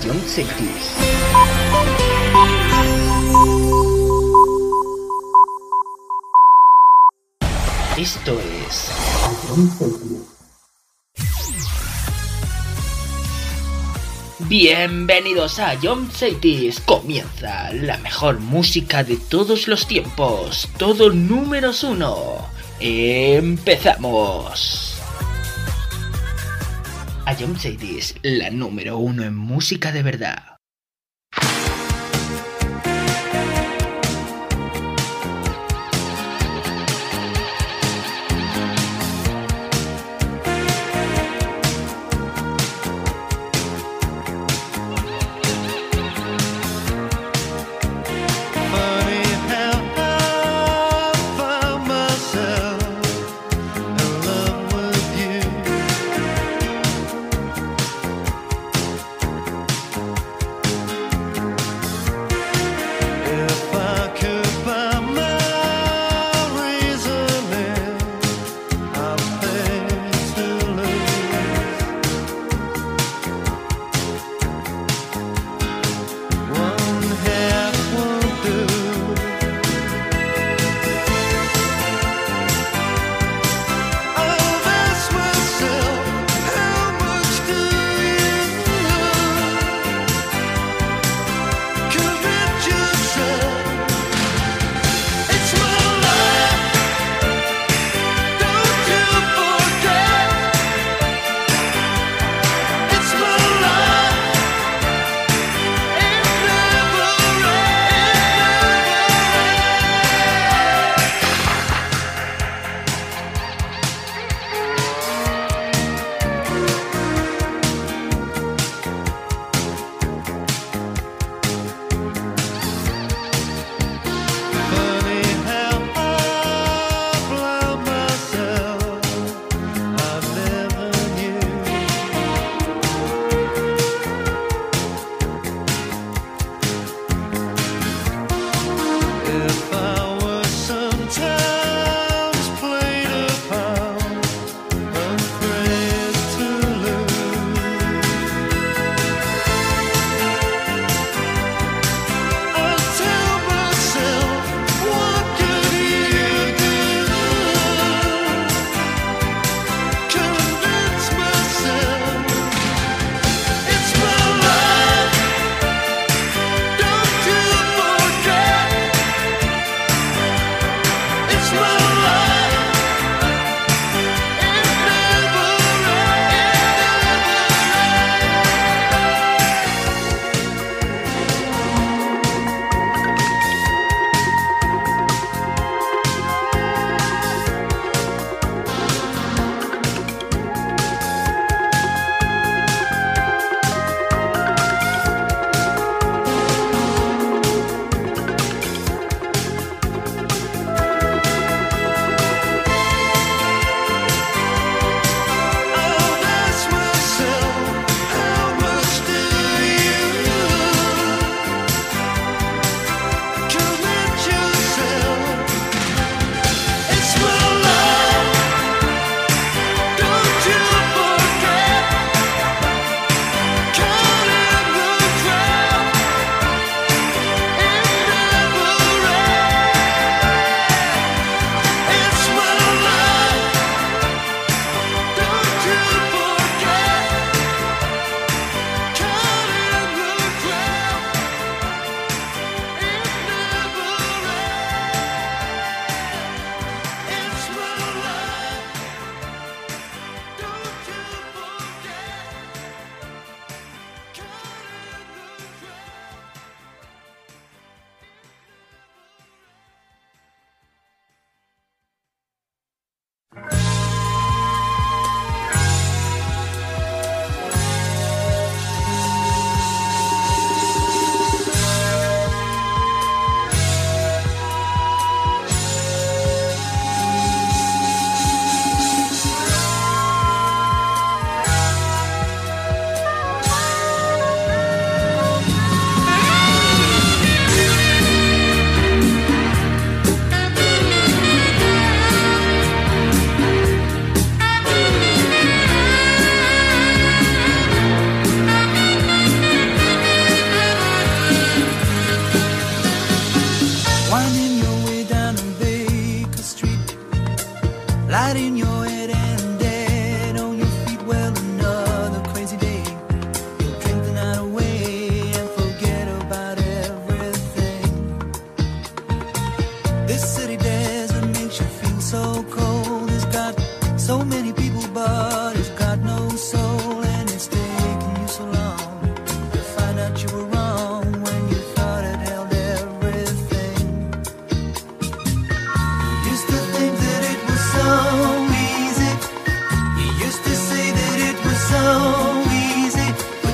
John Celtics. Esto es John Celtics. Bienvenidos a John Celtics. Comienza la mejor música de todos los tiempos. Todo números 1. Empezamos. A John Celtics, la número 1 en música de verdad.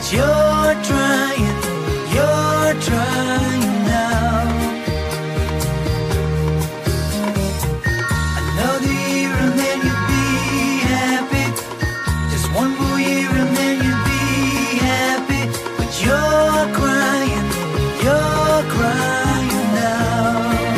you're trying now. Another year and then you'll be happy. Just one more year and then you'll be happy. But you're crying now.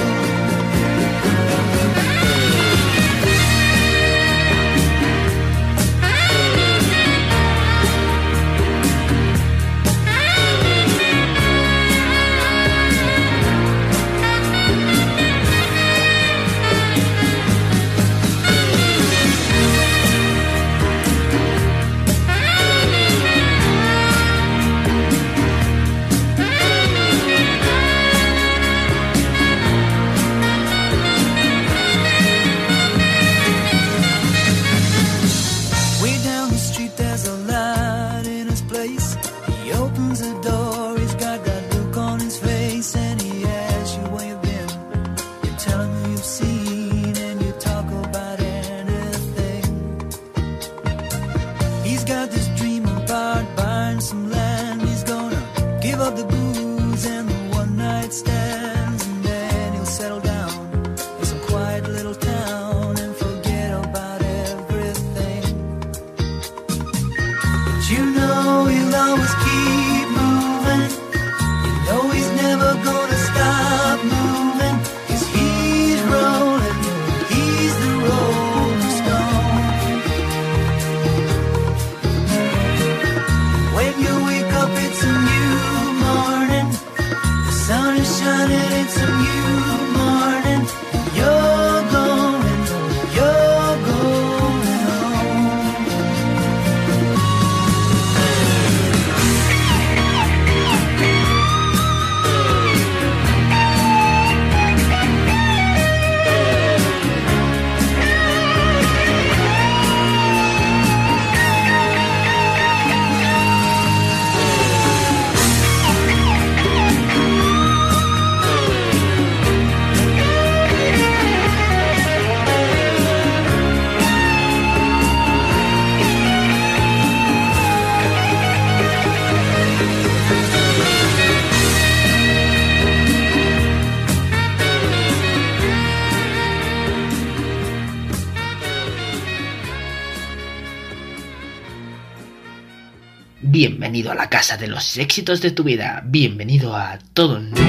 Bienvenido a la casa de los éxitos de tu vida. Bienvenido a Todo Números 1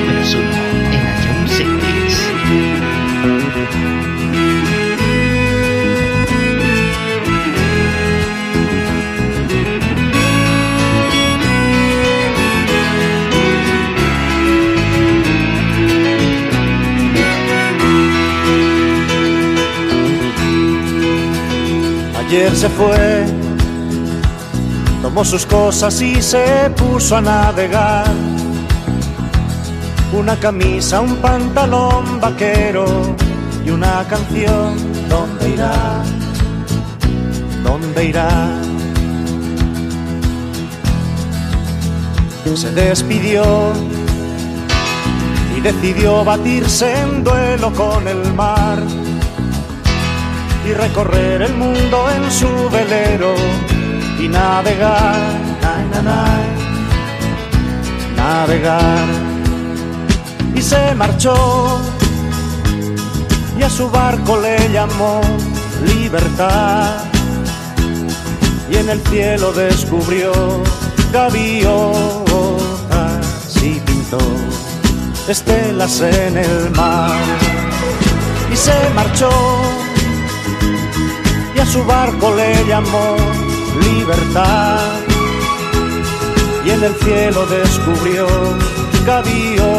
en iTunes Series. Ayer se fue, tomó sus cosas y se puso a navegar. Una camisa, un pantalón vaquero y una canción. ¿Dónde irá? ¿Dónde irá? Se despidió y decidió batirse en duelo con el mar y recorrer el mundo en su velero y navegar, navegar. Y se marchó y a su barco le llamó Libertad, y en el cielo descubrió gaviotas y pintó estelas en el mar. Y se marchó y a su barco le llamó Libertad, y en el cielo descubrió gaviotas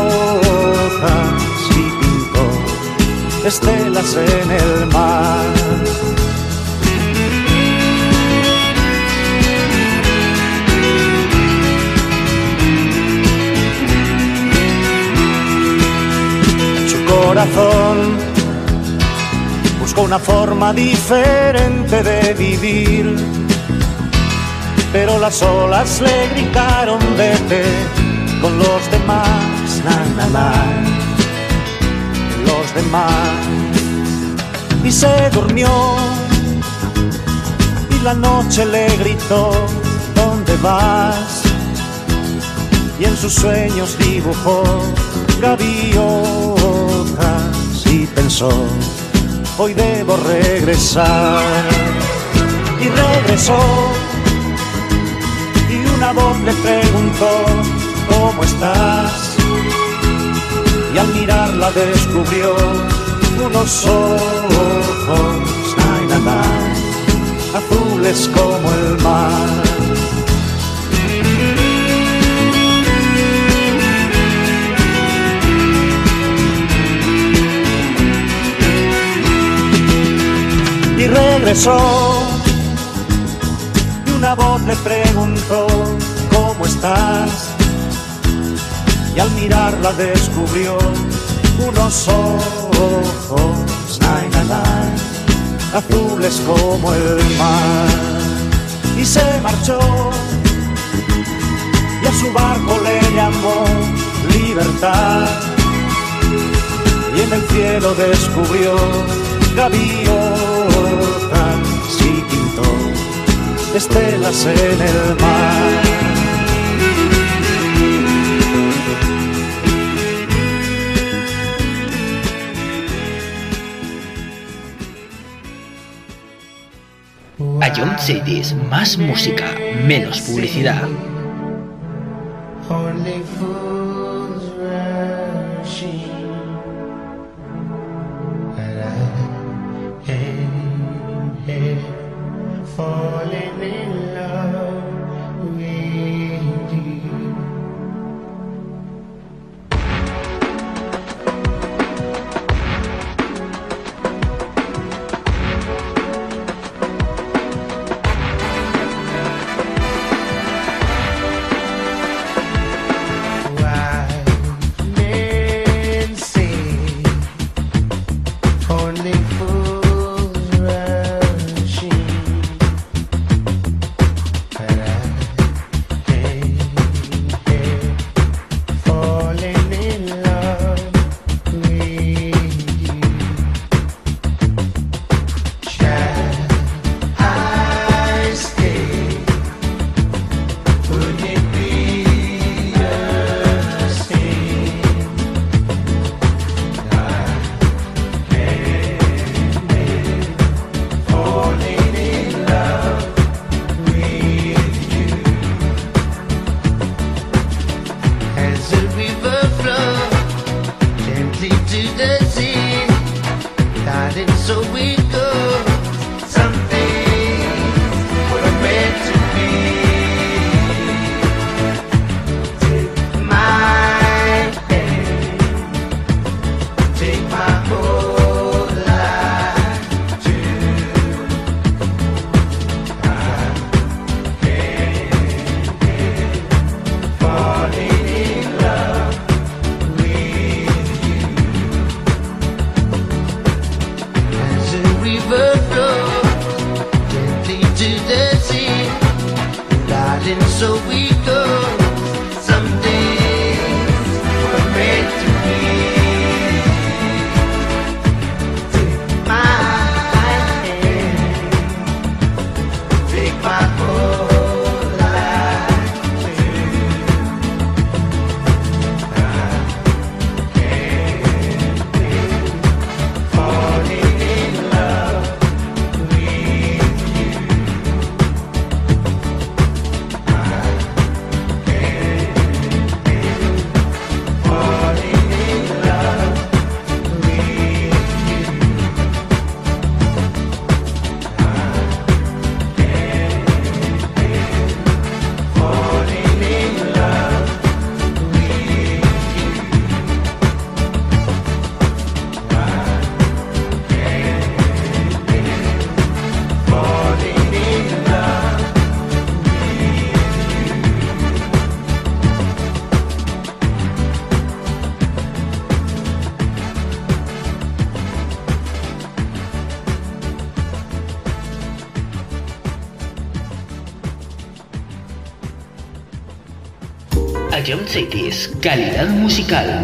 y pintó estelas en el mar. En su corazón buscó una forma diferente de vivir, pero las olas le gritaron vete con los demás, los demás. Y se durmió y la noche le gritó ¿dónde vas? y en sus sueños dibujó gaviotas y pensó, hoy debo regresar. Y regresó, y una voz le preguntó, ¿cómo estás? Y al mirarla descubrió unos ojos, ay, nada, azules como el mar. Y regresó, y una voz le preguntó, ¿cómo estás? Y al mirarla descubrió unos ojos, nay, nay, nay, azules como el mar. Y se marchó, y a su barco le llamó Libertad, y en el cielo descubrió gaviotas y pintó estelas en el mar. Ion Cities, más música, menos publicidad. Only fools rushing, but I am here falling in love with you. Ion Cities, calidad musical.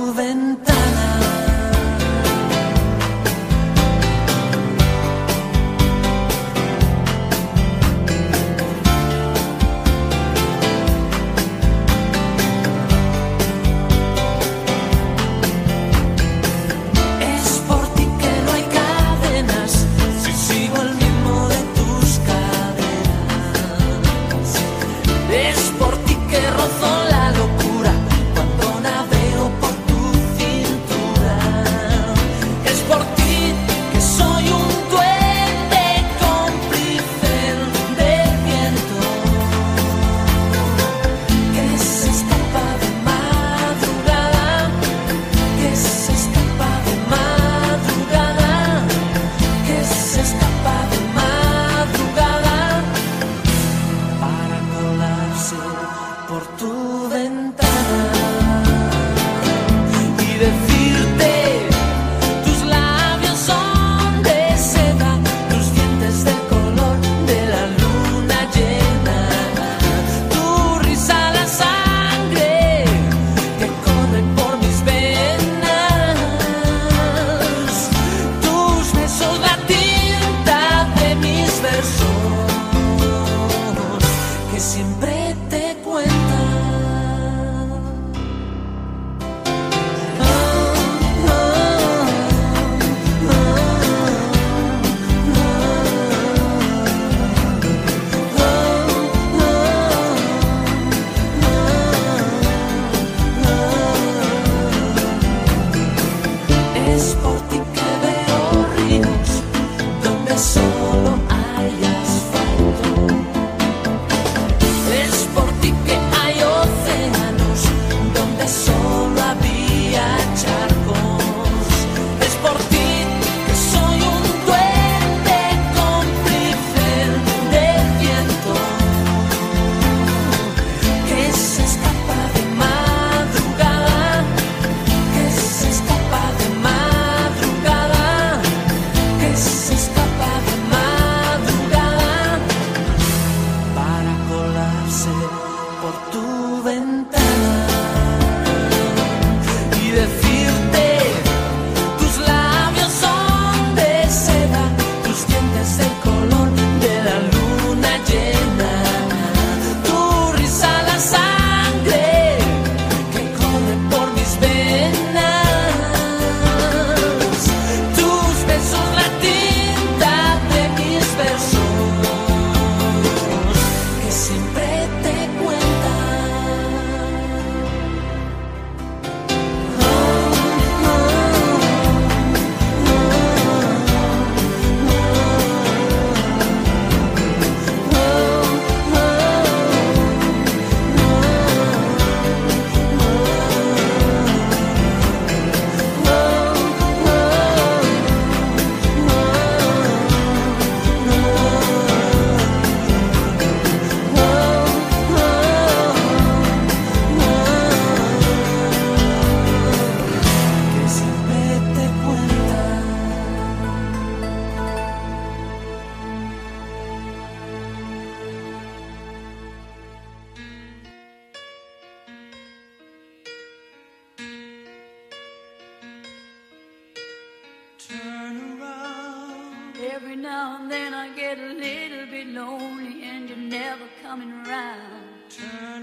Every now and then I get a little bit lonely and you're never coming around. Turn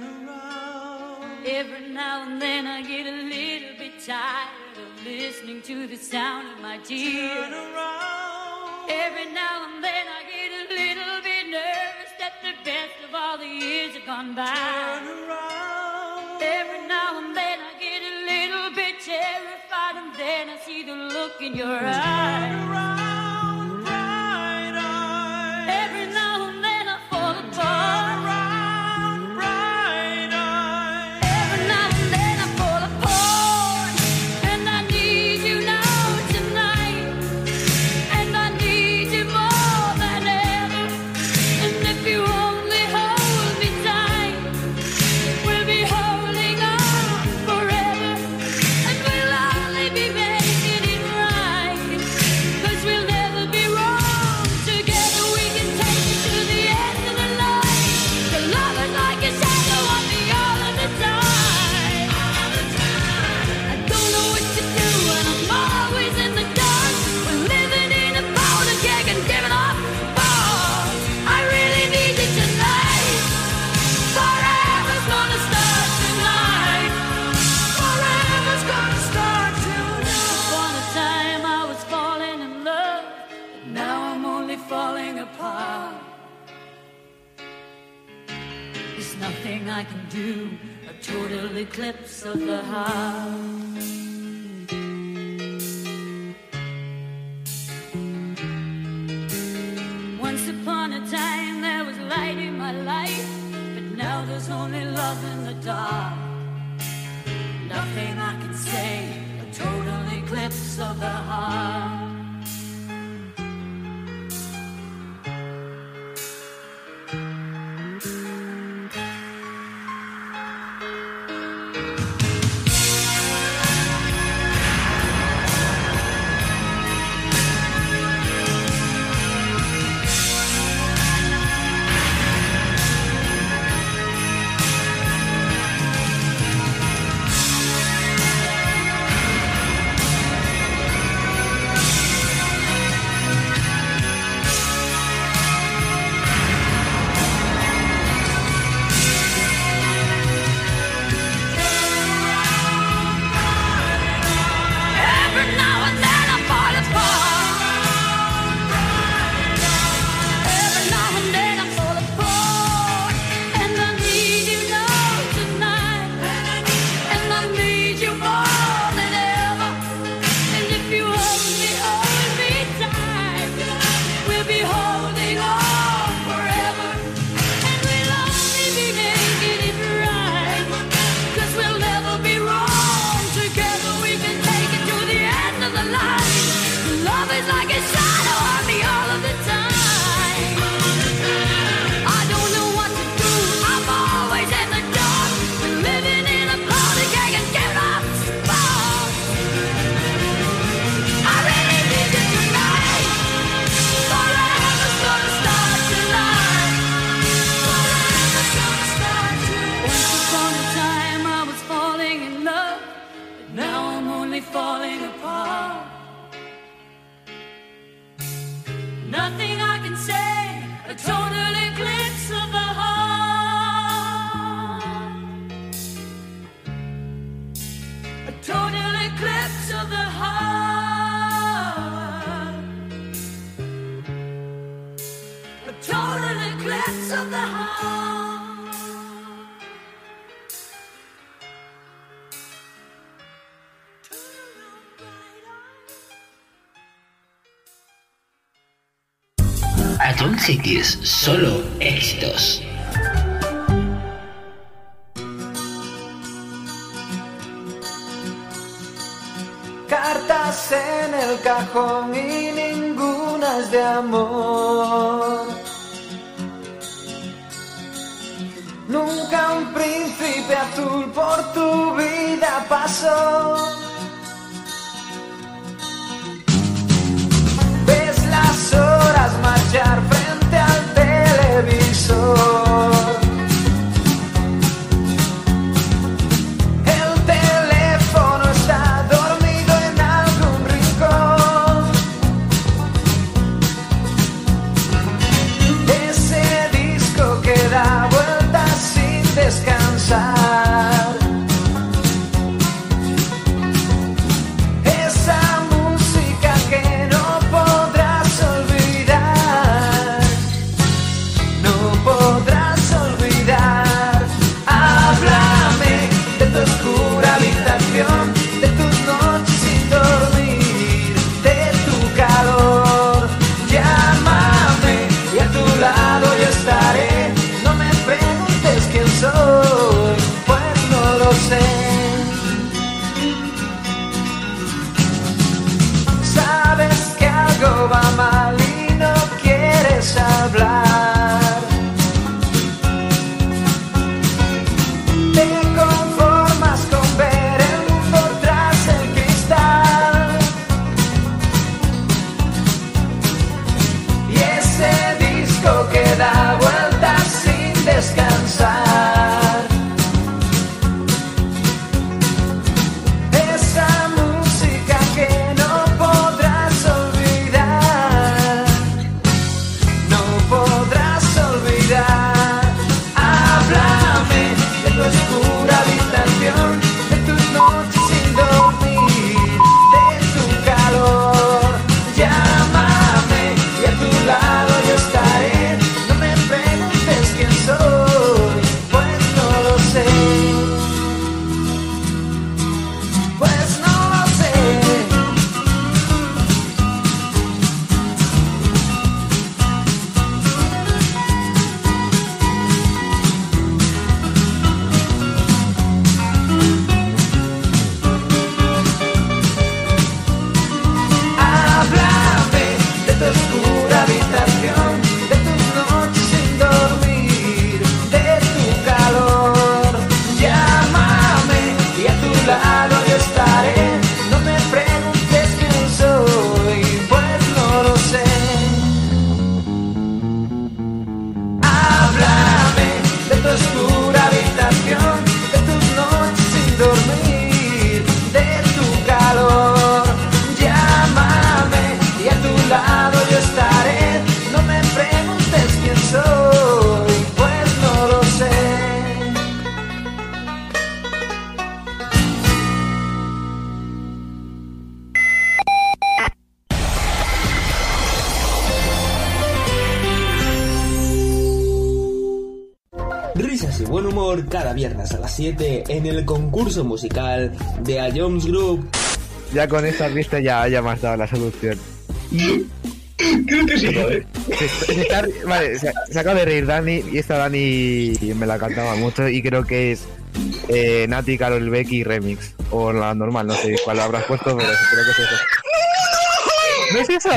around. Every now and then I get a little bit tired of listening to the sound of my tears. Turn around. Every now and then I get a little bit nervous that the best of all the years have gone by. Turn around. Every now and then I get a little bit terrified and then I see the look in your eyes. Turn around. We'll I can do, a total eclipse of the heart. Once upon a time there was light in my life, but now there's only love in the dark. Nothing I can say, a total eclipse of the heart. Atomic Cities, solo éxitos. Cartas en el cajón y ninguna es de amor. Nunca un príncipe azul por tu vida pasó. Ves las horas marchar frente al televisor. El teléfono está dormido en algún rincón. Ese disco que da vueltas sin descansar. humor cada viernes a las 7 en el concurso musical de A Jones Group. Ya con esta pista ya me has dado la solución. Creo que sí, joder. Vale, se acaba de reír Dani, y esta Dani me la cantaba mucho y creo que es Nati, Karol Becky remix. O la normal, no sé cuál habrás puesto, pero creo que es eso. ¿No es eso?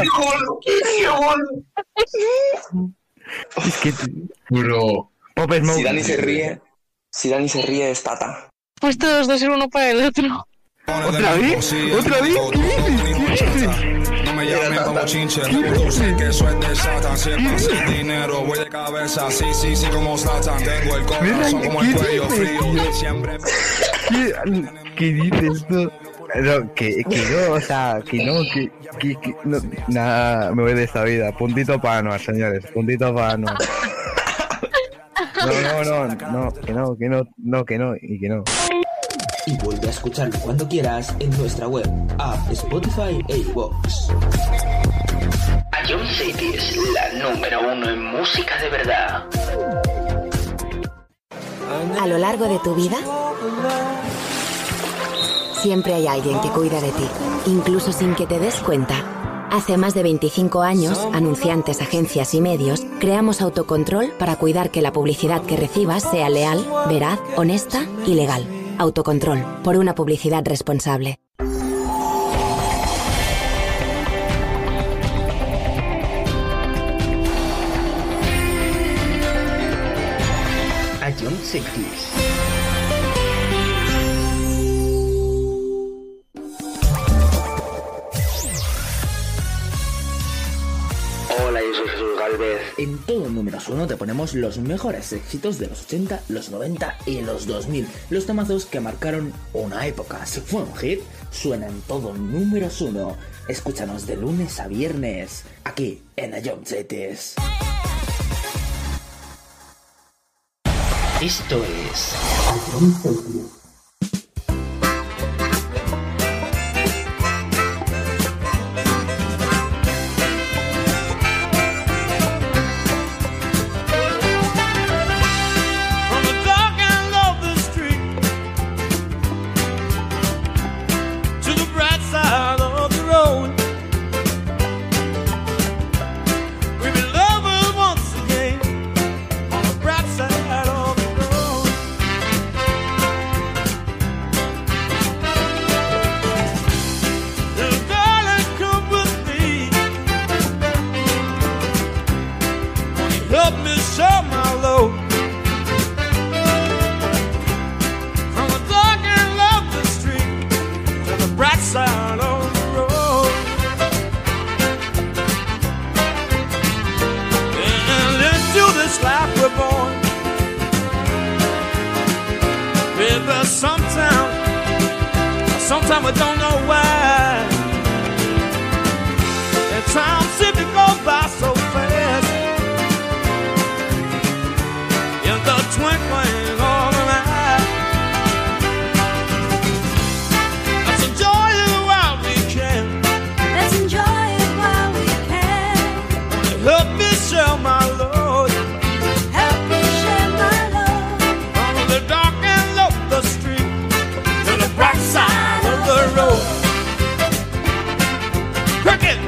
Es que... Bro. Pop Smoke. Si Dani se ríe es Tata. Pues todos dos ser uno para el otro. ¿Otra vez? ¿Otra vez? ¿Qué dices? No me llamen como chinche, tú sé que eso es de Satan. Si es para hacer dinero, voy de cabeza, sí, como Satan. Tengo el corazón como el cuello frío, siempre... ¿Qué dices tú? No, que no, o sea, que no, no, nada, me voy de esta vida. Puntito para Anuar, señores, puntito para Anuar. No, que no. Y vuelve a escucharlo cuando quieras en nuestra web, app, Spotify e iVoox. A Jones City es la número 1 en música de verdad. A lo largo de tu vida, siempre hay alguien que cuida de ti, incluso sin que te des cuenta. Hace más de 25 años, anunciantes, agencias y medios, creamos Autocontrol para cuidar que la publicidad que recibas sea leal, veraz, honesta y legal. Autocontrol, por una publicidad responsable. A Jones City. Hola, yo soy Jesús Galvez. En todo Números 1 te ponemos los mejores éxitos de los 80, los 90 y los 2000. Los temazos que marcaron una época. Si fue un hit, suena en todo Números 1. Escúchanos de lunes a viernes, aquí en A Jones City. Esto es A Jones City. Sometimes we don't know why. And time seems to go by so fast. In the twinkling of an eye. Let's enjoy it while we can. Let's enjoy it while we can. Help me share my load. Help me share my load. From the dark and low the street to the bright side of the road. Cricket!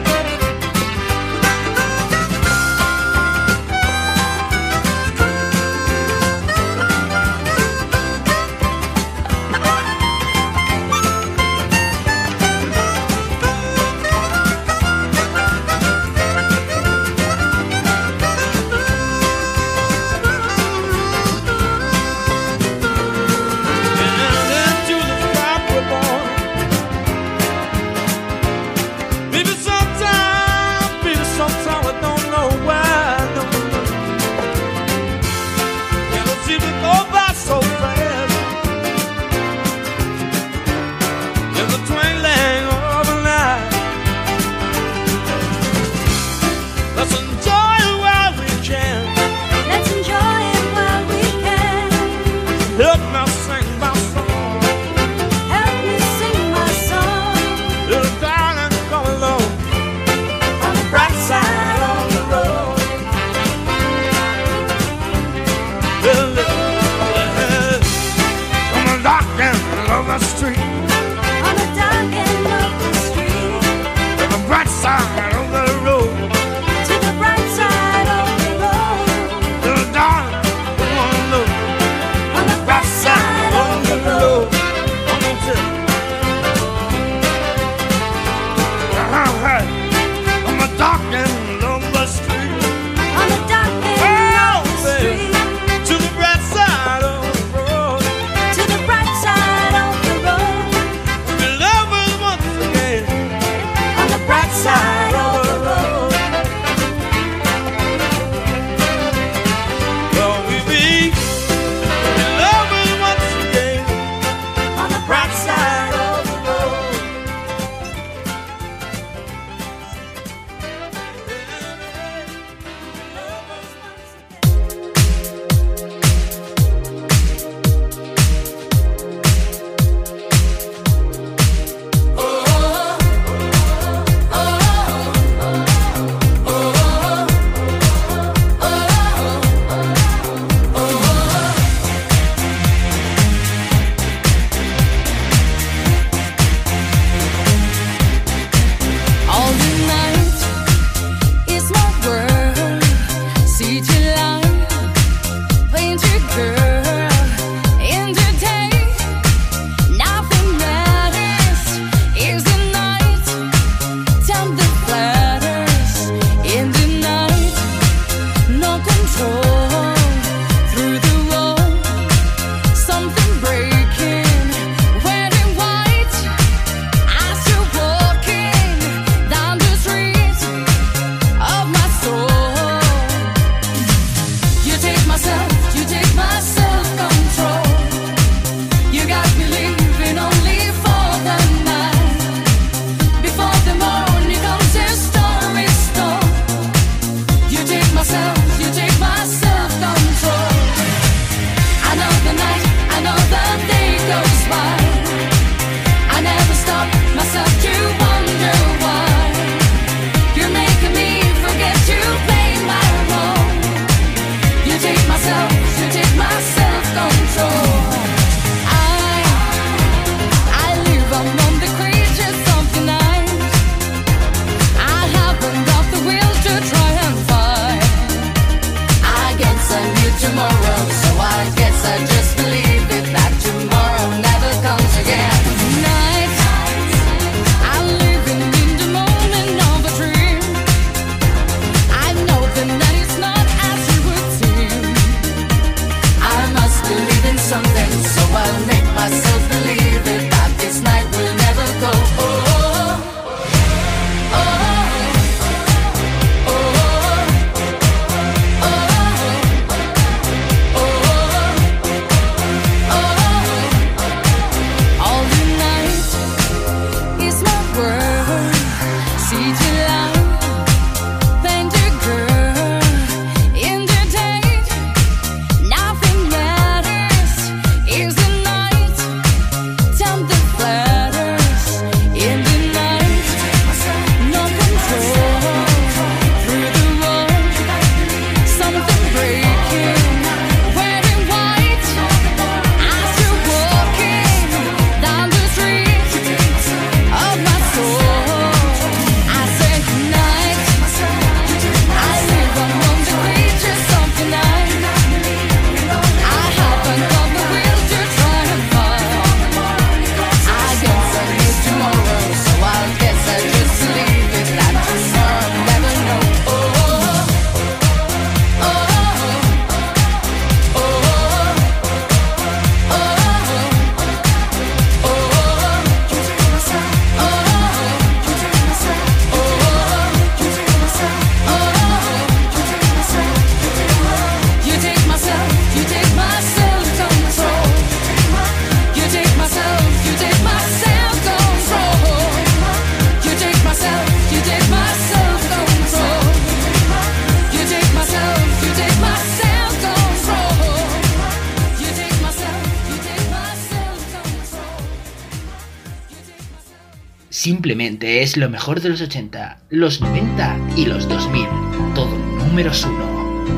Simplemente es lo mejor de los 80, los 90 y los 2000. Todo números 1.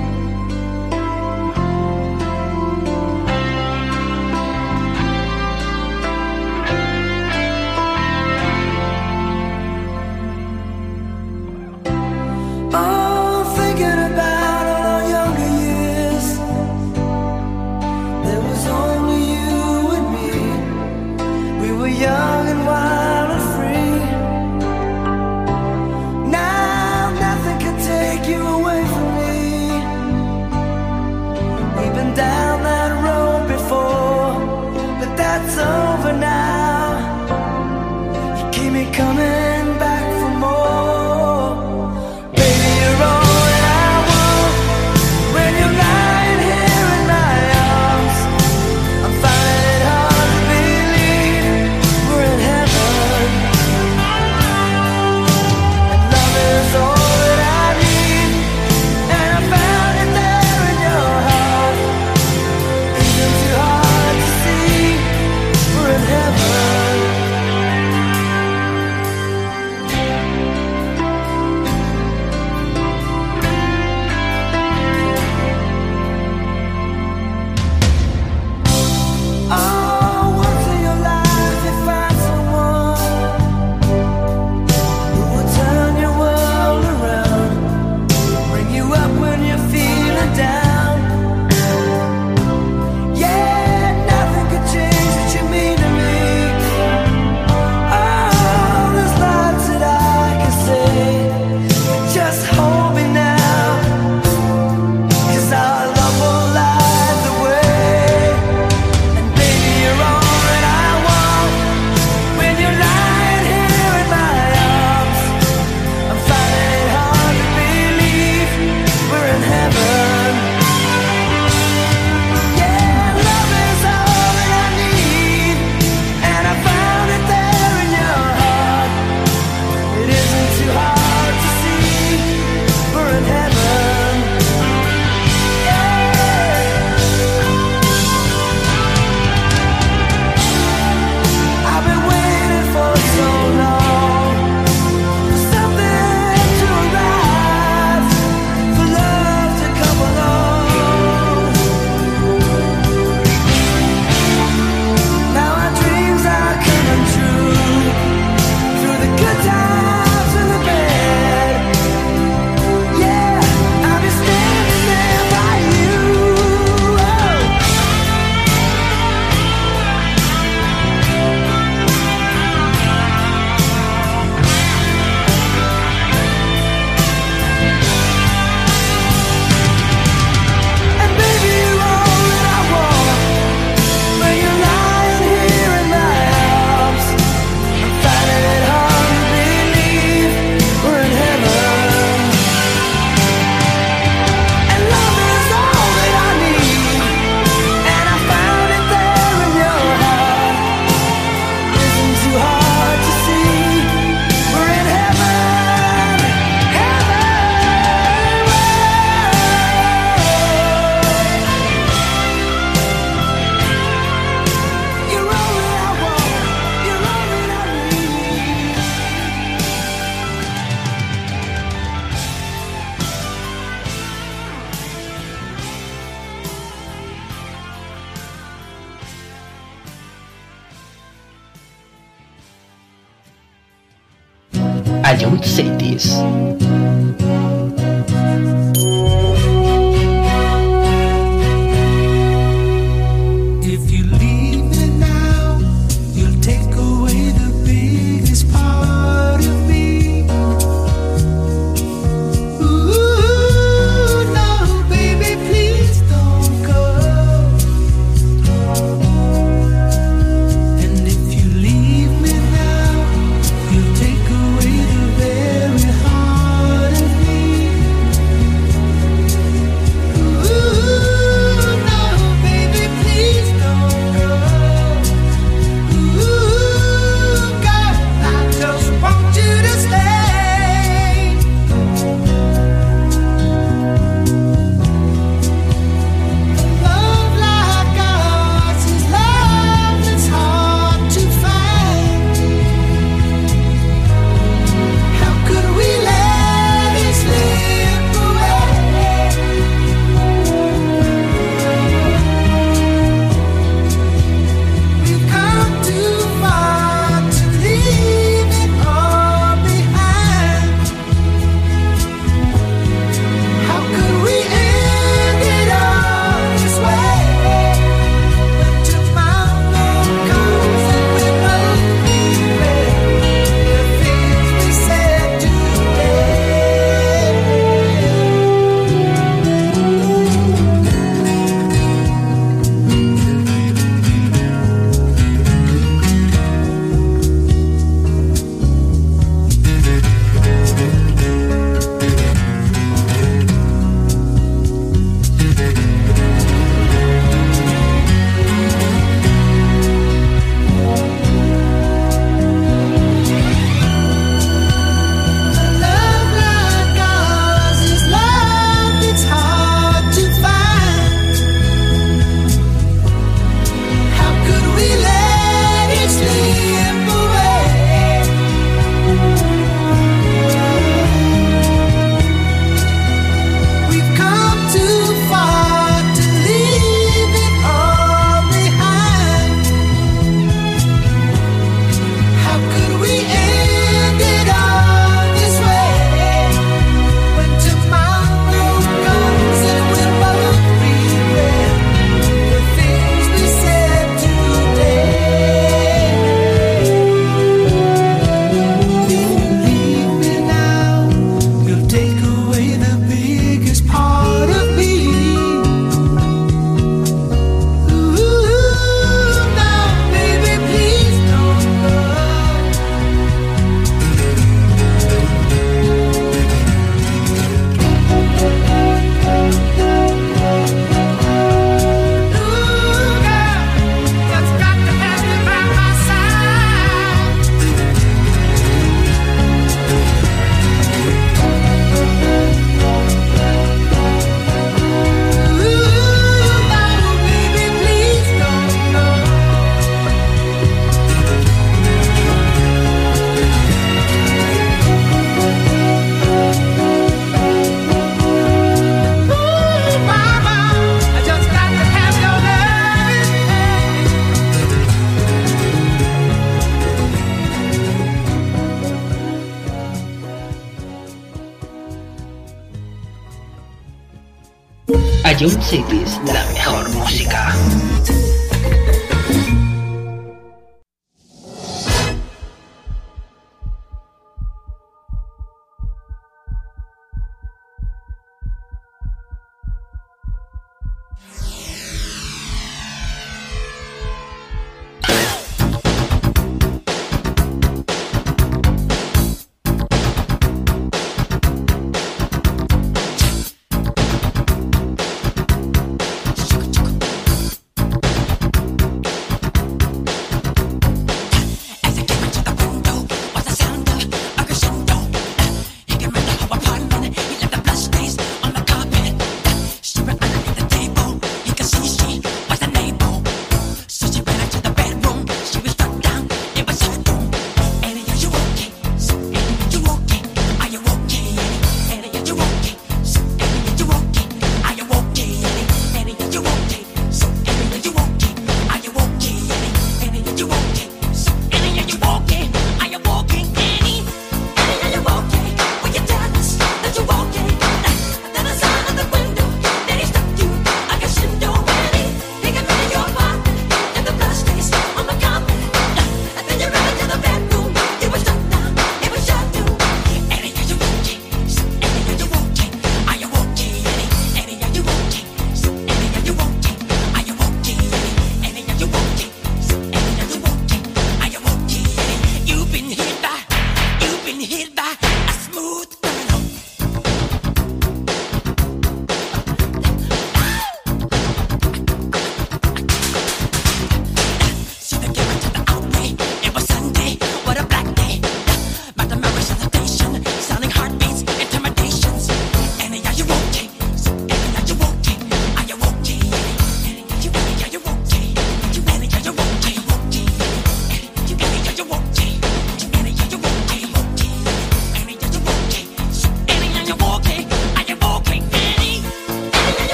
Youth Cities. Ion Cities, la mejor música.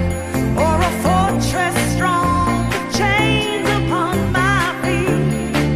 Or a fortress strong with chains upon my feet.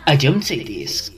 a John Cities.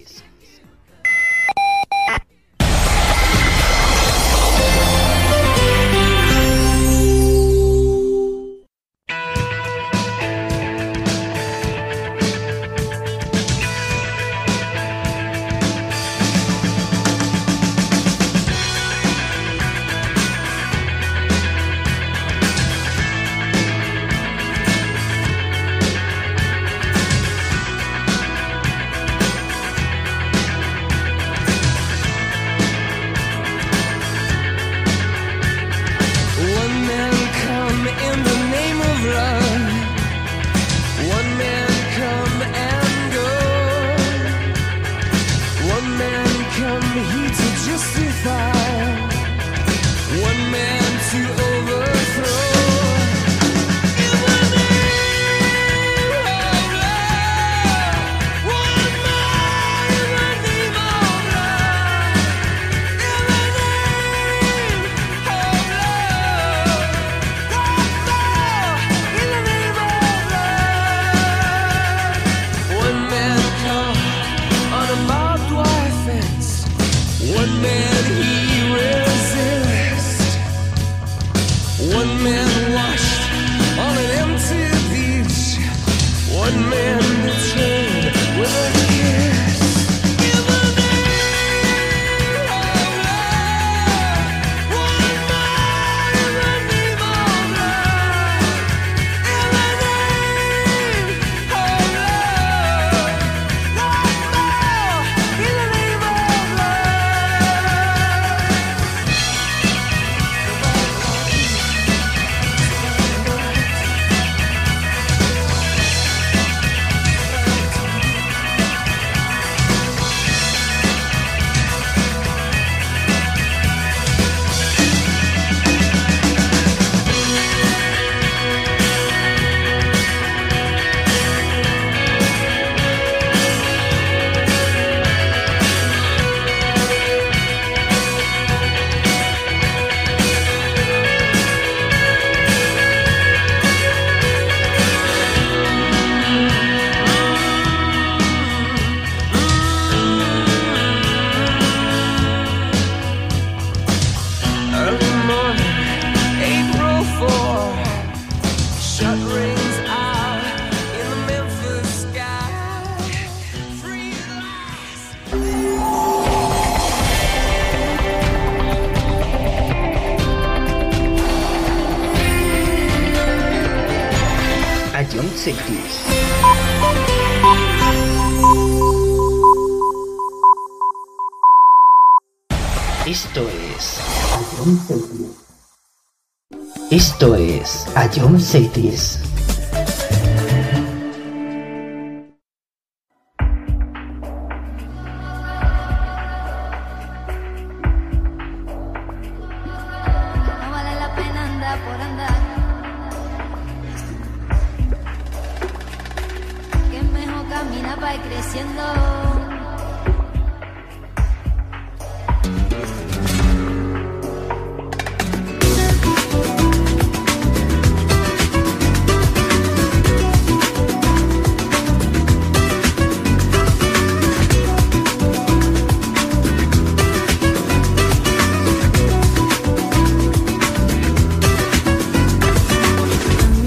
Esto es a John Cities.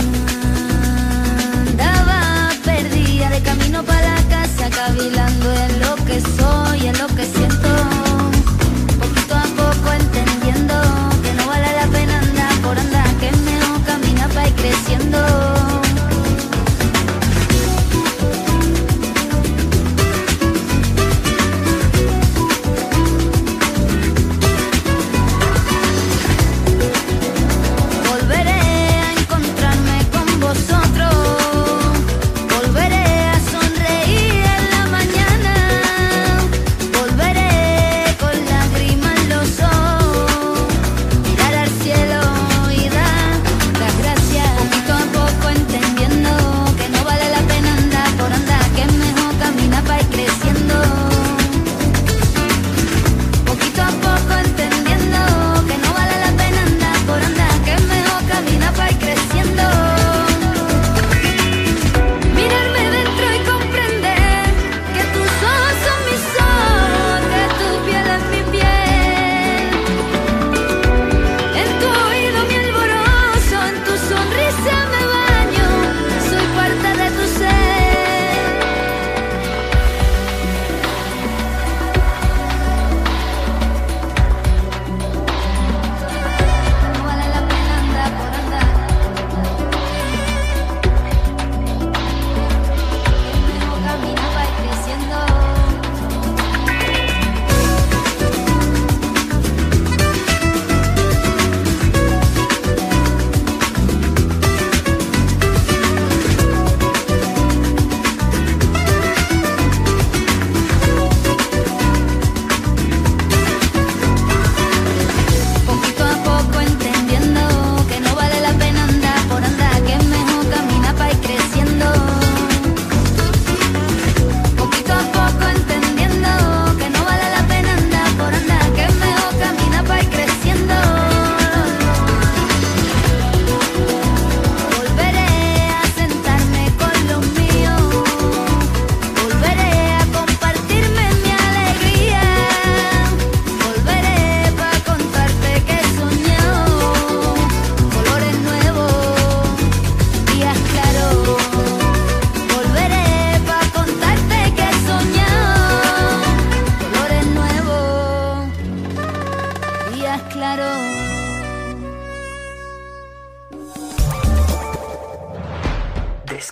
Cavilando en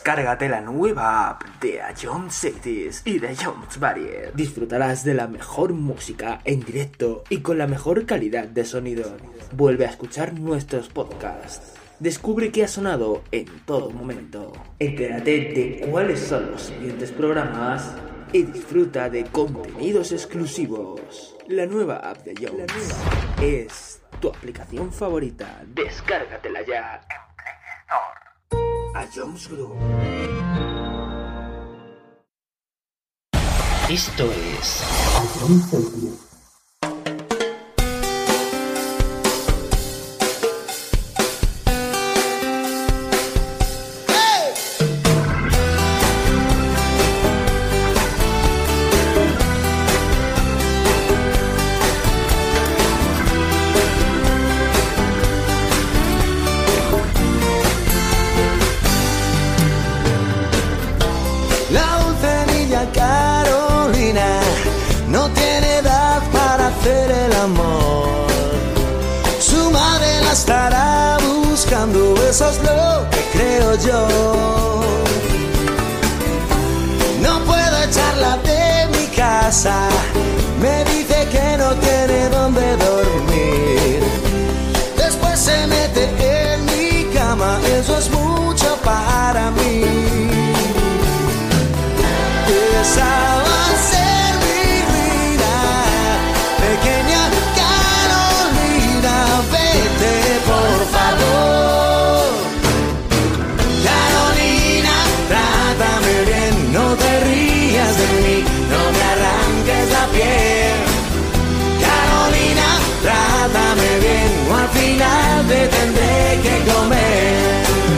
Descárgate la nueva app de Ion Cities y de Ion Barrier. Disfrutarás de la mejor música en directo y con la mejor calidad de sonido. Vuelve a escuchar nuestros podcasts. Descubre qué ha sonado en todo momento. Entérate de cuáles son los siguientes programas y disfruta de contenidos exclusivos. La nueva app de Ion es tu aplicación favorita. Descárgatela ya en Play Store. A Jones Group. Esto es Carolina no tiene edad para hacer el amor. Su madre la estará buscando, eso es lo que creo yo. No puedo echarla de mi casa, me dice que no tiene dónde dormir. Después se mete en mi cama, eso es mucho para mí. Esa va a ser mi vida, pequeña Carolina, vete por favor. Carolina, trátame bien, no te rías de mí, no me arranques la piel. Carolina, trátame bien, o al final te tendré que comer.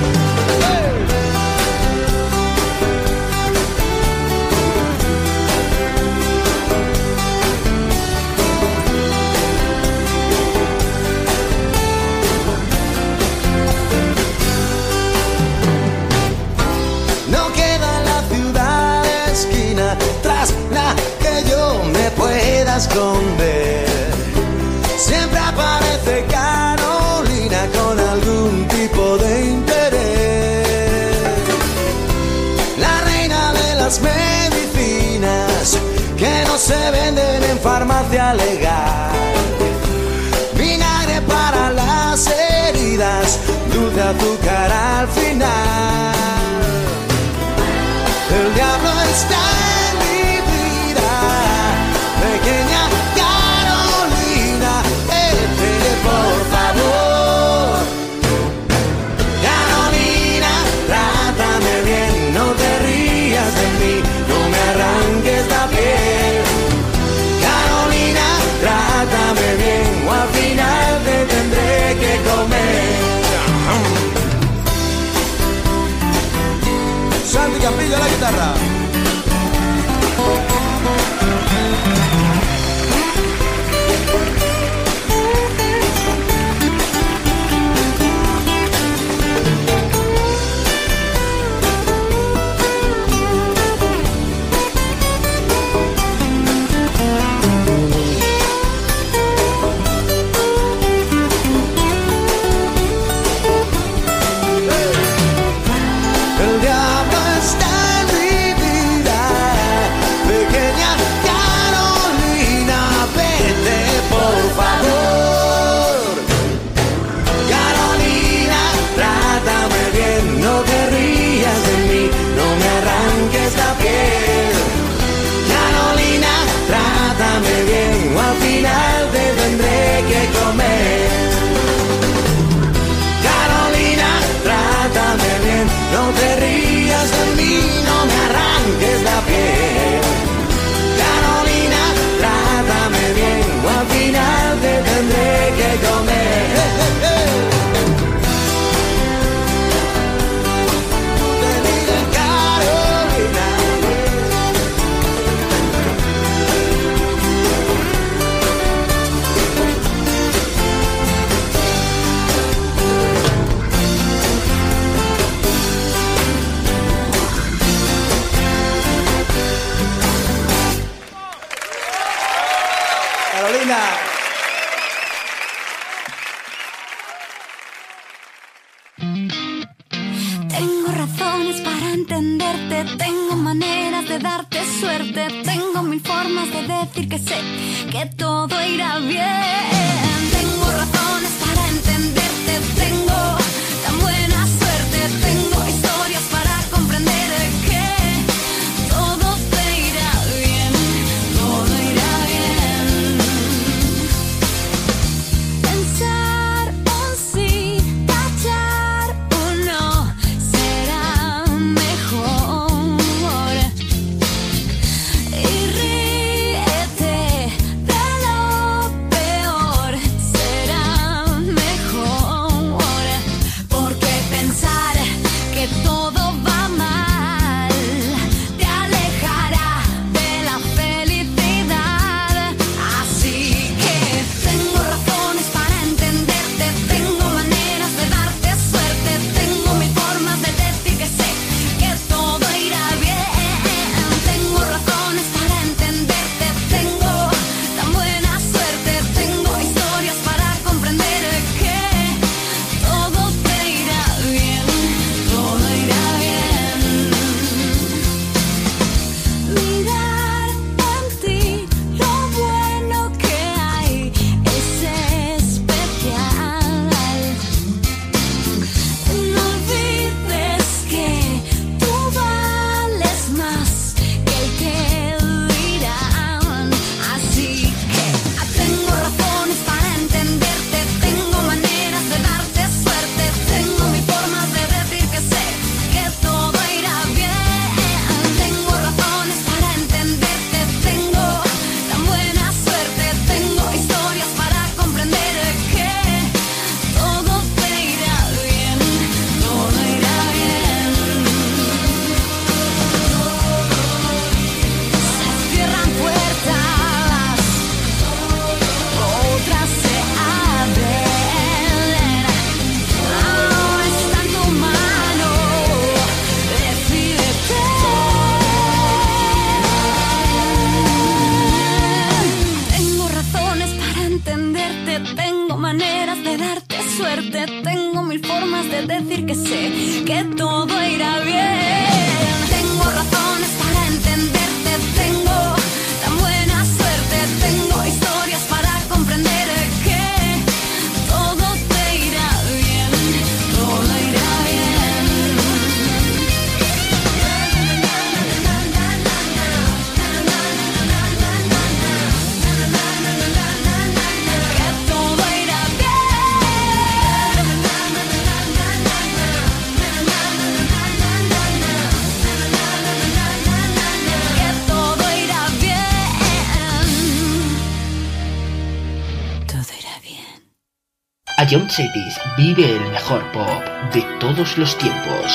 Esconder. Siempre aparece Carolina con algún tipo de interés. La reina de las medicinas que no se venden en farmacia legal. Vinagre para las heridas, dulce azúcar al final. El diablo está en mi vida, pequeña Carolina, vete por favor. Carolina, trátame bien, no te rías de mí, no me arranques la piel. Carolina, trátame bien, o al final te tendré que comer. Santi Campillo a la guitarra. El diablo está en mi Tengo razones para entenderte, tengo maneras de darte suerte, tengo mil formas de decir que sé que todo irá bien. Tengo razones para entenderte, tengo tan buena suerte, tengo historias para comprender que todo te irá bien, todo irá bien. Pensar un sí, tachar un no, será mejor. Y ríete de lo peor, será mejor. Porque pensar que todo va mal te alejará de la felicidad. Así que tengo razones para entenderte, tengo maneras de darte suerte, tengo mil formas de decir que sé que todo irá bien. Tengo razones para entenderte, tengo tan buena suerte, tengo historias para comprender que todo te irá bien, todo irá bien. Mirar en ti lo bueno que hay es especial. No olvides que tú vales más que el que dirán. Así que tengo razones para entenderte, tengo maneras de darte suerte, tengo mil formas de decir que sé que todo irá bien. Tengo razones para entenderte, tengo tan buena suerte, tengo historias para comprender que todo te irá bien, todo irá bien. Se cierran puertas, otras se abren. Ahora está en tu mano, decídete. Tengo razones para entenderte, tengo maneras de darte suerte, tengo mil formas de decir que sé que todo irá bien. Tengo razones para entenderte, tengo tan buena suerte, tengo historias para comprender que todo te irá bien, todo irá bien. Que todo irá bien. Que todo irá bien. Todo irá bien. Ion Cities vive el mejor pop de todos los tiempos.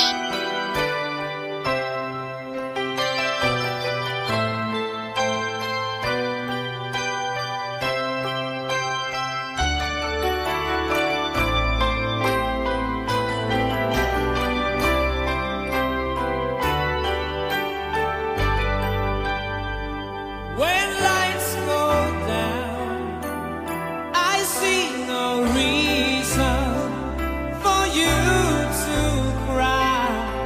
When lights go down, I see no reason for you to cry.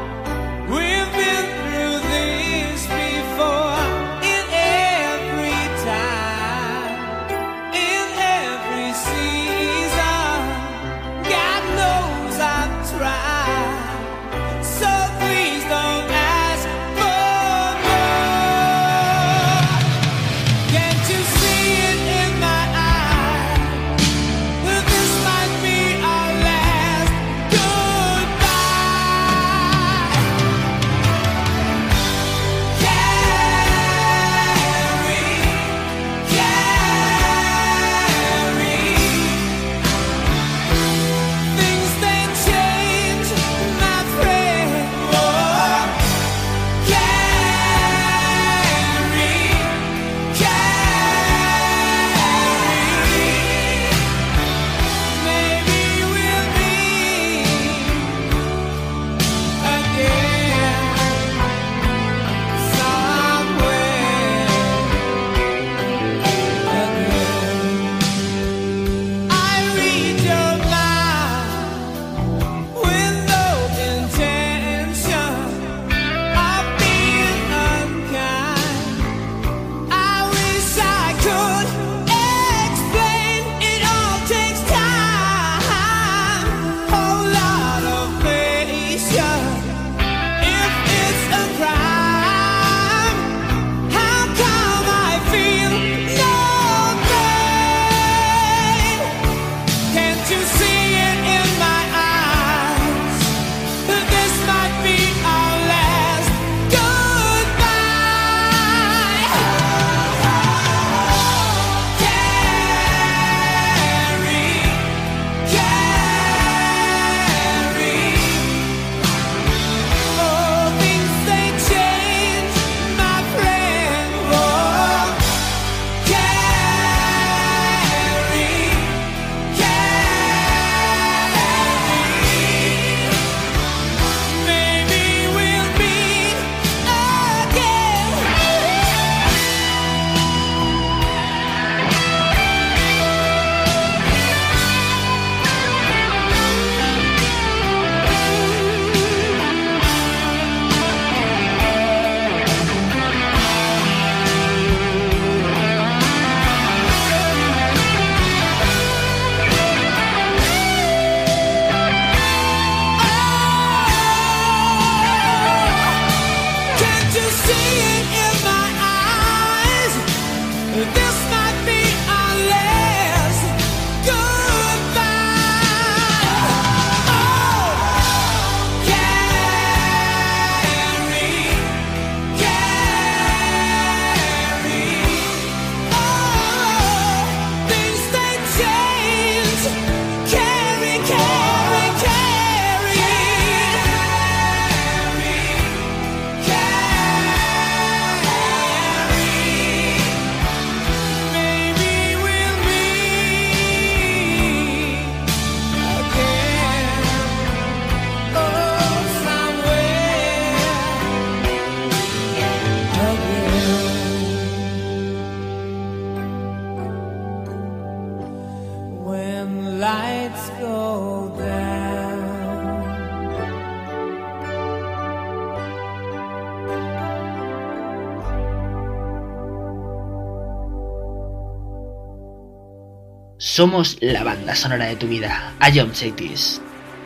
Somos la banda sonora de tu vida. A Jump Cities.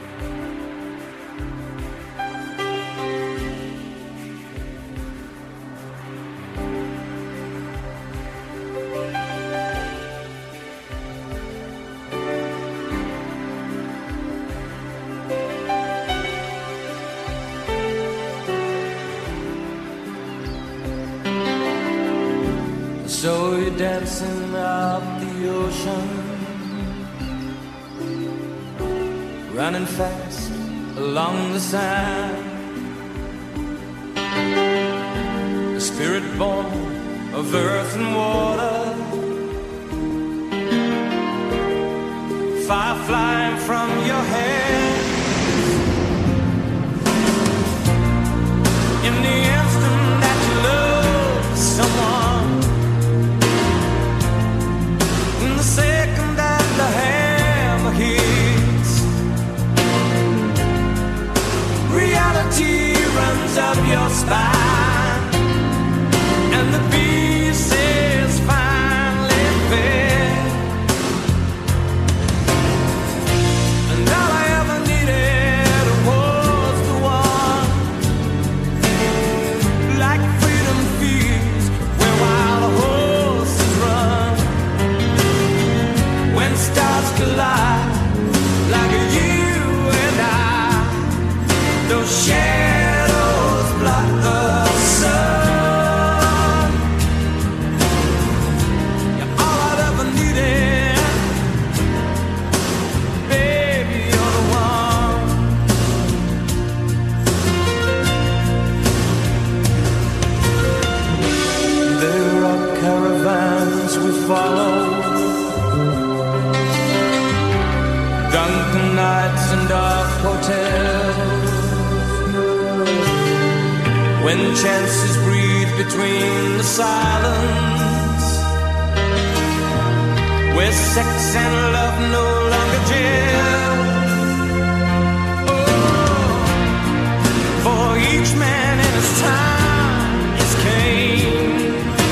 So you're dancing up the ocean, running fast along the sand, a spirit born of earth and water, fire flying from your head. In the instant that you love someone, in the second that the hammer hits, reality runs up your spine, and the pieces finally fit. And all I ever needed was the one, like freedom feels where wild horses run. When stars collide, like you and I, those shadows block the sun. You're all I've ever needed, baby, you're the one. There are caravans we follow, drunken nights and dark hotels, when chances breathe between the silence, where sex and love no longer gel. Oh, for each man in his time is Cain,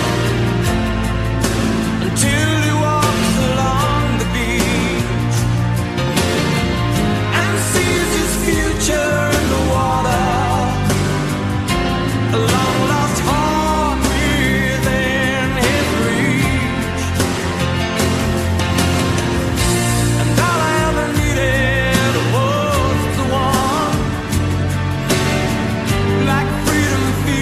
until he walks along the beach and sees his future in the water, a long lost heart within his reach. And all I ever needed was the one, like freedom feels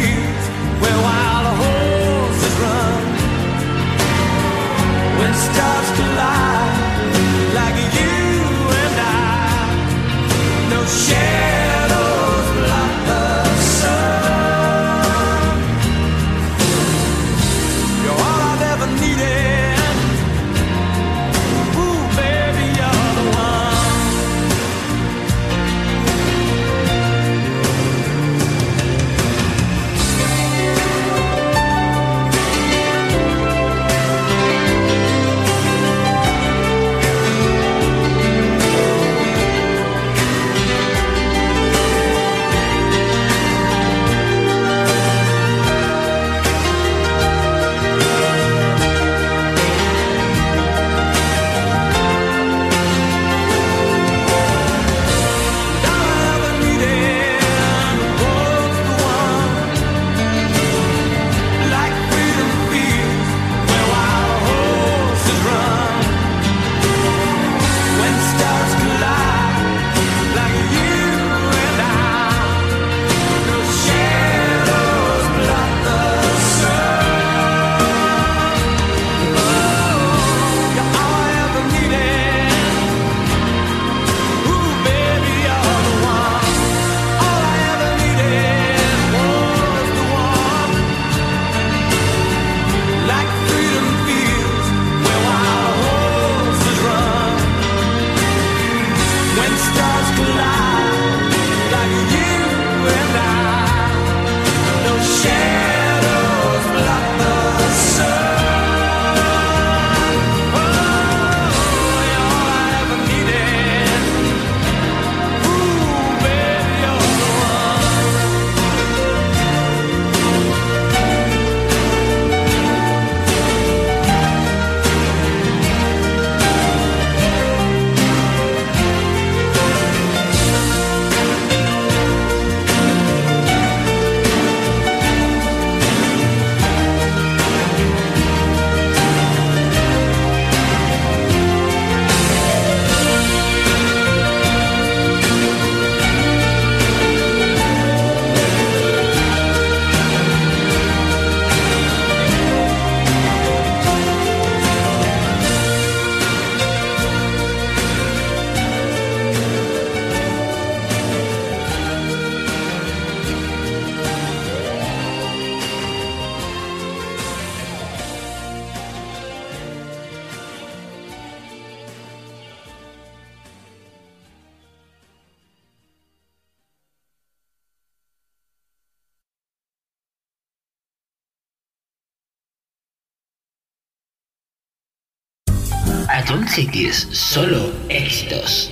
Atom Cities, solo éxitos.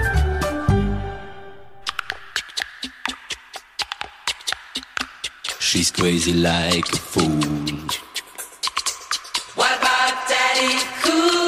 She's crazy like a fool. What about Daddy Cool?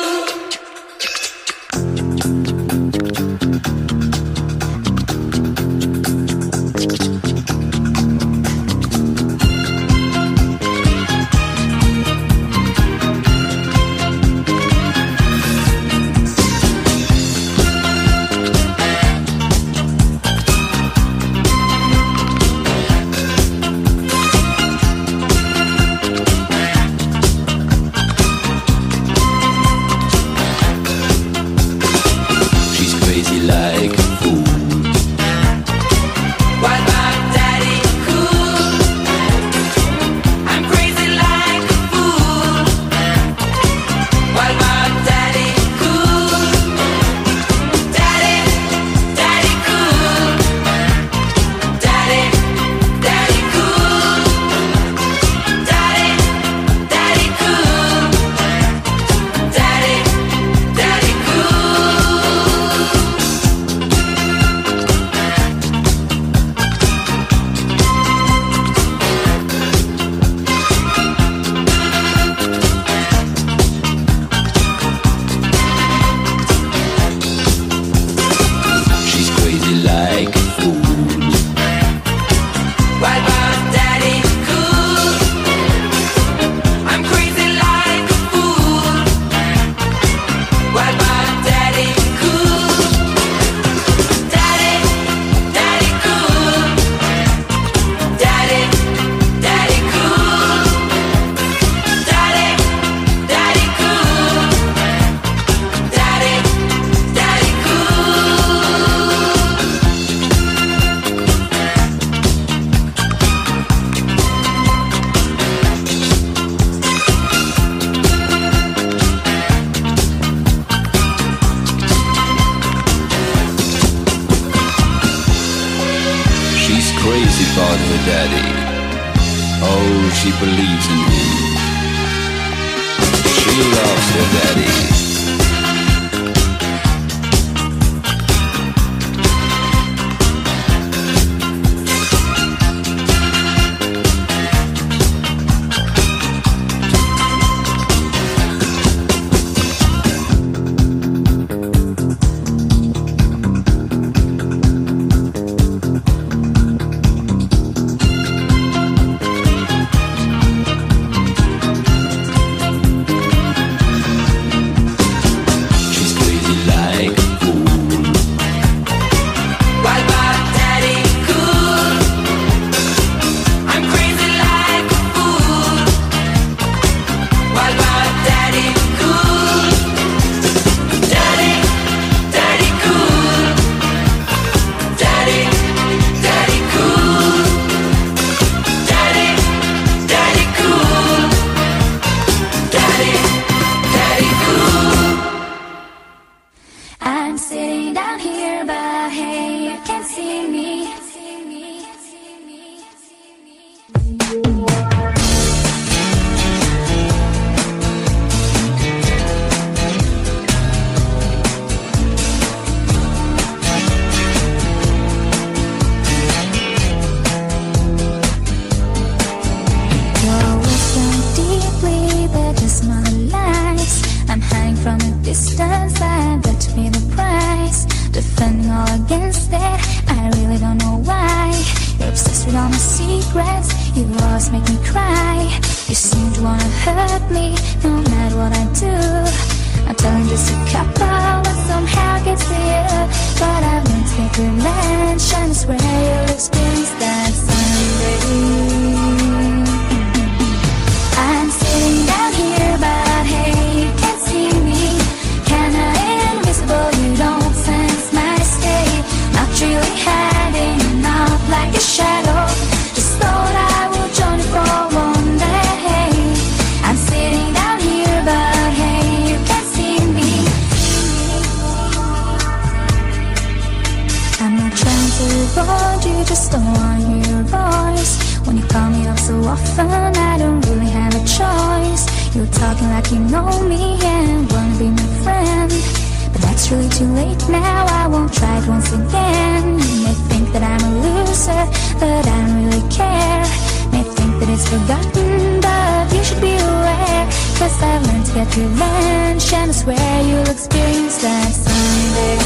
You're talking like you know me and wanna be my friend, but that's really too late now. I won't try it once again. You may think that I'm a loser, but I don't really care. May think that it's forgotten, but you should be aware, 'cause I've learned to get revenge, and I swear you'll experience that someday.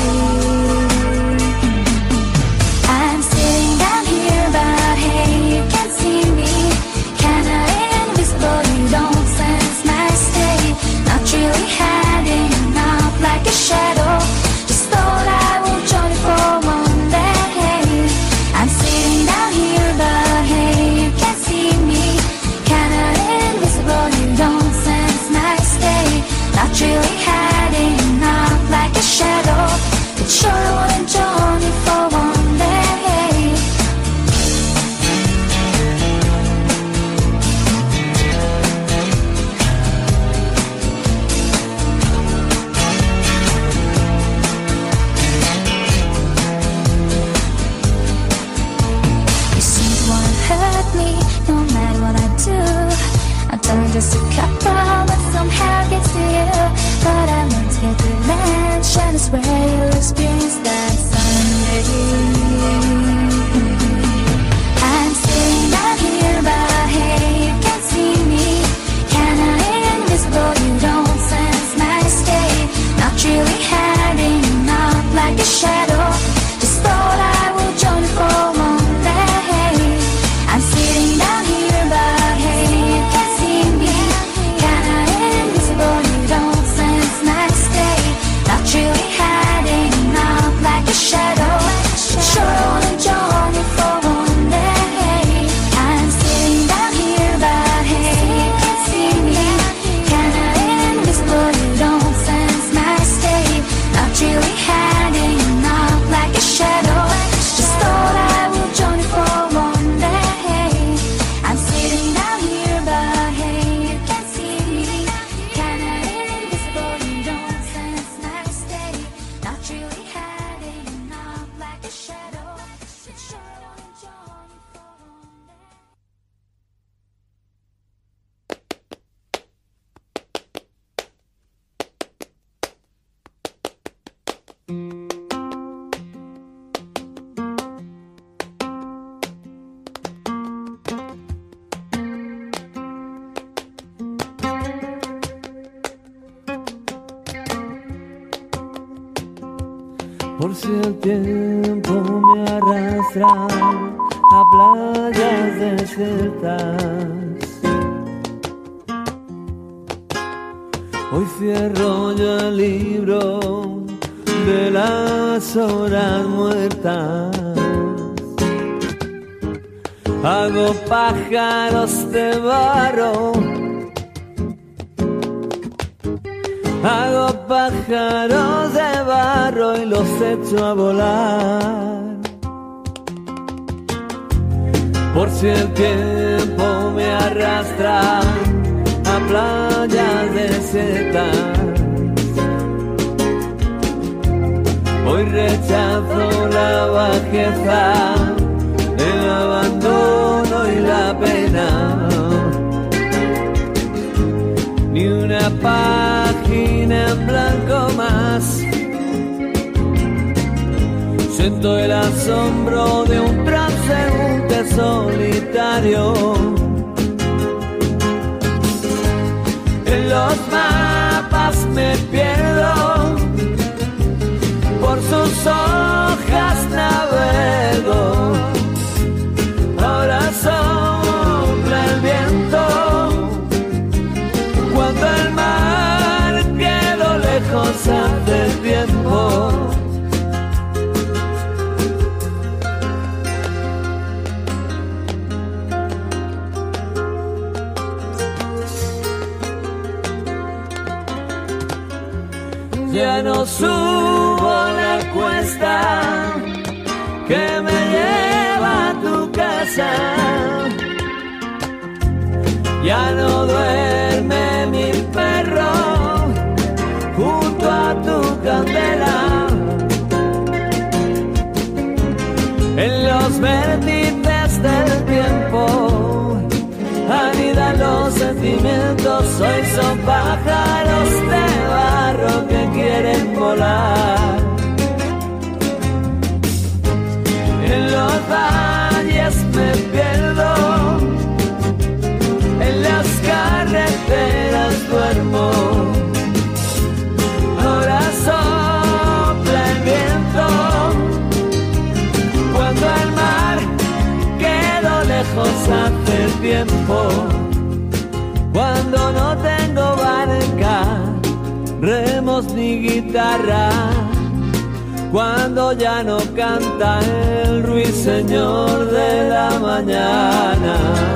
I'm sitting down here, but hey, you can't see me. Kinda invisible, you don't sense my state. Not really hiding out like a shadow. Just thought I would join you for one day. I'm sitting down here, but hey, you can't see me. Kinda invisible, you don't sense my state. Not really hiding out like a shadow. But sure I wouldn't join you for one day. Just a couple, but somehow gets to you. But I learned to get revenge, and I swear you'll experience that someday. I'm sitting down here, but hey, you can't see me. Kinda invisible, you don't sense my state. Not really hiding out like a shadow. Just thought I would join you for one day. I'm sitting down here, but hey, you can't see me. Kinda invisible, you don't sense my state. Not really hiding out like a shadow. Sure I wanna join you for one day. I'm sitting down here, but hey, you can't see me. Kinda invisible, you don't sense my state. Not really hiding out like a shadow. Just thought I would join you for one day. I'm sitting down here, but hey, you can't see me. Kinda invisible, you don't sense my state. Not really hiding out like a shadow. But sure I wanna join you for one day. Por si el tiempo me arrastra a playas desiertas, hoy cierro yo el libro de las horas muertas. Hago pájaros de barro, hago pájaros de barro y los echo a volar. Por si el tiempo me arrastra a playas desiertas, hoy rechazo la bajeza, el abandono y la pena. Ni una página en blanco más. Siento el asombro de un transeúnte solitario. En los mapas me pierdo, por sus hojas navego. Ahora sopla el viento, cuando el mar quedó lejos hace tiempo. Ya no subo la cuesta que me lleva a tu casa. Ya no duerme mi perro junto a tu candela. En los vértices del tiempo anidan los sentimientos, hoy son pájaros de barro que quieren volar. En los valles me pierdo, en las carreteras duermo. Ahora sopla el viento, cuando el mar quedó lejos hace tiempo. Cuando no tengo barca, remos ni guitarra, cuando ya no canta el ruiseñor de la mañana.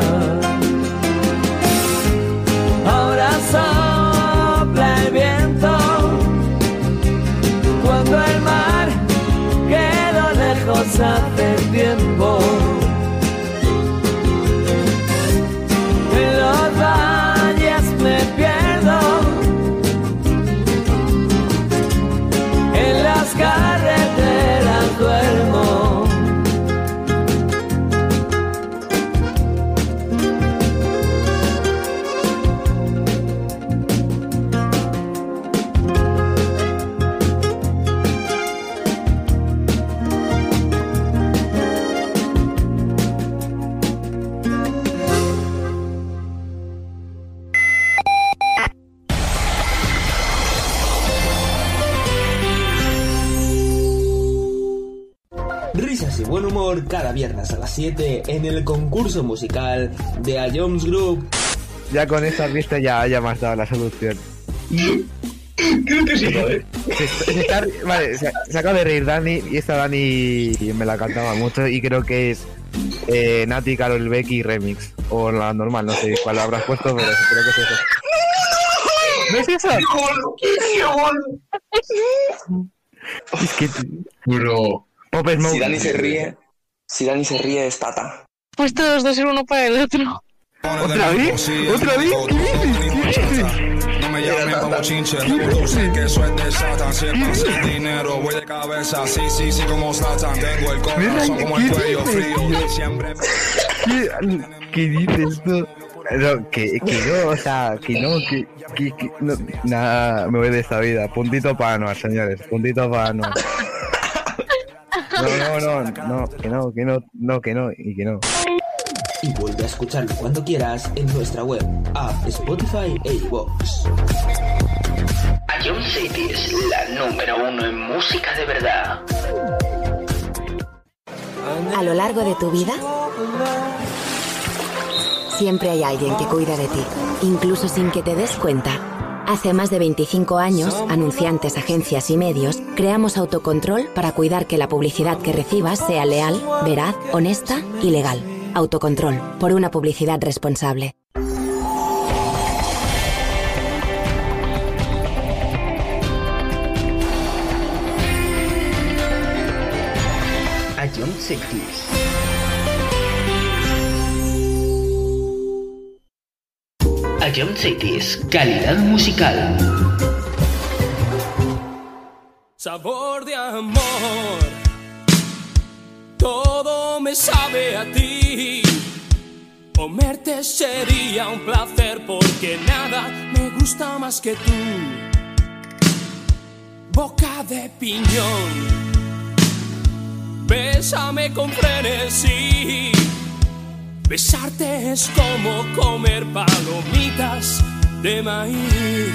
Ahora sopla el viento, cuando el mar quedó lejos hace tiempo. En los valles me pierdo, en las carreteras duermo. Risas y buen humor cada viernes a las 7 en el concurso musical de A Jones Group. Ya con esta pista ya me has dado la solución. Creo que sí, ¿vale? Vale, se acaba de reír Dani, y esta Dani me la cantaba mucho y creo que es Nati, Karol Becky remix. O la normal, no sé cuál habrás puesto, pero creo que es eso. ¿No es eso? Es que... Bro. Pop Smoke. Si Dani se ríe es Tata. Pues todos dos el uno para el otro. ¿Otra vez? ¿Otra vez? ¿Qué dices? No me llamen como chinche, tú sé que eso es de Satan. Siempre sin dinero, voy de cabeza, sí, como Satan. Tengo el corazón como el cuello frío, siempre... ¿Qué dices tú? No, que no, o sea, que no, no, nada, me voy de esta vida. Puntito para Anuar, señores, puntito para Anuar. No, que no. Y vuelve a escucharlo cuando quieras en nuestra web, app, Spotify e iVoox. A Jones City es la número 1 en música de verdad. A lo largo de tu vida, siempre hay alguien que cuida de ti, incluso sin que te des cuenta. Hace más de 25 años, anunciantes, agencias y medios, creamos Autocontrol para cuidar que la publicidad que recibas sea leal, veraz, honesta y legal. Autocontrol, por una publicidad responsable. A Jones City. A Jones City, calidad musical. Sabor de amor, todo me sabe a ti. Comerte sería un placer porque nada me gusta más que tú. Boca de piñón, bésame con frenesí. Besarte es como comer palomitas de maíz.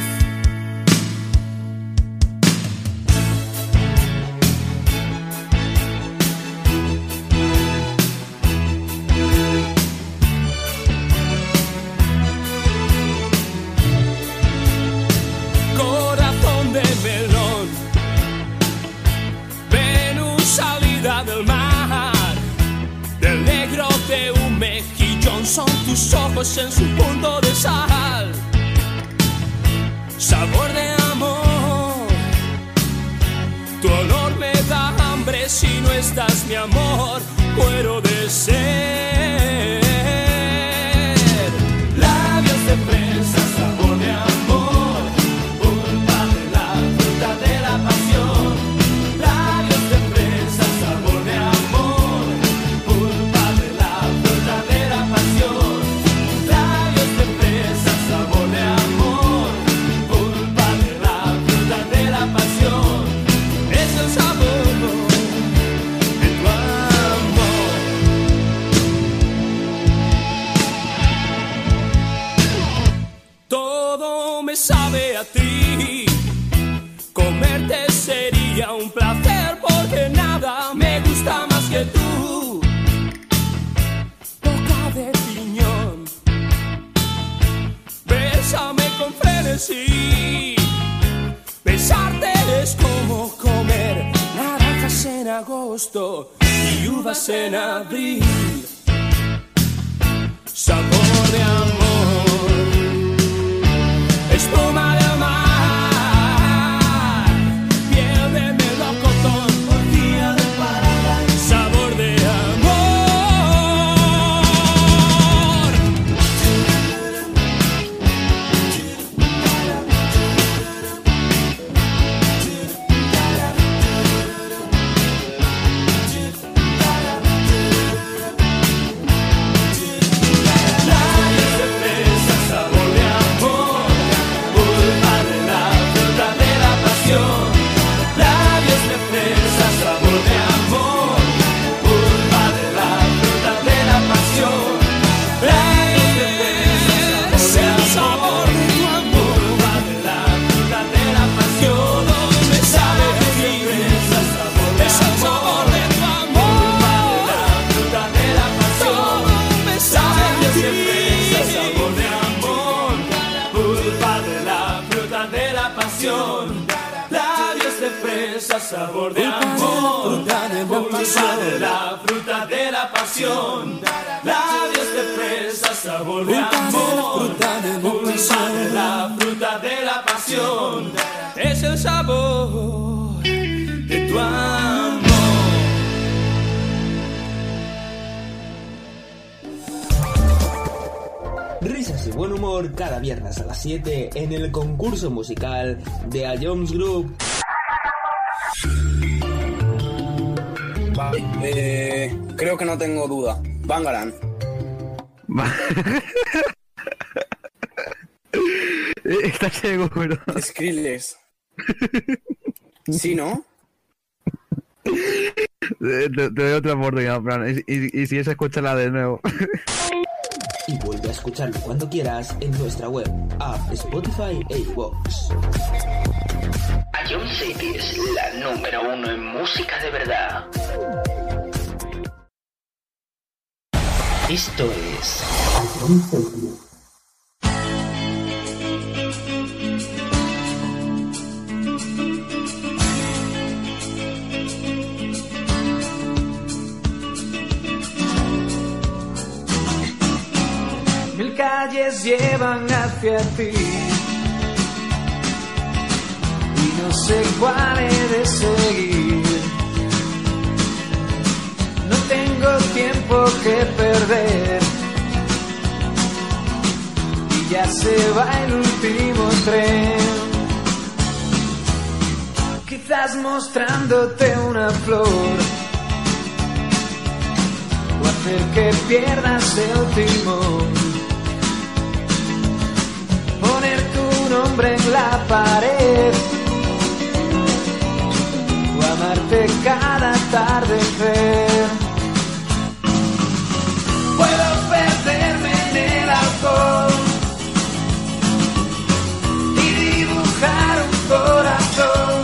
Corazón de melón, Venus salida del mar, del negro de un mejillón son tus ojos en su punto de sal. Sabor de amor, tu olor me da hambre si no estás, mi amor, muero de sed. Labios de fresa, sabor de amor, pulpa de la fruta de la pasión. Labios de fresa, sabor de amor, pulpa de la fruta de la pasión. agosto y uvas en abril. Sabor de amor, espuma del mar, piel de melocotón, día de parada. Sabor de sabor de amor, pulpa de la fruta de la pasión, labios de fresa, sabor de amor, pulpa de la fruta de la pasión, es el sabor de tu amor. Risas y buen humor cada viernes a las 7 en el concurso musical de A Jones Group. Creo que no tengo duda. Bangarang. ¿Estás seguro? Skrillex. ¿Sí, no? Te doy otra oportunidad, Fran. Y si es, escúchala de nuevo. Y vuelve a escucharlo cuando quieras en nuestra web, app, Spotify e iVoox. Ion City es la número 1 en música de verdad. Esto es Ion City. Mil calles llevan hacia ti y no sé cuál he de seguir. No tengo tiempo que perder y ya se va el último tren. Quizás mostrándote una flor o hacer que pierdas el timón. Poner tu nombre en la pared o amarte cada atardecer. Puedo perderme en el alcohol y dibujar un corazón,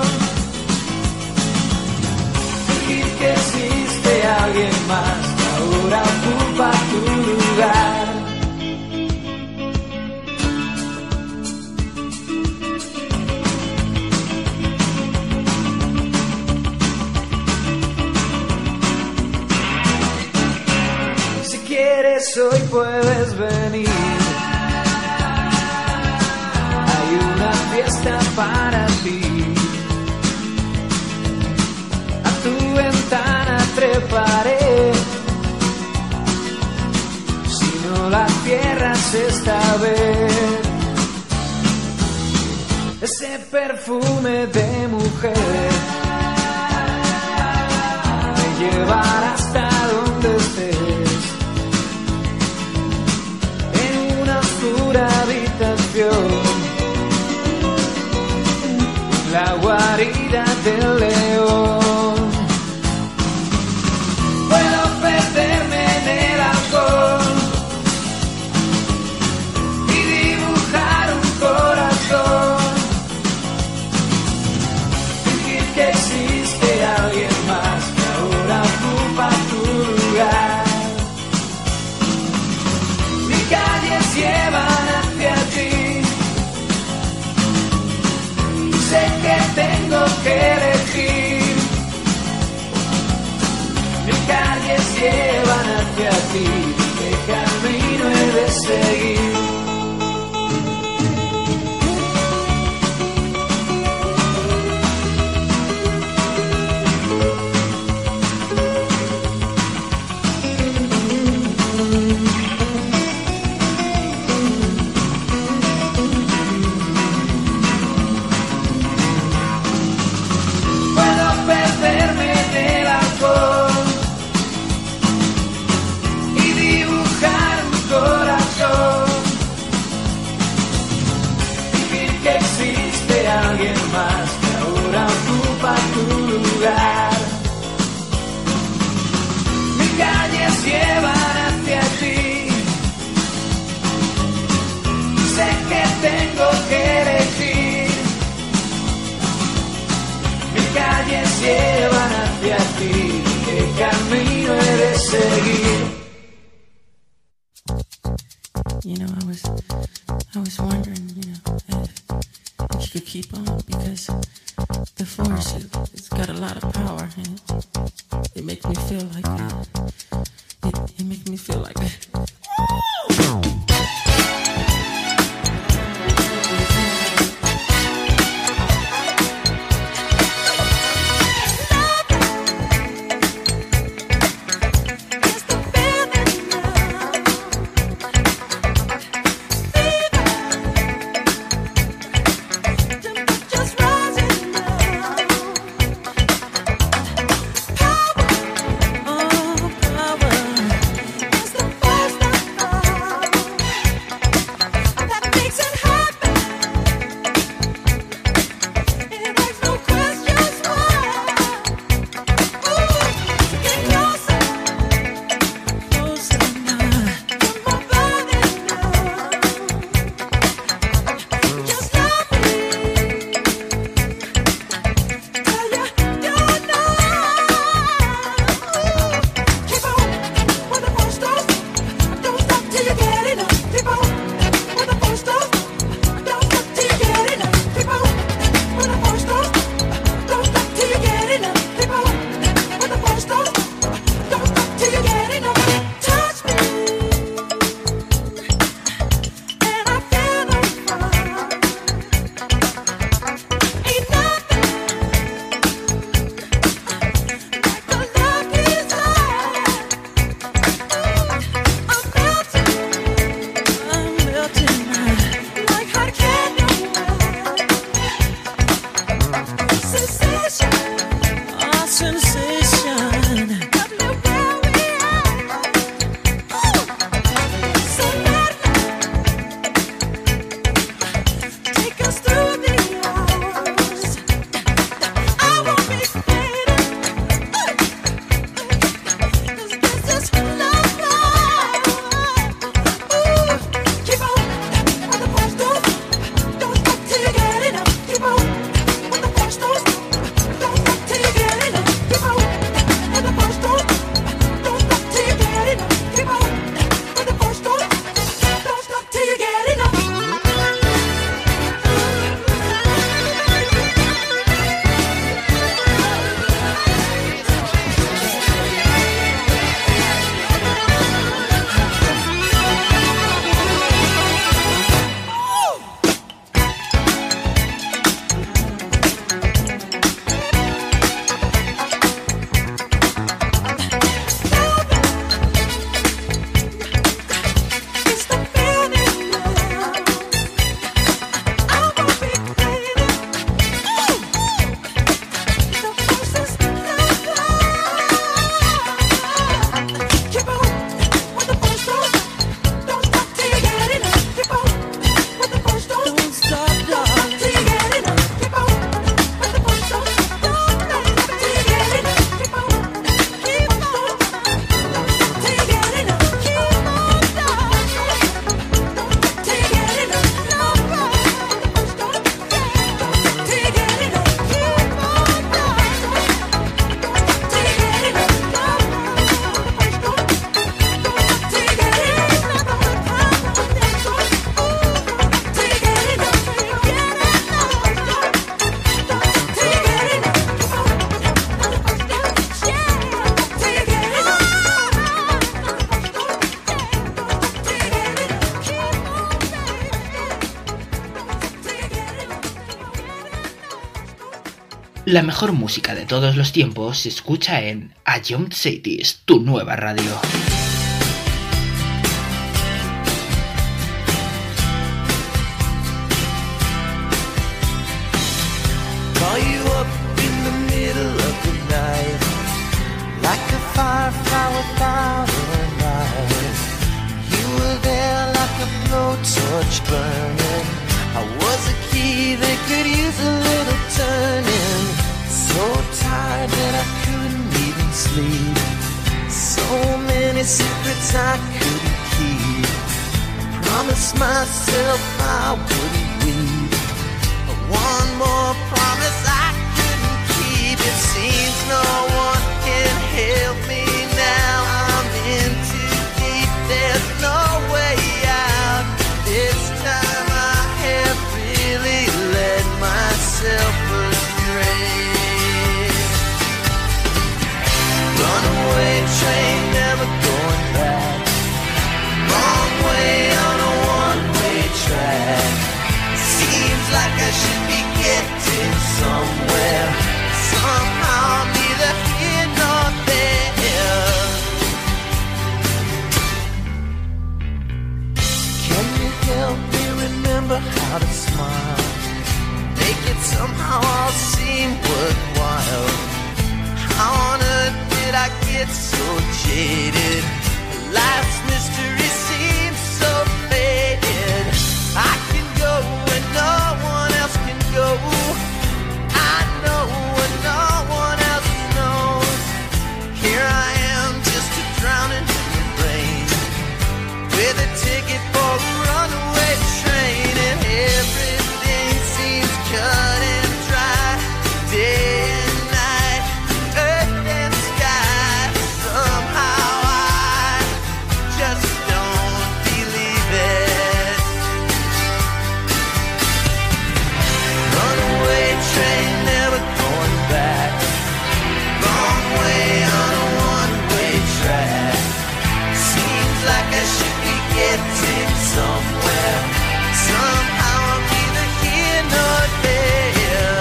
fingir que existe alguien más que ahora ocupa tu lugar. Hoy puedes venir, hay una fiesta para ti. A tu ventana treparé, si no la cierras esta vez. Ese perfume de mujer me llevará hasta donde estés. Habitación, la guarida del león. Puedo perderme en el alcohol y dibujar un corazón, fingir que existe alguien más que ahora ocupa tu you know, I was wondering, you know, if you could keep on, because the force, it's got a lot of power, and it makes me feel like it makes me feel like La mejor música de todos los tiempos se escucha en A Young Cities, tu nueva radio. Secrets I couldn't keep. I promised myself I wouldn't weep. But one more promise I couldn't keep. It seems no one can help me now. I'm in too deep. There's no way out. without a smile. Make it somehow all seem worthwhile. How on earth did I get so jaded? Life's mystery seems so faded. I can go where no one else can go. I know what no one else knows. Here I am, just a drowning in the rain, with a ticket for a runaway train, and everything seems cut and dry. Day and night, earth and sky. Somehow I just don't believe it. Runaway train, never going back. Wrong way on a one-way track. Seems like I should be getting somewhere. Somehow I'm neither here nor there.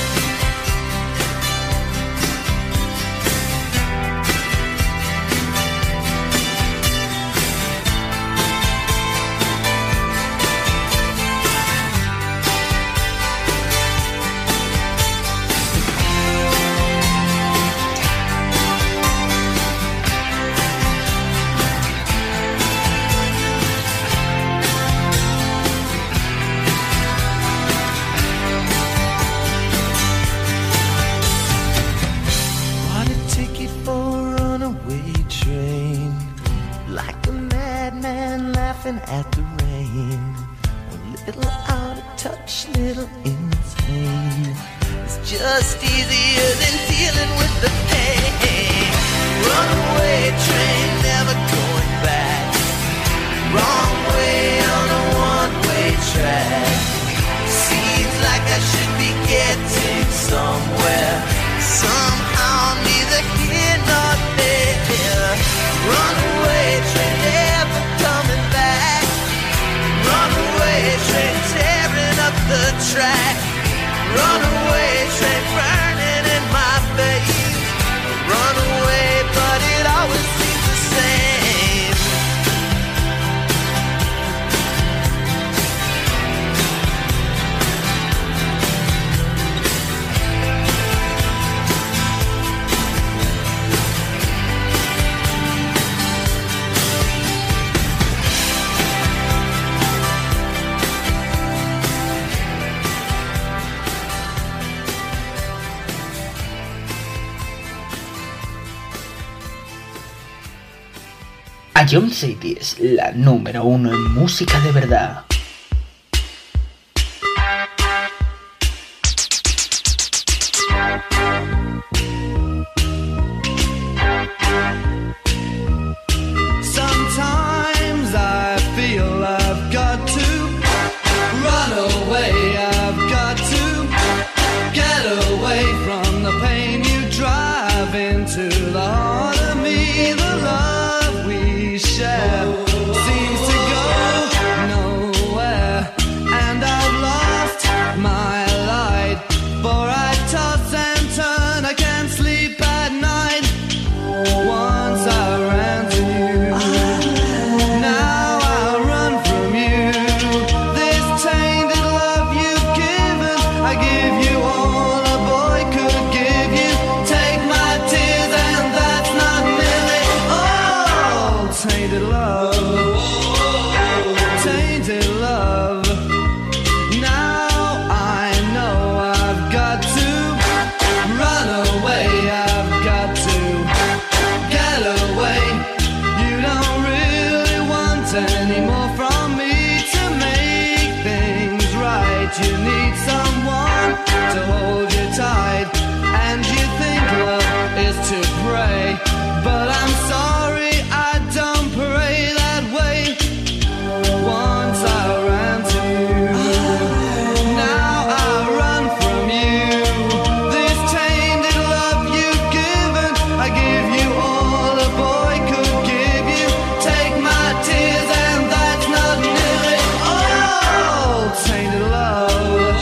Bought a ticket for a runaway train, like a madman laughing at the rain. A little out of touch, little insane. It's just easier than dealing with the pain. Runaway train, never going back. Wrong way on a one-way track. Seems like I should be getting somewhere. Somehow neither here nor there. Runaway train, never coming back. Runaway train, tearing up the track. Runaway train, burning in my face. Runaway, but it always seems the same. Ion City es la número 1 en música de verdad. Sometimes I feel I've got to run away. I've got to get away from the pain you drive into the heart of me. The love we share seems to go nowhere, and I've lost my light, for I toss and turn, I can't sleep at night. Once I ran to you, now I run from you. This tainted love you've given, I give you all a boy could give you. Take my tears and that's not nearly all. Tainted love, tainted love. Now I know I've got to run away. I've got to get away. You don't really want any more from me to make things right. You need someone to hold you tight, and you think love is to pray, but I'm sorry, I don't pray that way. Once I ran to you, now I run from you. This tainted love you've given, I give you all a boy could give you. Take my tears and that's not nearly all. Tainted love,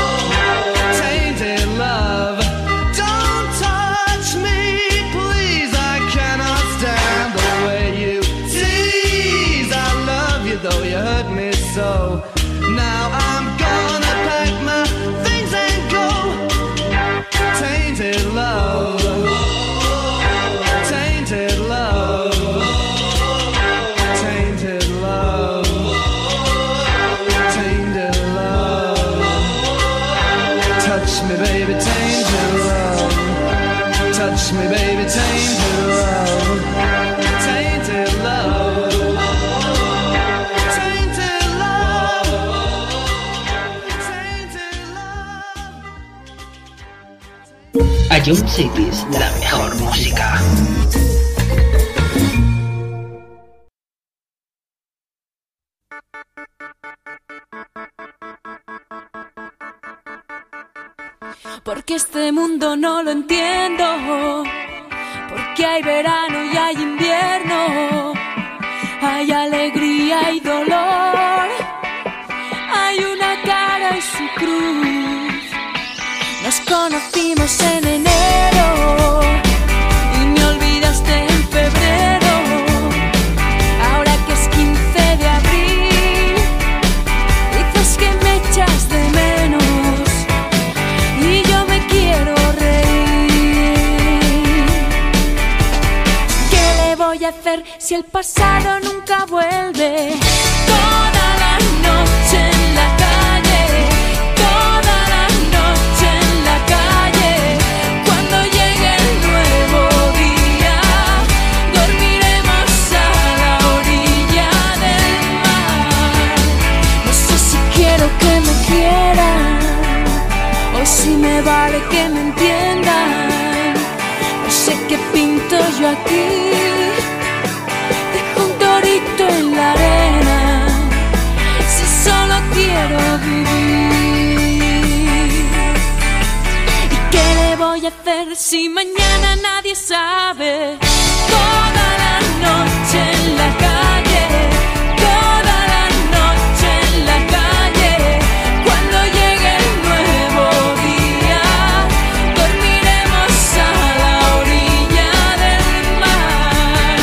tainted love. Don't touch me, please, I cannot stand the way you tease. I love you though you hurt me so. Now I'm gone. Jump Cities, la mejor música. Porque este mundo no lo entiendo, porque hay verano y hay invierno, hay alegría y dolor, hay una cara y su cruz. Nos conocimos en enero y me olvidaste en febrero. Ahora que es 15 de abril, dices que me echas de menos y yo me quiero reír. ¿Qué le voy a hacer si el pasado nunca vuelve? Toda la noche en la calle, toda la noche en la calle. Cuando llegue el nuevo día, dormiremos a la orilla del mar. No sé si quiero que me quieran o si me vale que me entiendan. No sé qué pinto yo aquí, dejo un torito en la arena, si solo quiero vivir. ¿Y qué le voy a hacer si mañana nadie sabe? Toda la noche en la calle, toda la noche en la calle. Cuando llegue el nuevo día, dormiremos a la orilla del mar.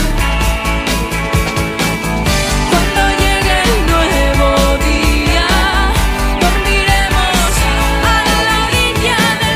Cuando llegue el nuevo día, dormiremos a la orilla del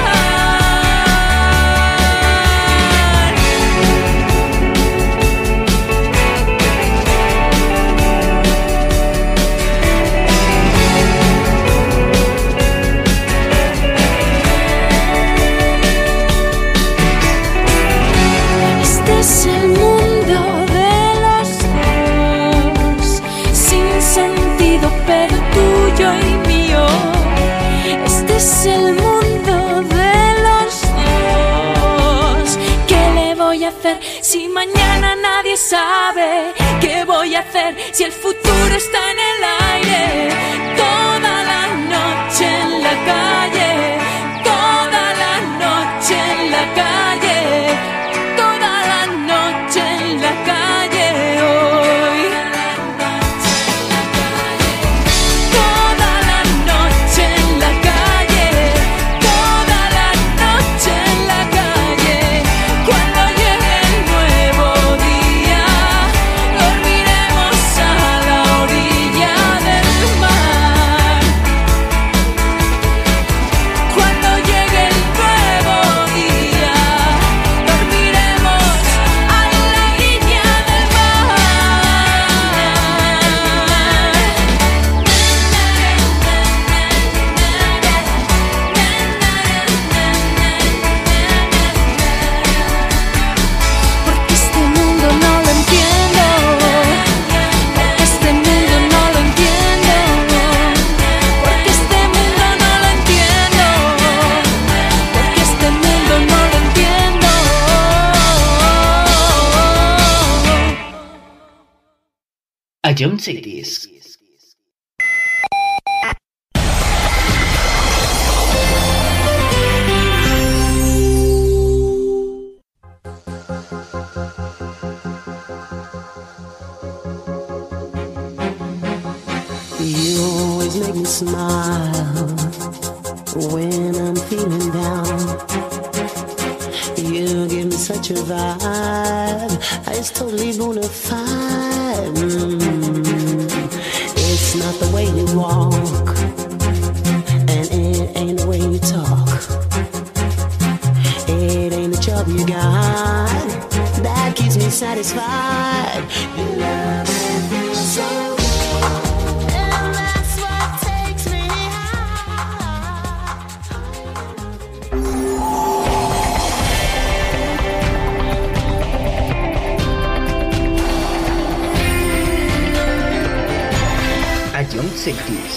Este es el mundo de los dos, sin sentido pero tuyo y mío. Este es el mundo de los dos. ¿Qué le voy a hacer si mañana nadie sabe? ¿Qué voy a hacer si el futuro está en el aire? Toda la noche en la calle, toda la noche en la calle, toda la noche en la calle hoy. Toda la noche en la calle, toda la noche en la calle. Cuando llegue el nuevo día, dormiremos a la orilla del mar. Cuando llegue el nuevo día, dormiremos a la orilla del Porque este mundo no lo entiendo, porque este mundo no lo entiendo, porque este mundo no lo entiendo, porque este mundo no lo entiendo. A Jump Cities. You always make me smile when I'm feeling down. You give me such a vibe, it's totally bona fide. It's not the way you walk, and it ain't the way you talk. It ain't the job you got that keeps me satisfied. You love me so. And that's what takes me A Jump Cities.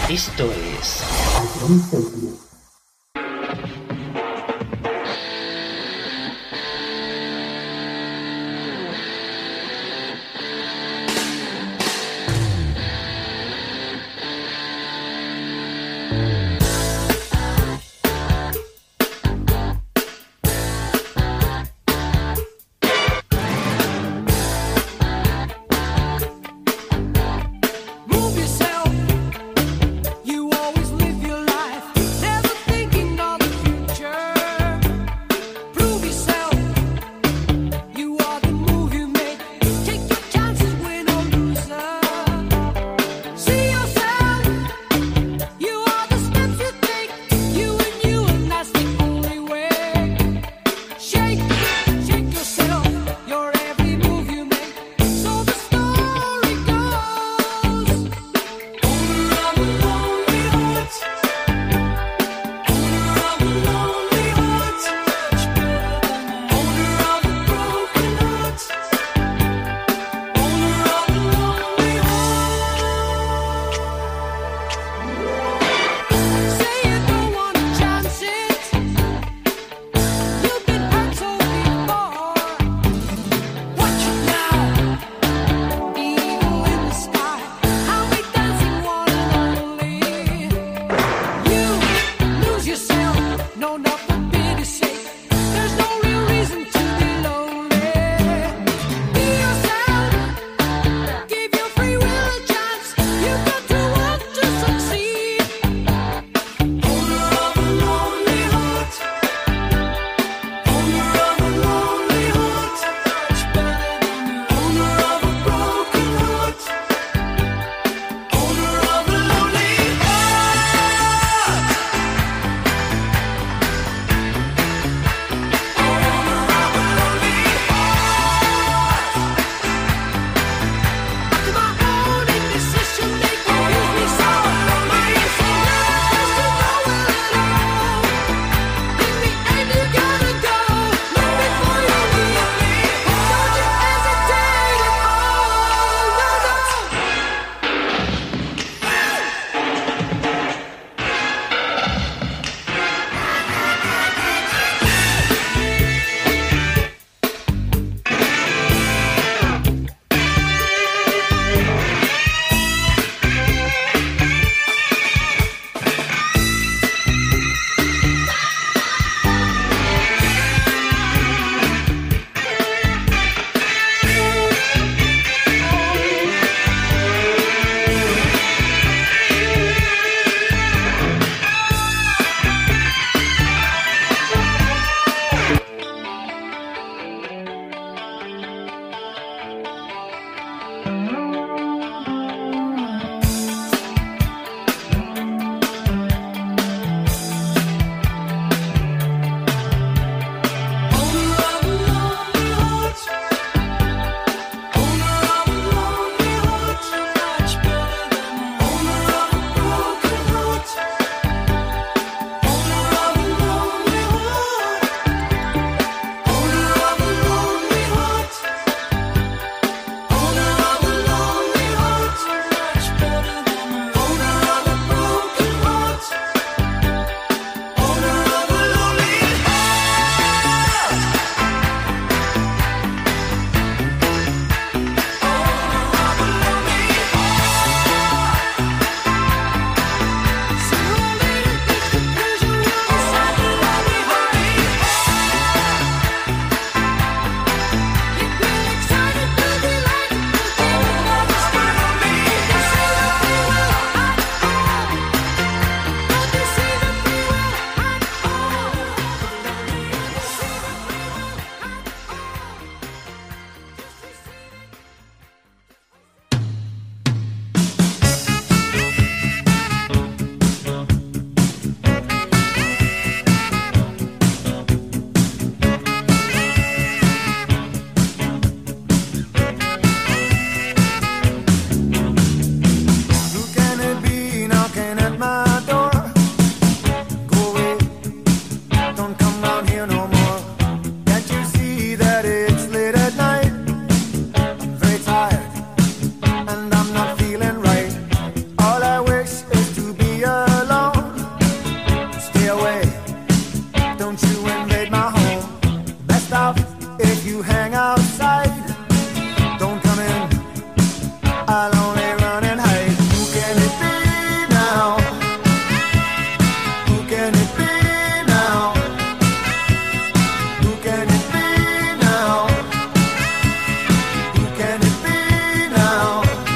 Esto es... And I'm not feeling right. All I wish is to be don't you invade my home. Best off if you hang outside. Don't come in, I'll only run and hide. Who can it be now? Who can it be now? Who can it be now? Who can it be now?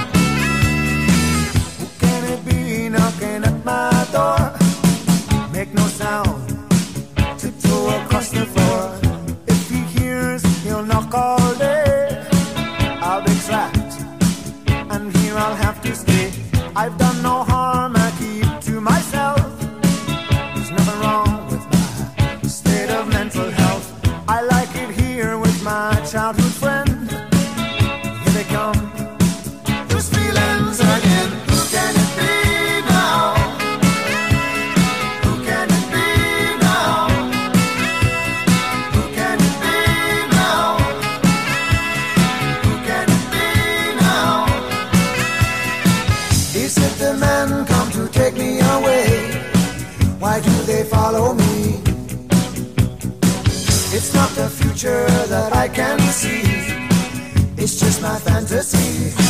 Who can it be knocking at my door? Make no sound, tiptoe across the floor. If he hears, he'll knock all day. I'll be trapped, and here I'll have to stay. I've done no harm, I keep to myself. There's nothing wrong with my state of mental health. I like it here with my childhood friend. Here they come, those feelings again. Who can it be now? Who can it be now? Who can it be now? Who can it be now? Is it the men come to take me away? Why do they follow me? It's not the future that I can see. It's just my fantasy.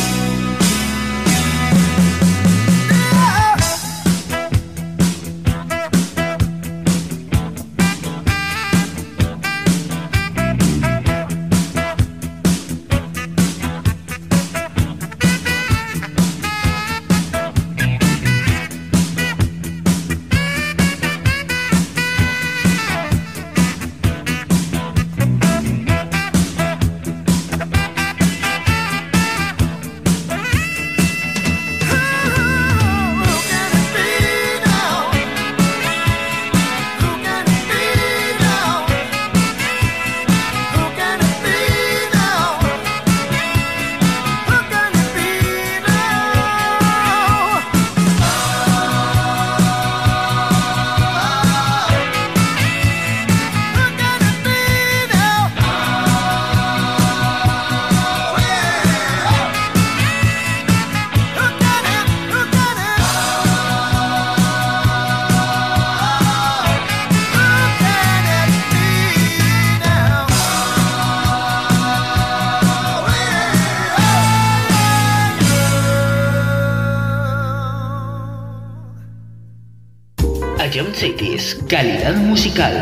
Ion Cities, calidad musical.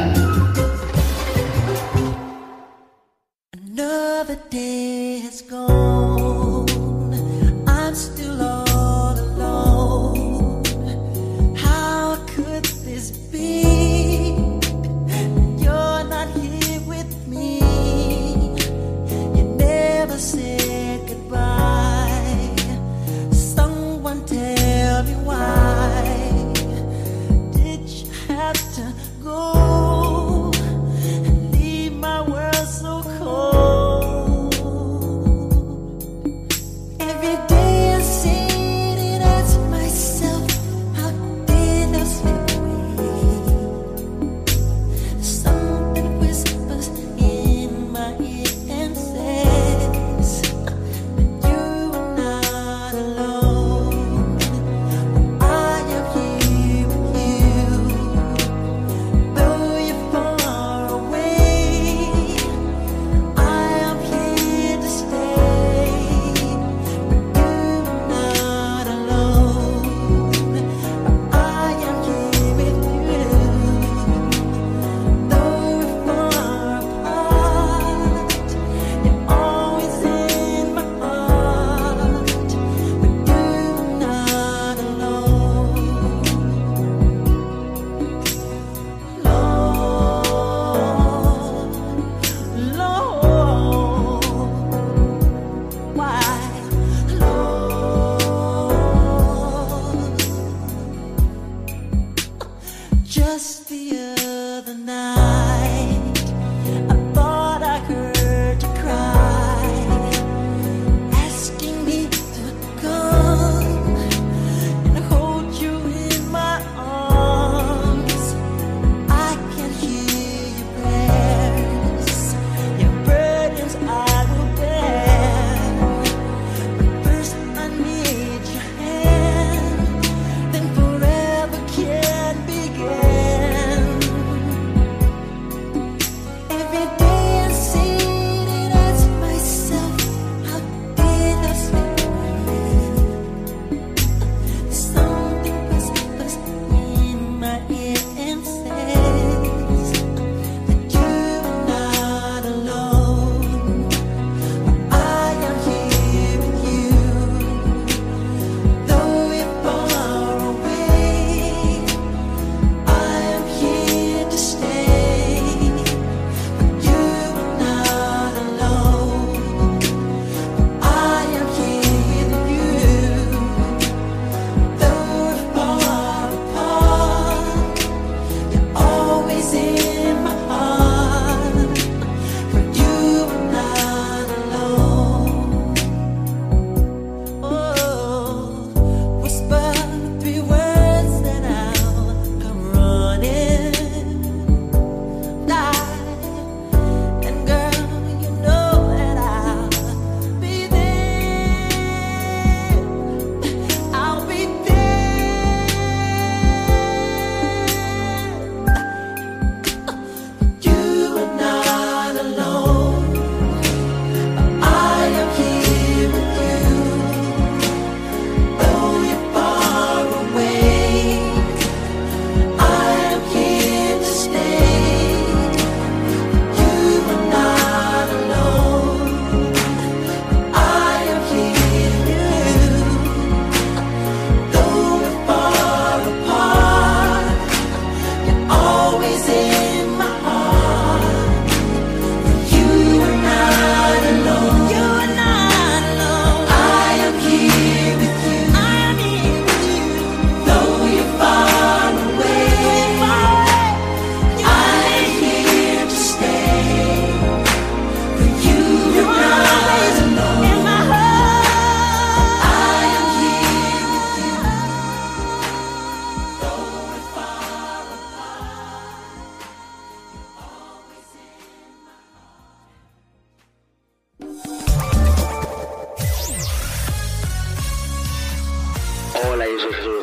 Another day has gone. I'm still all alone. How could this be? You're not here with me. You never said goodbye. Someone tell me why. To go and leave my world so cold.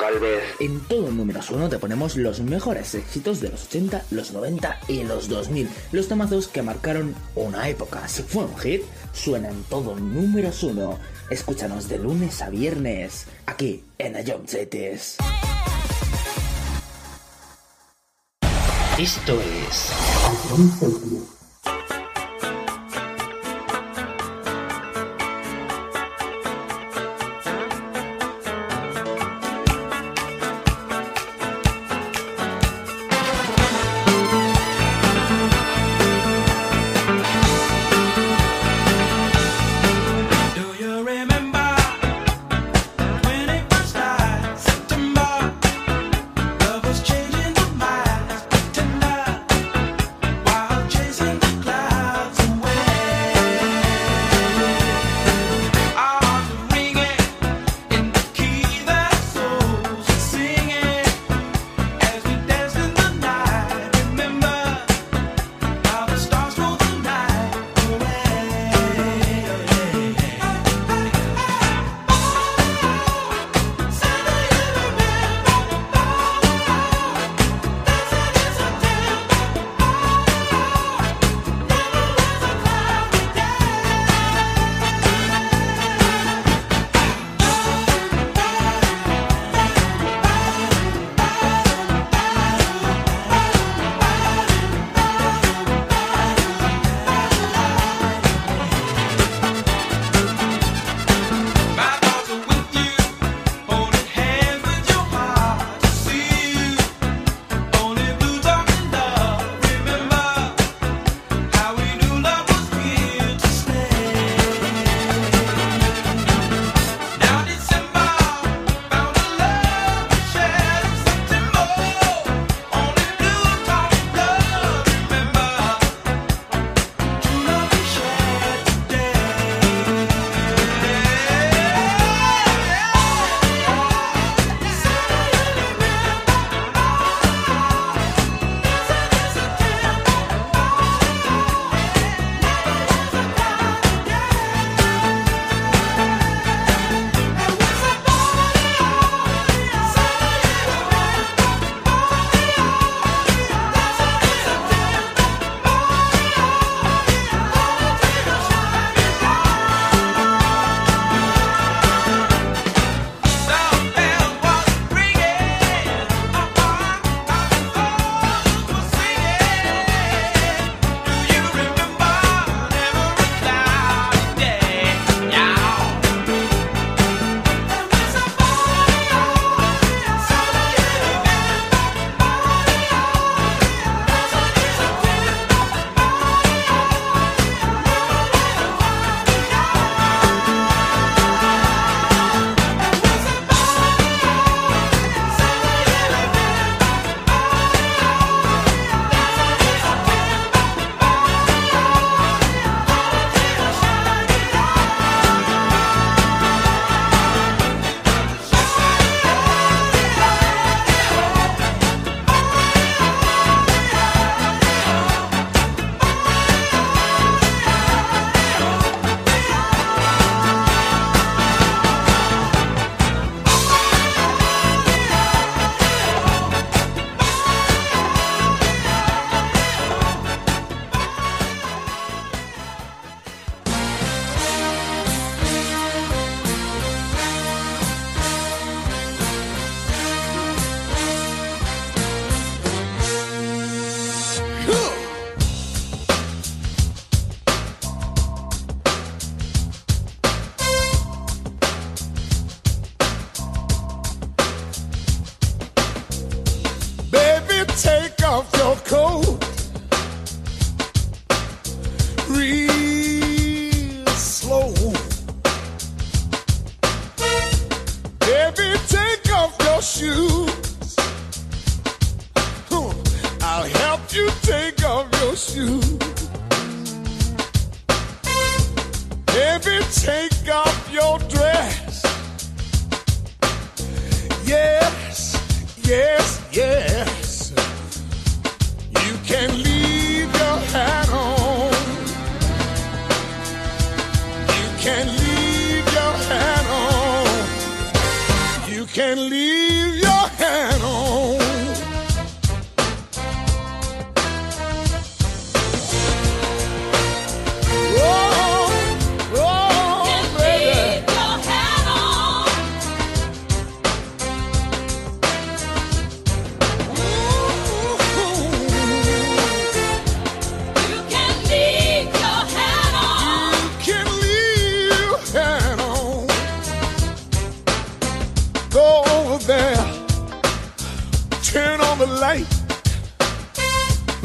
Galvez. En todo Números 1 te ponemos los mejores éxitos de los 80, los 90 y los 2000. Los temazos que marcaron una época. Si fue un hit, suena en todo Números 1. Escúchanos de lunes a viernes, aquí en Ayomchetes. Esto es... Baby, take off your dress. Yes, yes, yes. You can leave your hat on. You can leave your hat on. You can leave your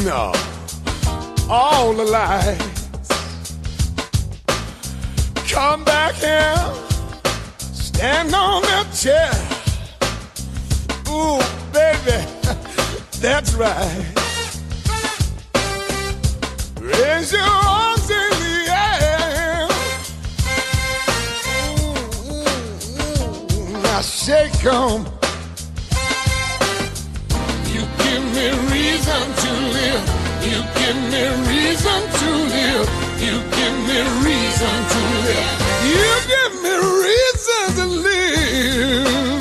No, all the lies. Come back here, stand on the chair. Ooh, baby, that's right. Raise your arms in the air. Now shake 'em. You give me reason to live. You give me reason to live. You give me reason to live. You give me reason to live.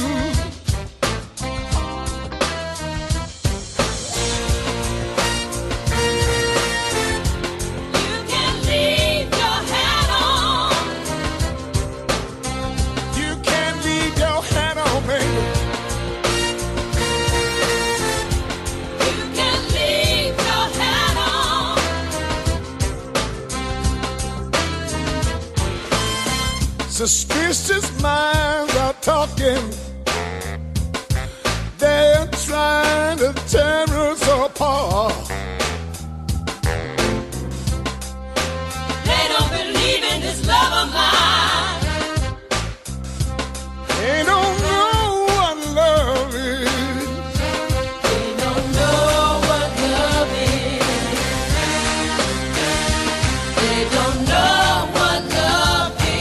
Suspicious minds are talking. They're trying to tear us apart. They don't believe in this love of mine. They don't know what love is. They don't know what love is. They don't know what love is.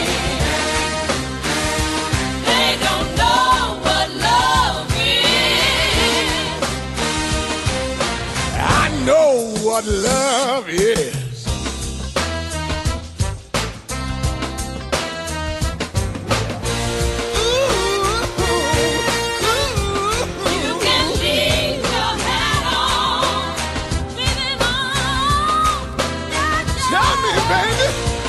What love is. You can leave your hat on, leave it on. Tell me, baby.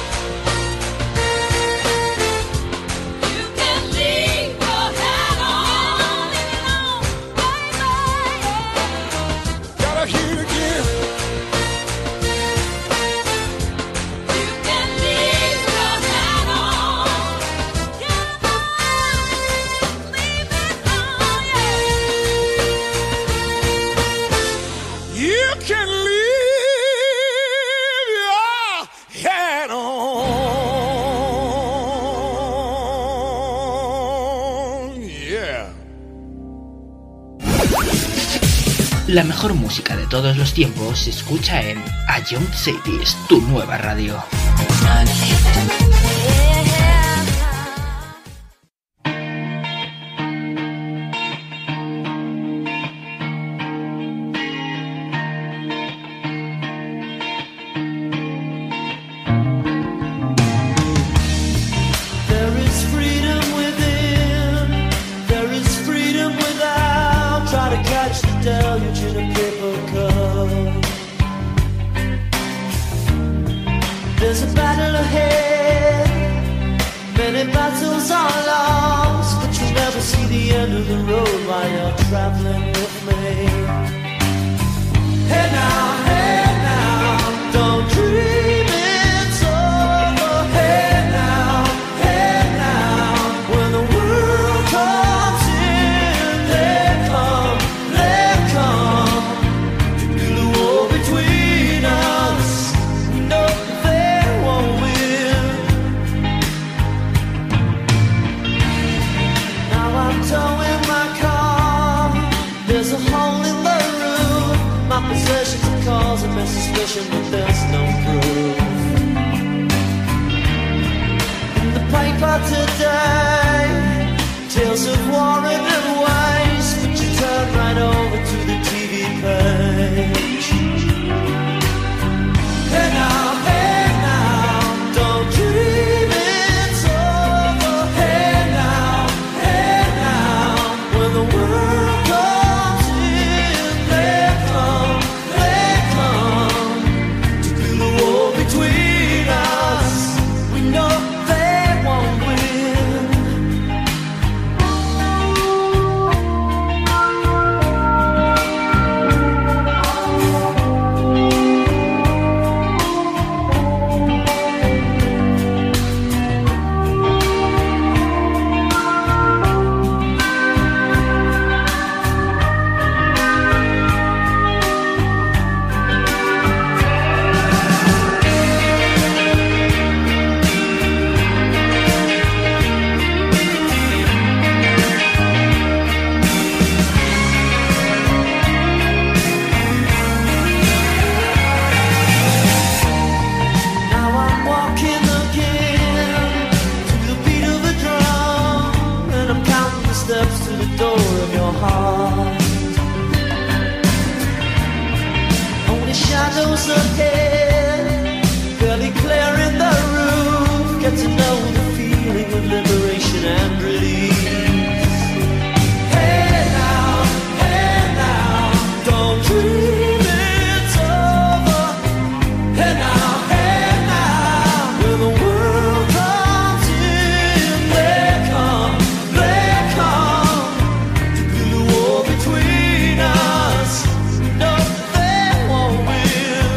You can leave your hat on, leave it on, baby. Gotta hear it again. La mejor música de todos los tiempos se escucha en A Young Cities, tu nueva radio. Deluge in a paper cup. There's a battle ahead. Many battles are lost, but you'll never see the end of the road while you're traveling with me. Hey now, don't dream it's over. Hey now, when the world comes in, they come. Possessions are causing my suspicion, but there's no proof. In the paper today, tales of war and waste, but you turn right over to the TV page. Hey now, don't dream it's over. Hey now, when the world comes in, they come. Between us, we know they won't win. ahead, barely clearing the roof. Get to know the feeling of liberation and release. Hey now, don't dream it's over. Hey now, when the world comes in, they come to build a wall between us. No, they won't win.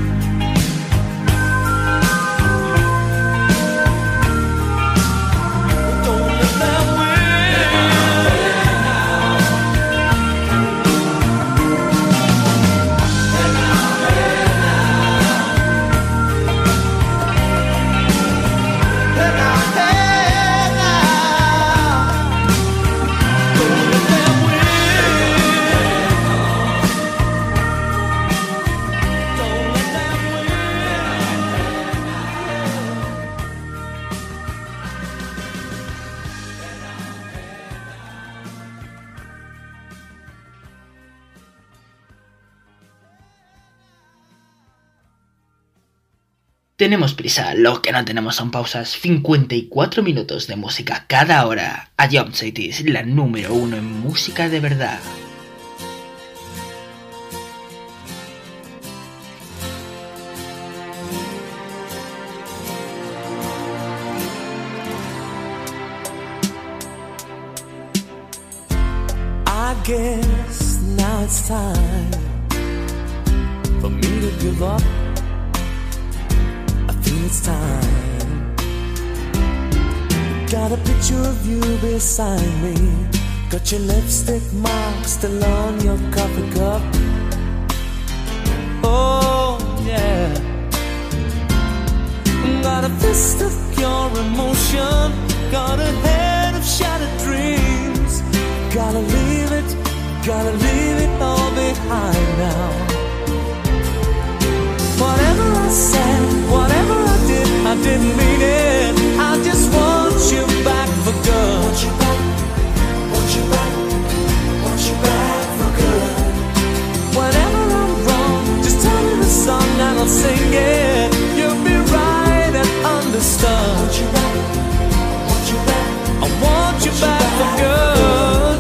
Don't let them win. Hey now, don't let them win. Don't let them Tenemos prisa, lo que no tenemos son pausas. 54 minutos de música cada hora. A Jump City es la número 1 en música de verdad. I guess now it's time for me to give up. I feel it's time. Got a picture of you beside me. Got your lipstick mark still on your coffee cup. Oh yeah. Got a fist of pure emotion. Got a head of shattered dreams. Gotta leave it all behind now. Whatever I said, whatever I didn't mean it. I just want you back for good. Want you back, want you back, want you back for good. Whenever I'm wrong, just tell me the song and I'll sing it. You'll be right and understood. Want you back, want you back, I want you back for good.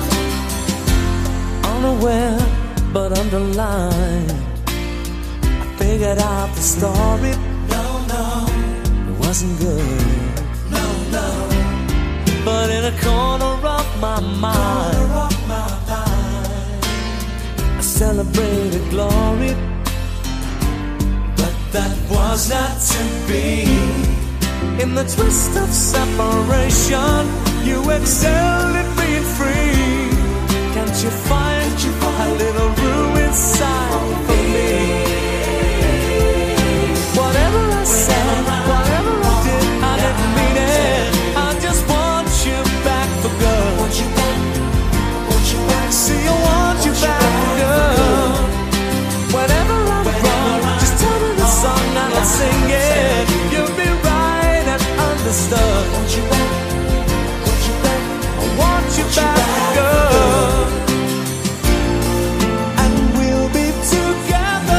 Unaware but underlined, I figured out the story. No, it wasn't good. No, but in a corner of my mind, I celebrated glory. But that was not to be. In the twist of separation, you excelled at being free. Can't you find a little room inside for me? Whatever I said, whatever I didn't mean it. I just want you back for good. Want you back, want you back. See, I want you back for good. Whenever I'm wrong, just tell me the song and I'll sing it. You'll be right and understood. Want you back, want you back. I want you back for good. And we'll be together.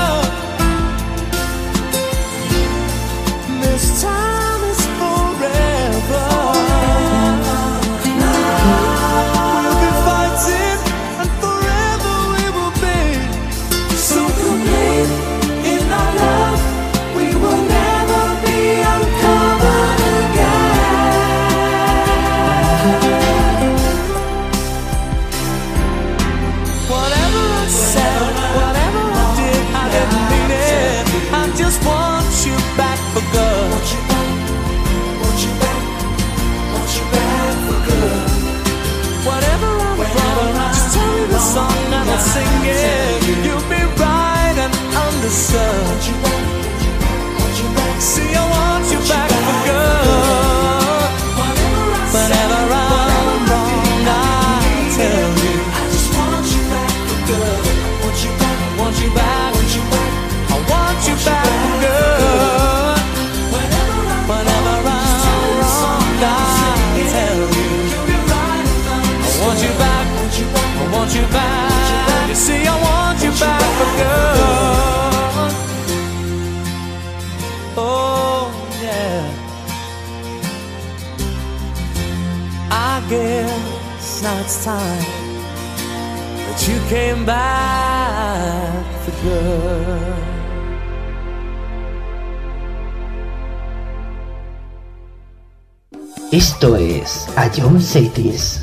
This time is forever. We'll be fighting and forever we will be. So complete in our love, we will never be uncovered again. Whatever I said, whatever I didn't mean it. I just want you back for good. Want you back, want you back, want you back for good. Whatever I'm wrong, just tell me the song and I'll sing it. You'll be right and understood. Want you back, want you back. See, I want you back for good. Whenever I'm wrong, I tell you. I just want you back for good. Want you back, want you back, want you back. I want you back for good. Whenever I'm wrong, I tell you. I want you back, I want you back. You see, I want you back for good. now it's time that you came back for good. Esto es A Young Cities.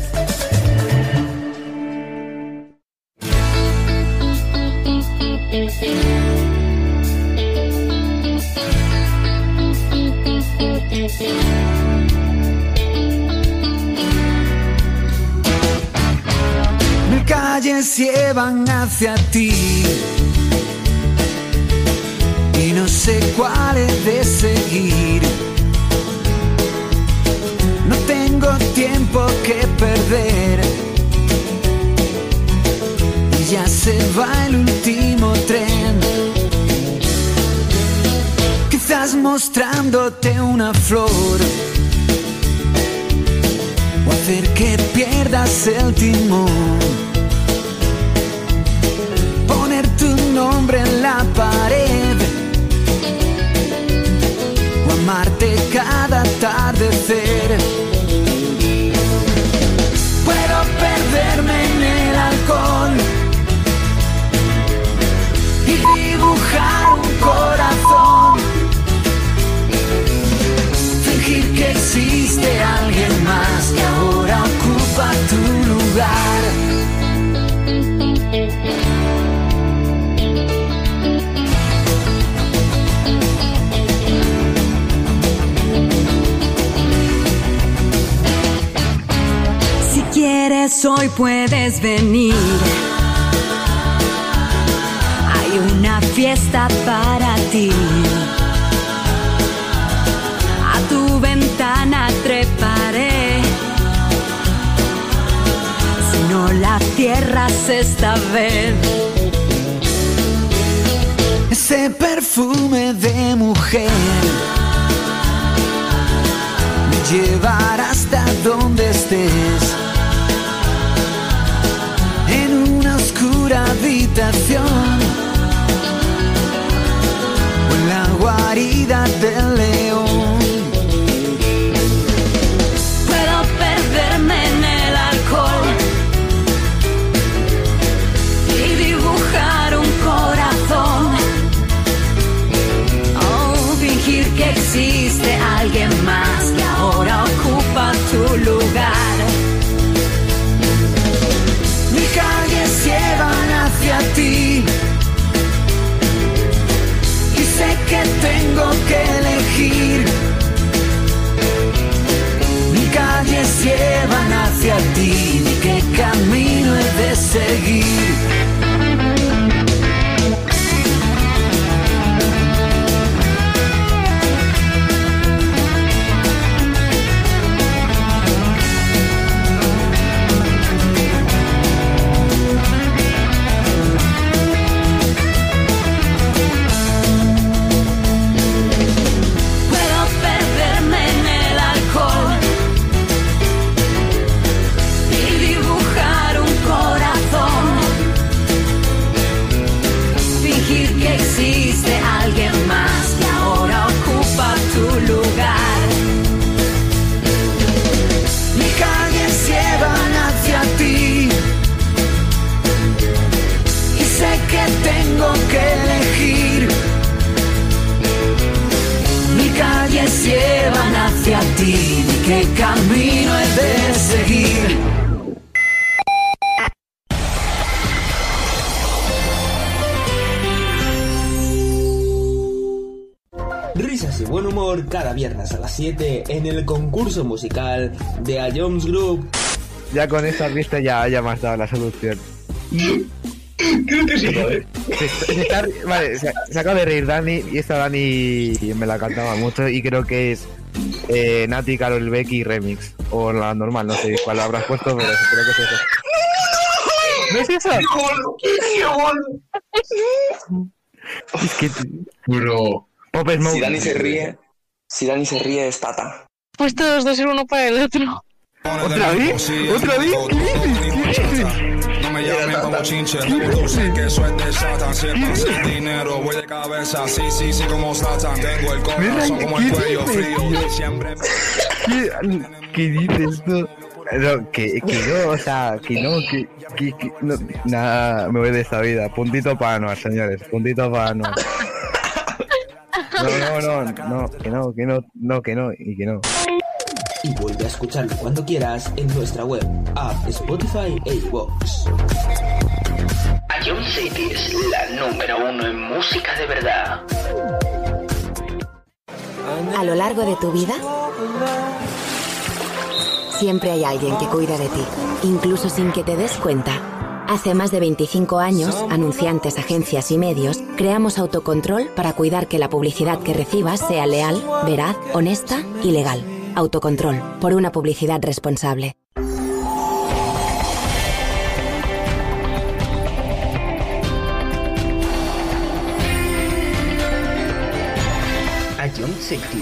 Mil calles llevan hacia ti y no sé cuál he de seguir. No tengo tiempo que perder y ya se va el último tren. Quizás mostrándote una flor o hacer que pierdas el timón. Poner tu nombre en la pared o amarte cada atardecer. Puedo perderme en el alcohol y dibujar un corazón, fingir que existe alguien más que ahora ocupa tu lugar. Si quieres hoy puedes venir. Hay una fiesta para ti. A tu ventana treparé. Si no la cierras esta vez. Ese perfume de mujer me llevará hasta donde estés. En una oscura habitación o en la guarida del león. Puedo perderme en el alcohol y dibujar un corazón. Oh, fingir que existe alguien más que ahora ocupa tu lugar. Mis calles llevan hacia ti y sé que tengo que elegir. Mis calles llevan hacia ti, ¿y qué camino he de seguir? Tengo que elegir. Mis calles llevan hacia ti, ¿qué camino he de seguir? Risas y buen humor cada viernes a las 7 en el concurso musical de A Jones Group. Ya con esta pista ya me has dado la solución. Creo que sí, ¿vale? Vale, se acaba de reír Dani, y esta Dani me la cantaba mucho y creo que es Nati, Karol Becky remix. O la normal, no sé cuál habrás puesto, pero creo que es eso. ¿No es eso? Es que... Bro. Pop Smoke. Si Dani se ríe es Tata. Pues todos dos ser uno para el otro. ¿Otra vez? ¿Otra vez? ¿Qué dices? No me llamen como chinche, tú sé que eso es de Satan. Siempre sin dinero, voy de cabeza, sí, como Satan. Tengo el corazón como el cuello frío. Siempre. ¿Qué dices tú? No, que no, o sea, que no, no, nada, me voy de esta vida. Puntito para Anuar, señores, puntito para Anuar. No, que no, y que no. Y vuelve a escucharlo cuando quieras en nuestra web, app, Spotify e iVoox. Ion City es la número 1 en música de verdad. A lo largo de tu vida, siempre hay alguien que cuida de ti, incluso sin que te des cuenta. Hace más de 25 años, anunciantes, agencias y medios, creamos Autocontrol para cuidar que la publicidad que recibas sea leal, veraz, honesta y legal. Autocontrol, por una publicidad responsable. Ion City.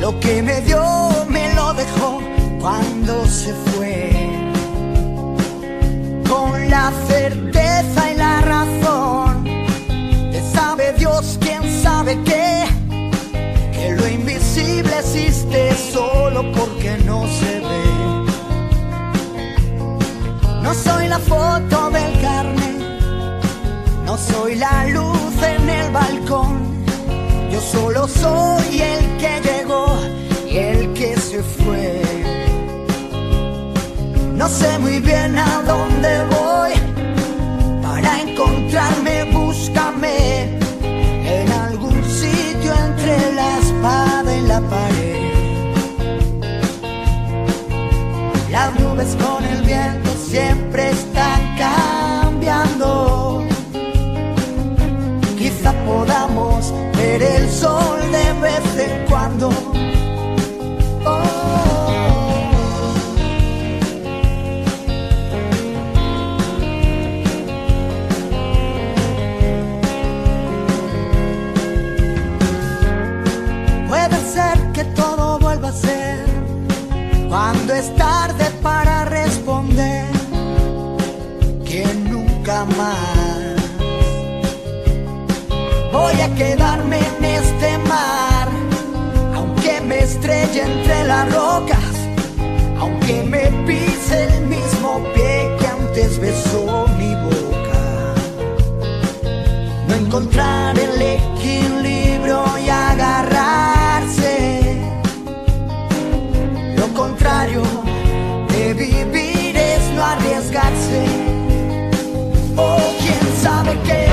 Lo que me dio me lo dejó cuando se fue. Con la certeza y la razón de sabe Dios quién sabe qué, que lo invisible existe solo porque no se ve. No soy la foto del carnet, no soy la luz en el balcón. Yo solo soy el que llegó y el que se fue. No sé muy bien a dónde voy, para encontrarme búscame en algún sitio entre la espada y la pared. Las nubes con el viento siempre están cambiando. Quizá podamos ver el sol de vez en cuando. Puede ser que todo vuelva a ser cuando es tarde para responder que nunca más voy a quedarme en este mar, aunque me estrelle entre las rocas, aunque me pise el mismo pie que antes besó mi boca. No encontrar el equilibrio y agarrarse. Lo contrario de vivir es no arriesgarse. O quién sabe qué.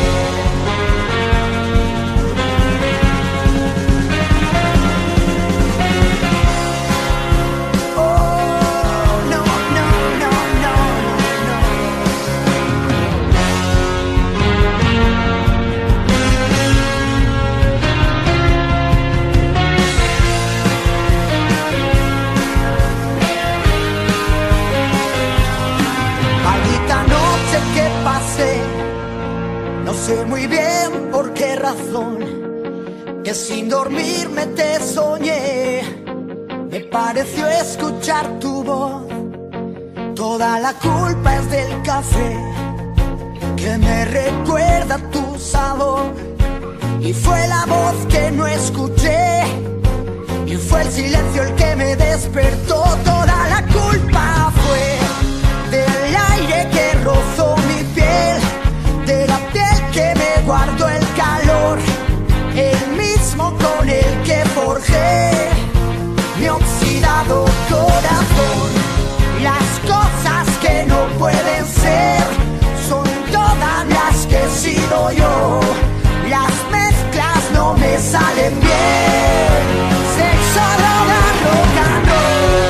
No sé muy bien por qué razón, que sin dormirme te soñé. Me pareció escuchar tu voz. Toda la culpa es del café, que me recuerda tu sabor. Y fue la voz que no escuché, y fue el silencio el que me despertó. Toda la culpa fue del aire que rozó mi piel, de la piel que me guardó el calor, el mismo con el que forjé mi oxidado corazón. Las cosas que no pueden ser son todas las que he sido yo. Las mezclas no me salen bien. Sexo, droga, rock and roll.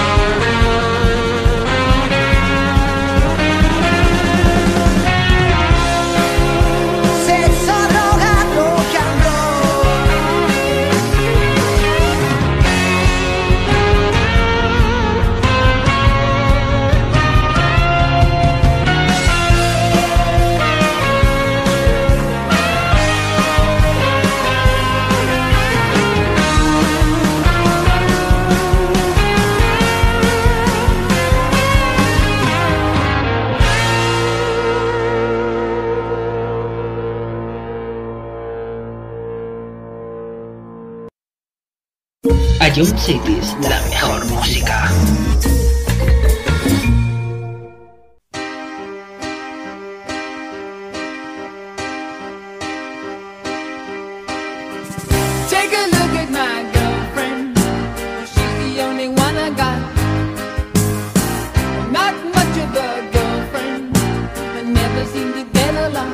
Ion Cities, la mejor música. Take a look at my girlfriend. She's the only one I got. Not much of a girlfriend, but never seem to get along.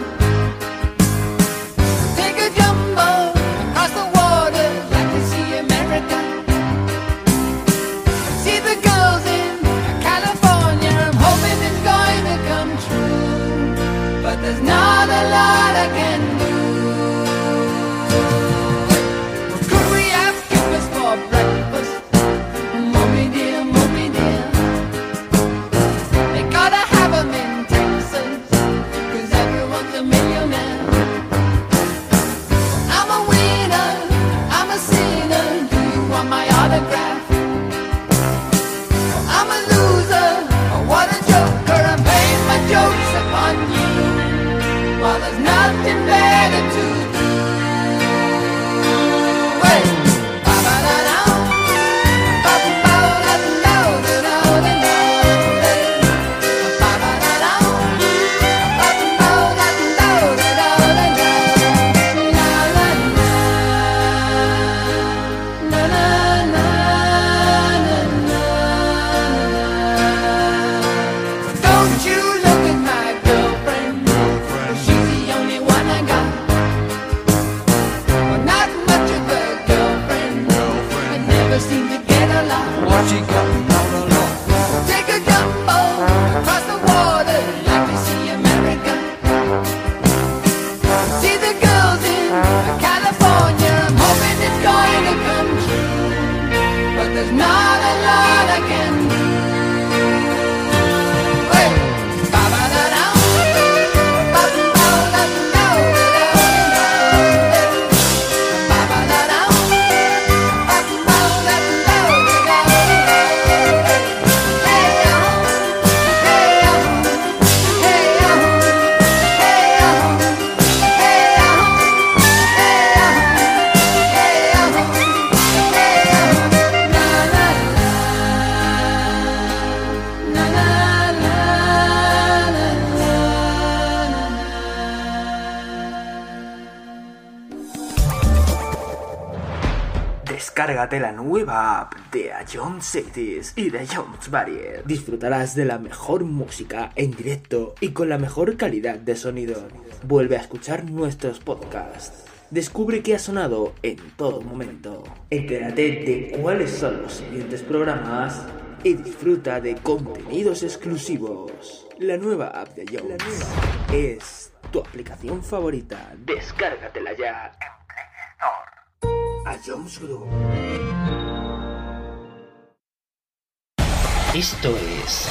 Take a jumbo across the water, like to see America. See the girls in Descárgate la nueva app de Ion Cities y de Jones Barrier. Disfrutarás de la mejor música en directo y con la mejor calidad de sonido. Vuelve a escuchar nuestros podcasts. Descubre qué ha sonado en todo momento. Entérate de cuáles son los siguientes programas y disfruta de contenidos exclusivos. La nueva app de Jones es tu aplicación favorita. Descárgatela ya en Play Store. A Jones Group. Esto es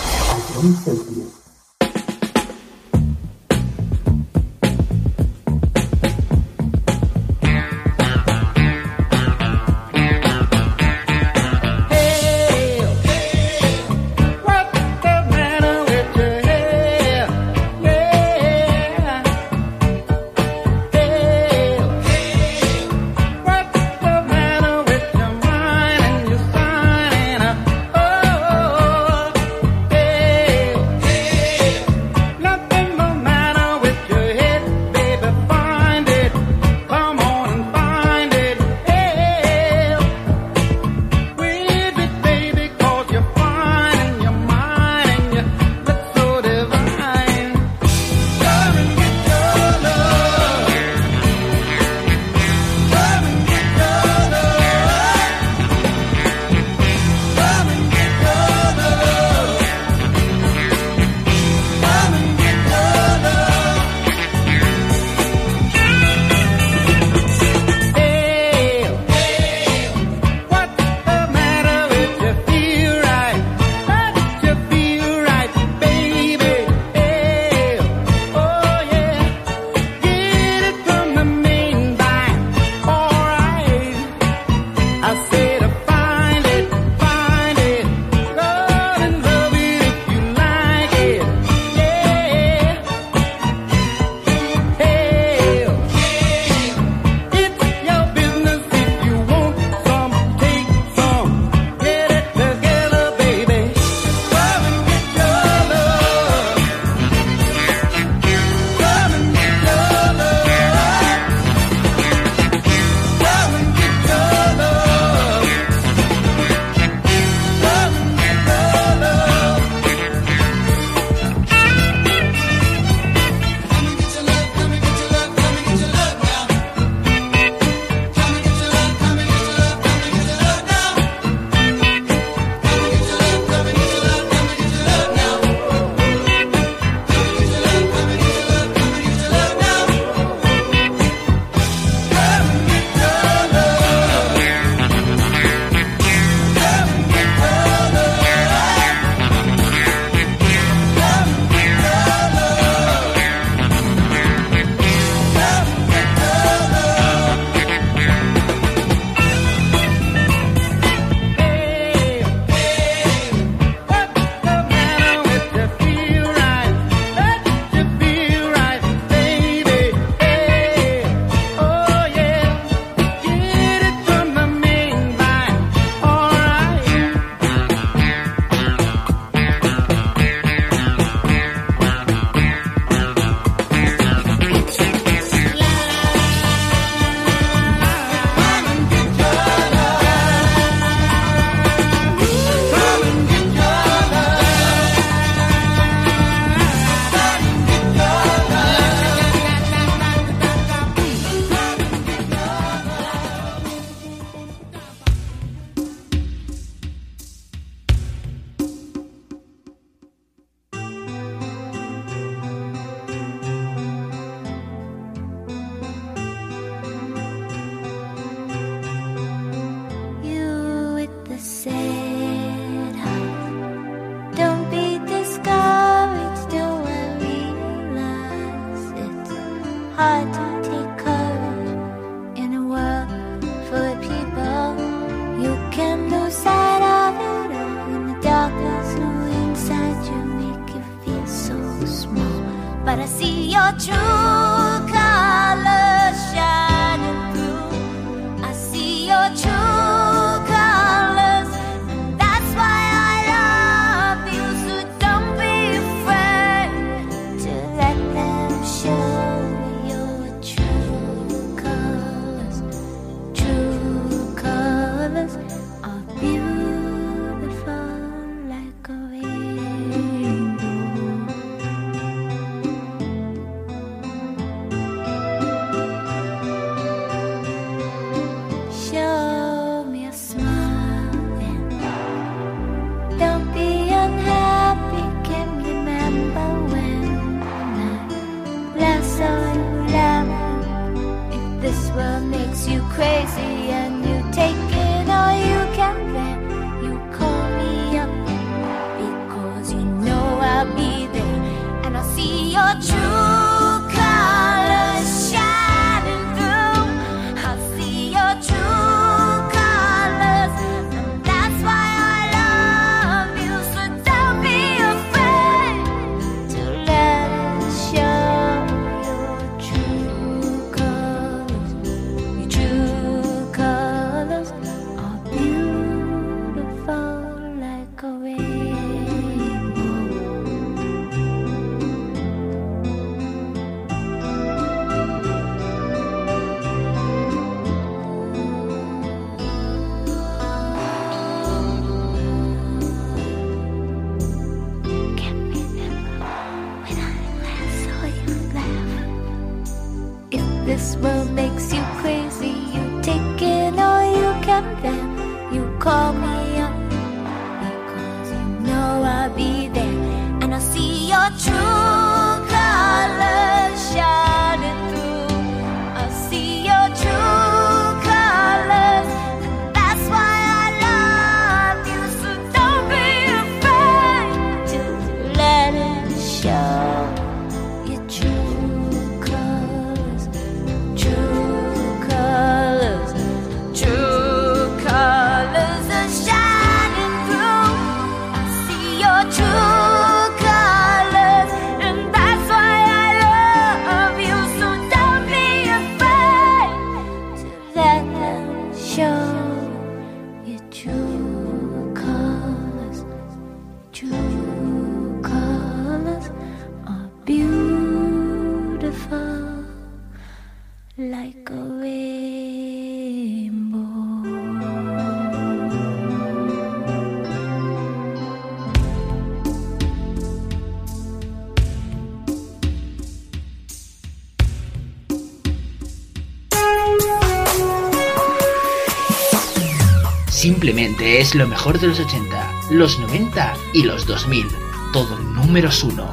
but I see your true colors shining through. I see your true colors, and that's why I love you. So don't be afraid to let them show your true colors, true colors. crazy. You take it or you can bear. You call me up because you know I'll be there, and I'll see your true colors shining through. I'll see your true colors, and that's why I love you. So don't be afraid to let it show. Your true colors, true colors, true colors are shining through. I see your true colors, and that's why I love you. So don't be afraid to let them show. Your true colors, true colors are beautiful like a rainbow. Simplemente es lo mejor de los 80, los 90 y los 2000. Todo números 1.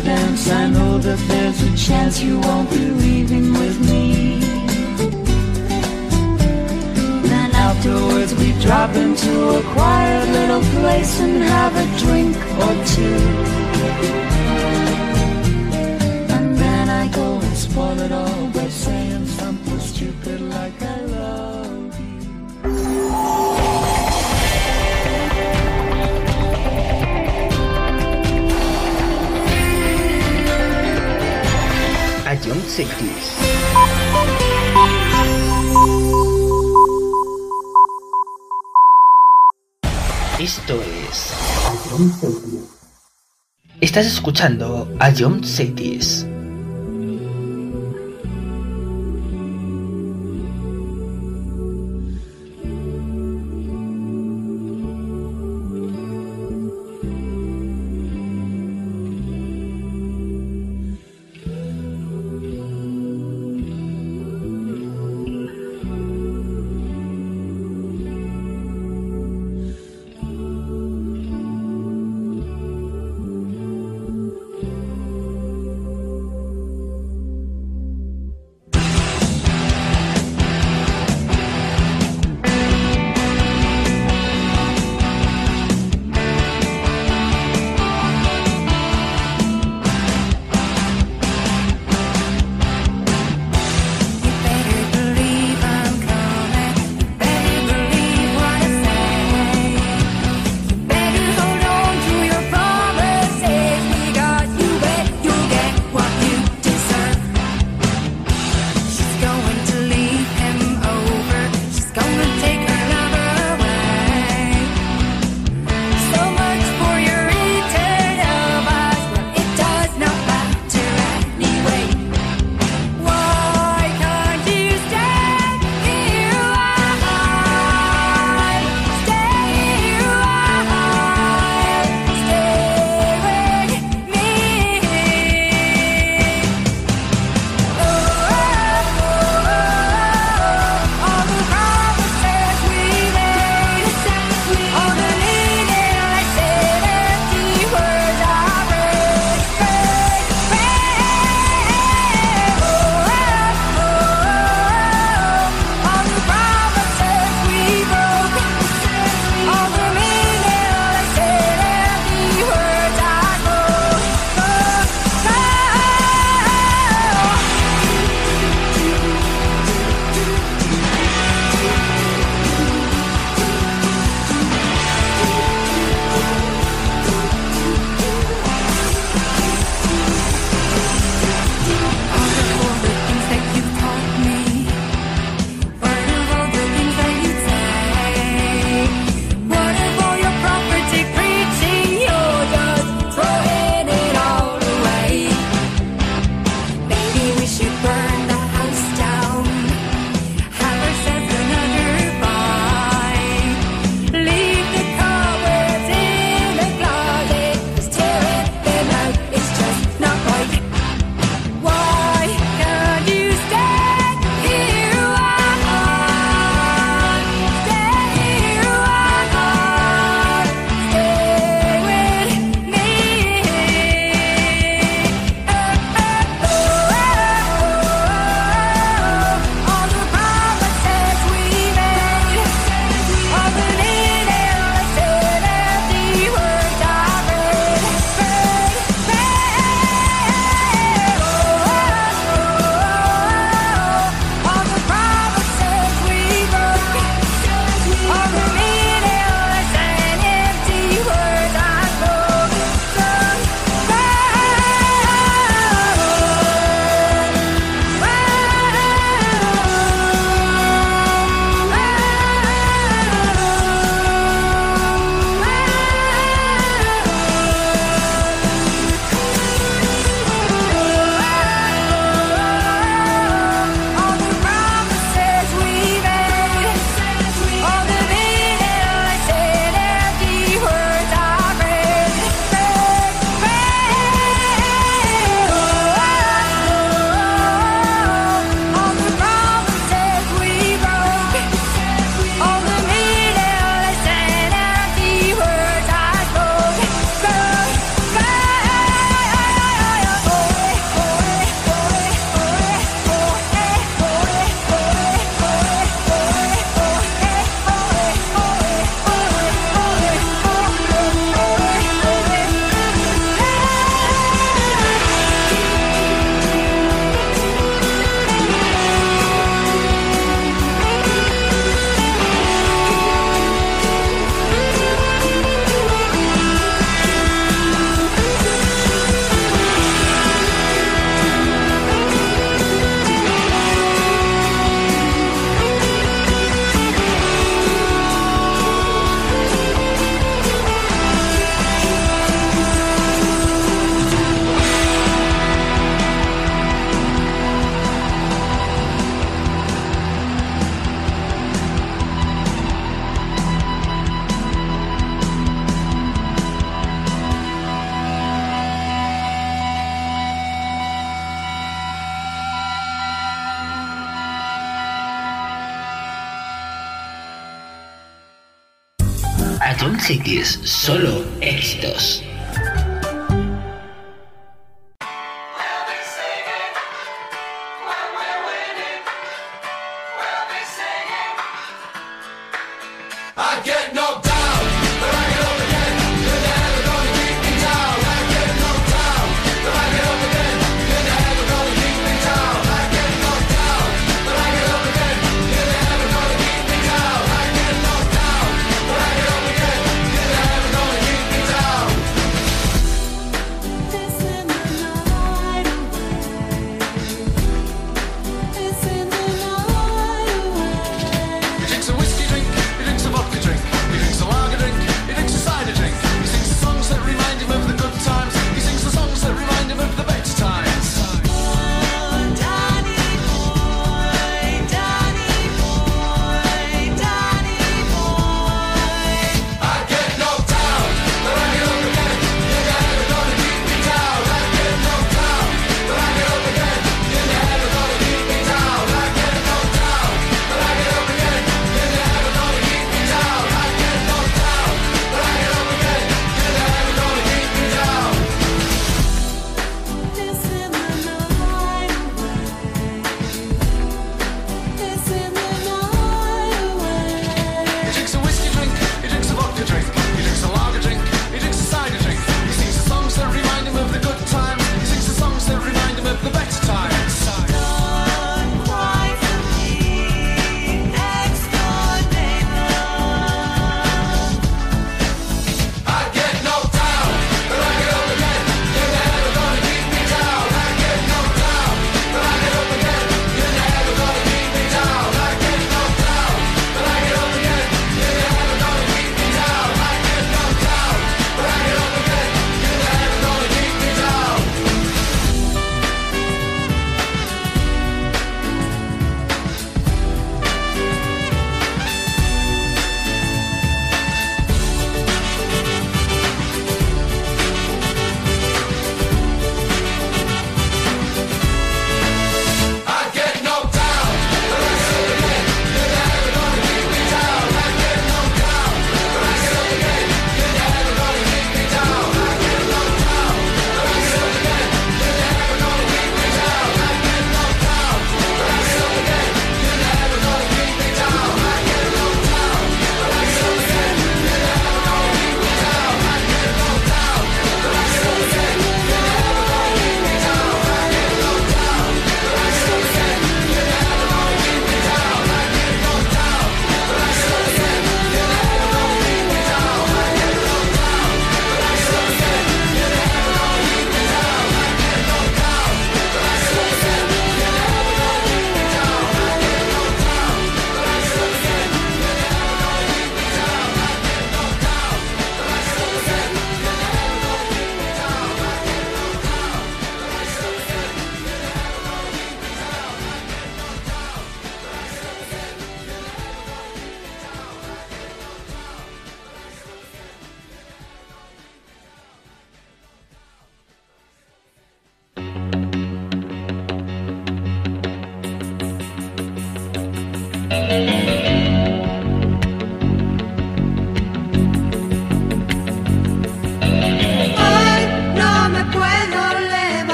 dance. I know that there's a chance you won't be leaving with me. Then afterwards we drop into a quiet little place and have a drink or two. And then I go and spoil it all by saying something stupid like I love you. A Young Cities. Esto es A Young Cities. Estás escuchando A Young Cities. Atom Cities, solo éxitos.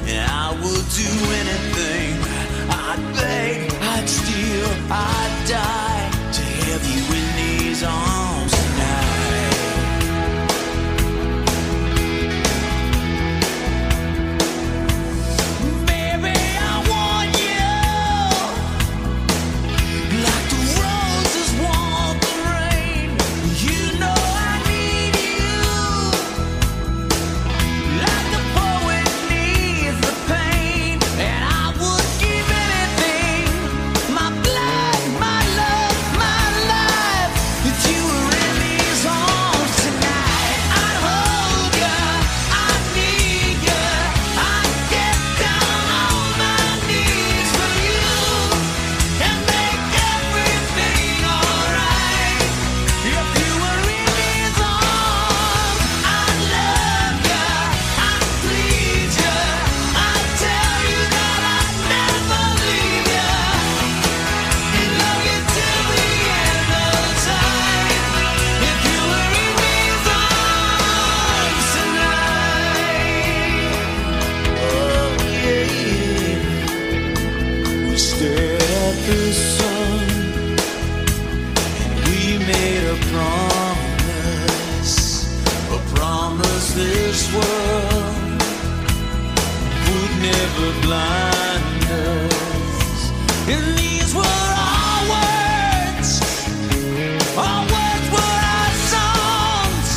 and I would do anything. I'd beg, I'd steal, I'd die to have you in these arms tonight. Baby, I want you like the roses want the rain. You know I need you like the poet needs the pain, and I would give anything, my blood, my love, my life, if you were in these arms tonight. I'd hold you, I'd need you, I'd get down on my knees for you and make everything alright. If you were in these arms, I'd love you, I'd please you, I'd tell you that I'd never leave you and love you till the end of time. If you were in these arms tonight, oh yeah, we stared at the sun and we made a promise this world would never blind us. And these were our words were our songs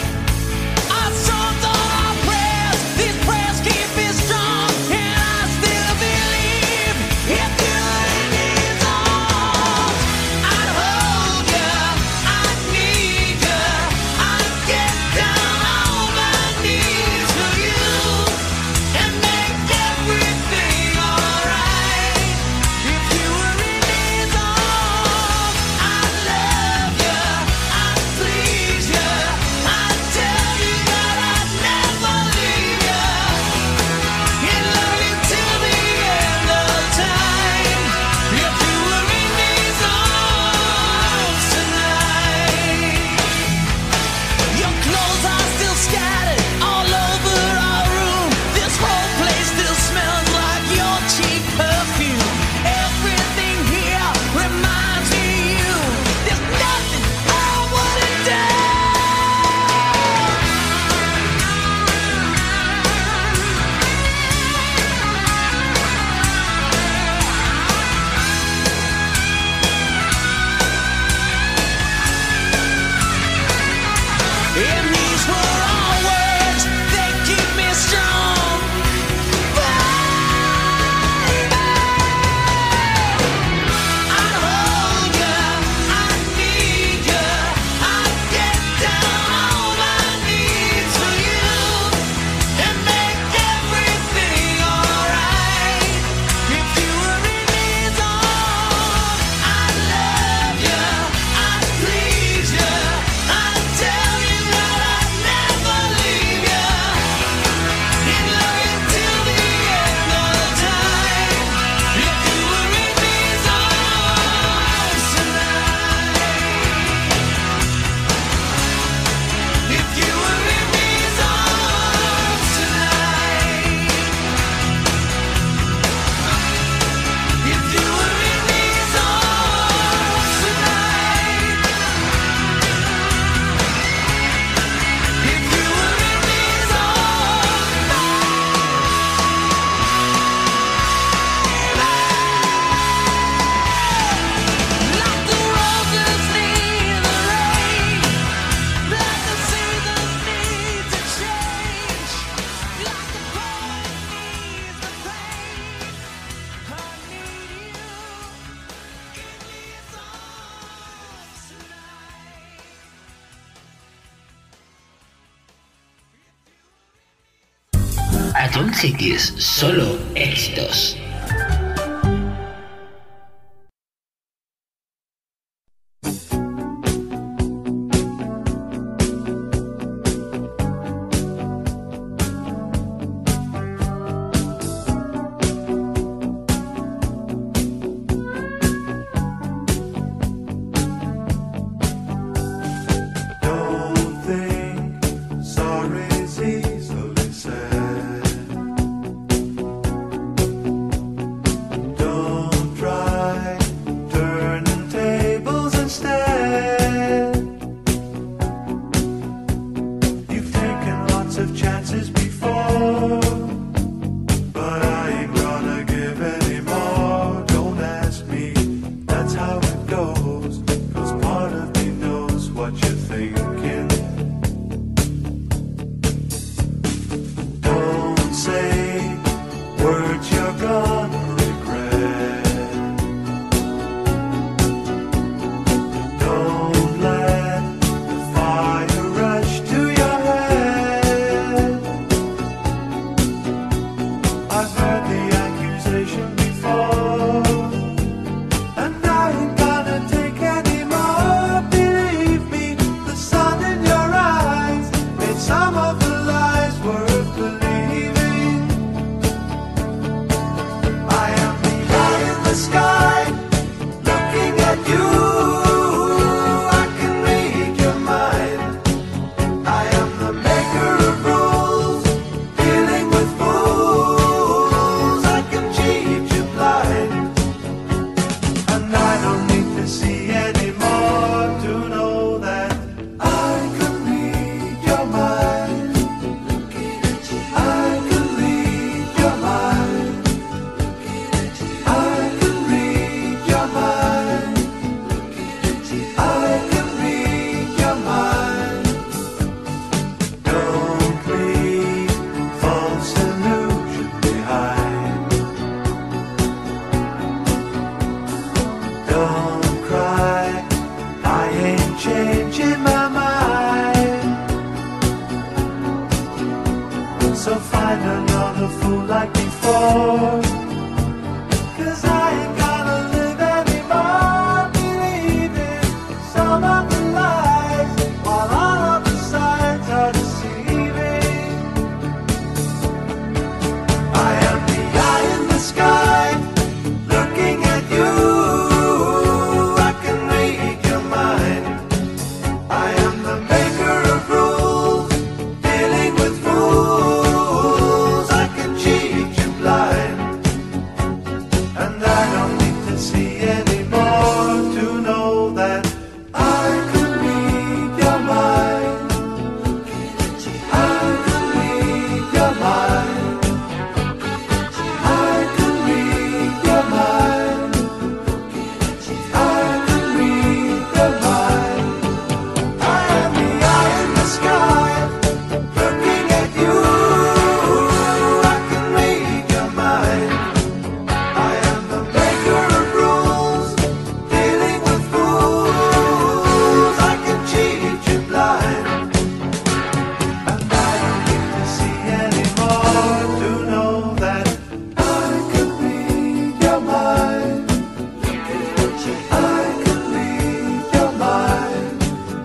are our prayers. These prayers keep me strong, and I still believe if you're in these arms, I'd hold you, I'd need you, I'd get down on my knees for you and make everything alright. If you were in these arms, I'd love you, I'd please you, I'd tell you that I'd never leave you and love you till the end of time. If you were in these arms tonight, your clothes are still scattered all over our room. This whole place still smells like your cheap perfume. Everything here reminds me of you. There's nothing I wouldn't do. And these were our words, they keep me strong. Baby, I'd hold you, I'd need you, I'd get down on my knees for you and make everything alright. If you were in these arms, I'd love you, I'd please you, I'd tell you that I'd never leave you and love you till the end of time. If you were in these arms tonight, if you were in these arms tonight, if you were in these arms tonight, if you were in these arms, like the roses need the rain, like the seasons need to change, like the poet needs the pain, I need you in these arms tonight. Atom Cities, solo éxitos. Don't think sorry's easily said. more. 'Cause I ain't gonna live anymore believing some of the lies, while all of the signs are deceiving. I am the eye in the sky, looking at you. I can read your mind. I am the maker of rules, dealing with fools. I can cheat you blind, and I don't need to see anymore to know that I can read your mind. I can read your mind. I can read your mind. I can read your mind. I am the eye in the sky, looking at you. I can read your mind. I am the maker of rules, dealing with fools. I can cheat you blind, and I don't need to see anymore to know that I can read your mind. I can read your mind.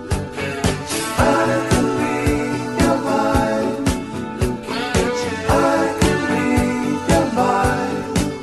I can read your mind. I can read your mind.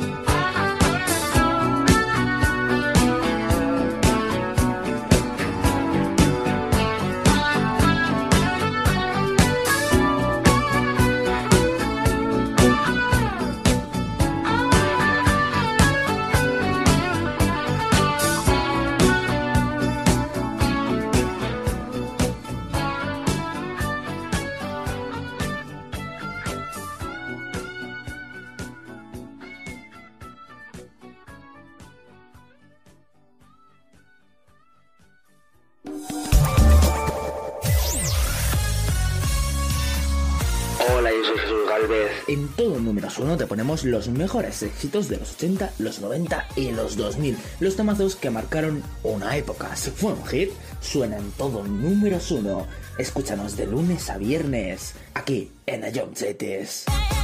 Hola, yo soy Jesús Galvez. En todo Números 1 te ponemos los mejores éxitos de los 80, los 90 y los 2000. Los temazos que marcaron una época. Si fue un hit, suena en todo Números 1. Escúchanos de lunes a viernes, aquí en Ayomchetes.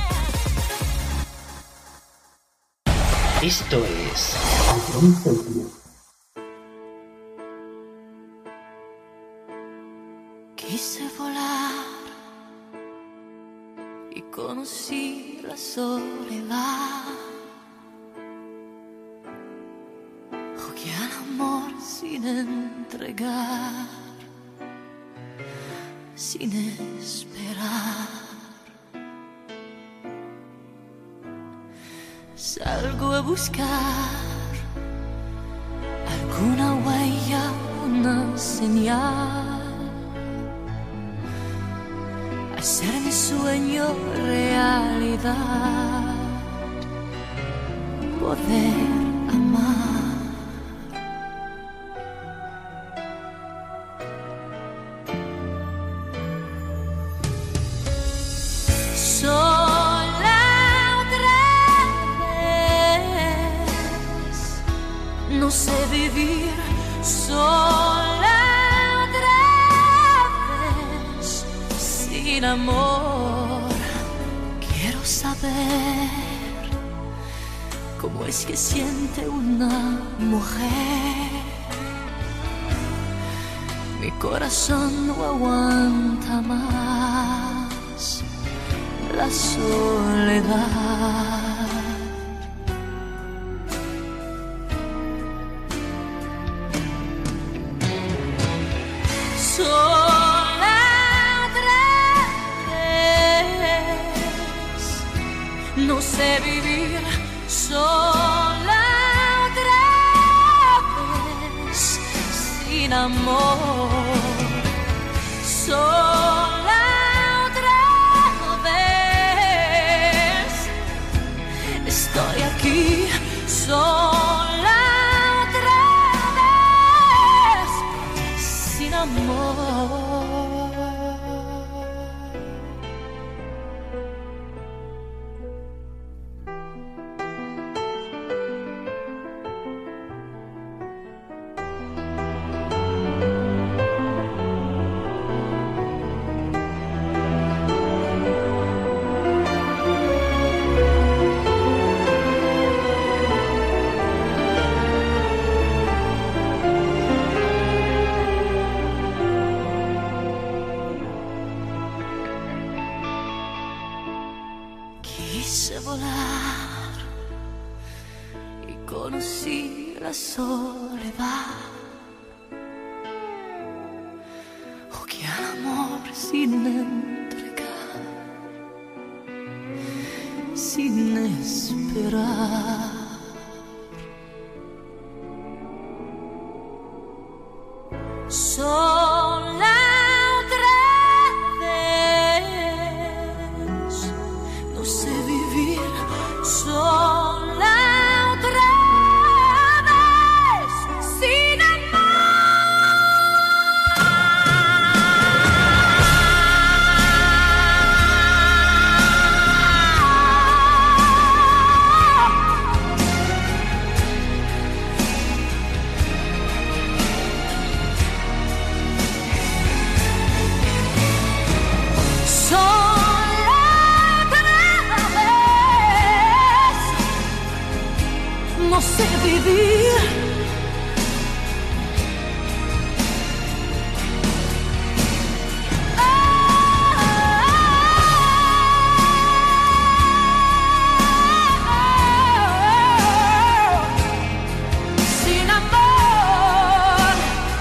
Esto es Quise volar y conocí la soledad. Jugué al amor sin entregar, sin esperar. Salgo a buscar alguna huella, una señal. Hacer mi sueño realidad, poder amar. Sola otra vez, no sé vivir sola otra vez, sin amor. Quiero saber cómo es que siente una mujer. Mi corazón no aguanta más la soledad. Sola otra vez, no sé vivir sola otra vez, sin amor. Sola otra vez, estoy aquí sola otra vez, sin amor. conocí la soledad, o que al amor sin entregar, sin esperar. Sola otra vez, no sé vivir sola otra vez, sin no sé vivir. Sin amor,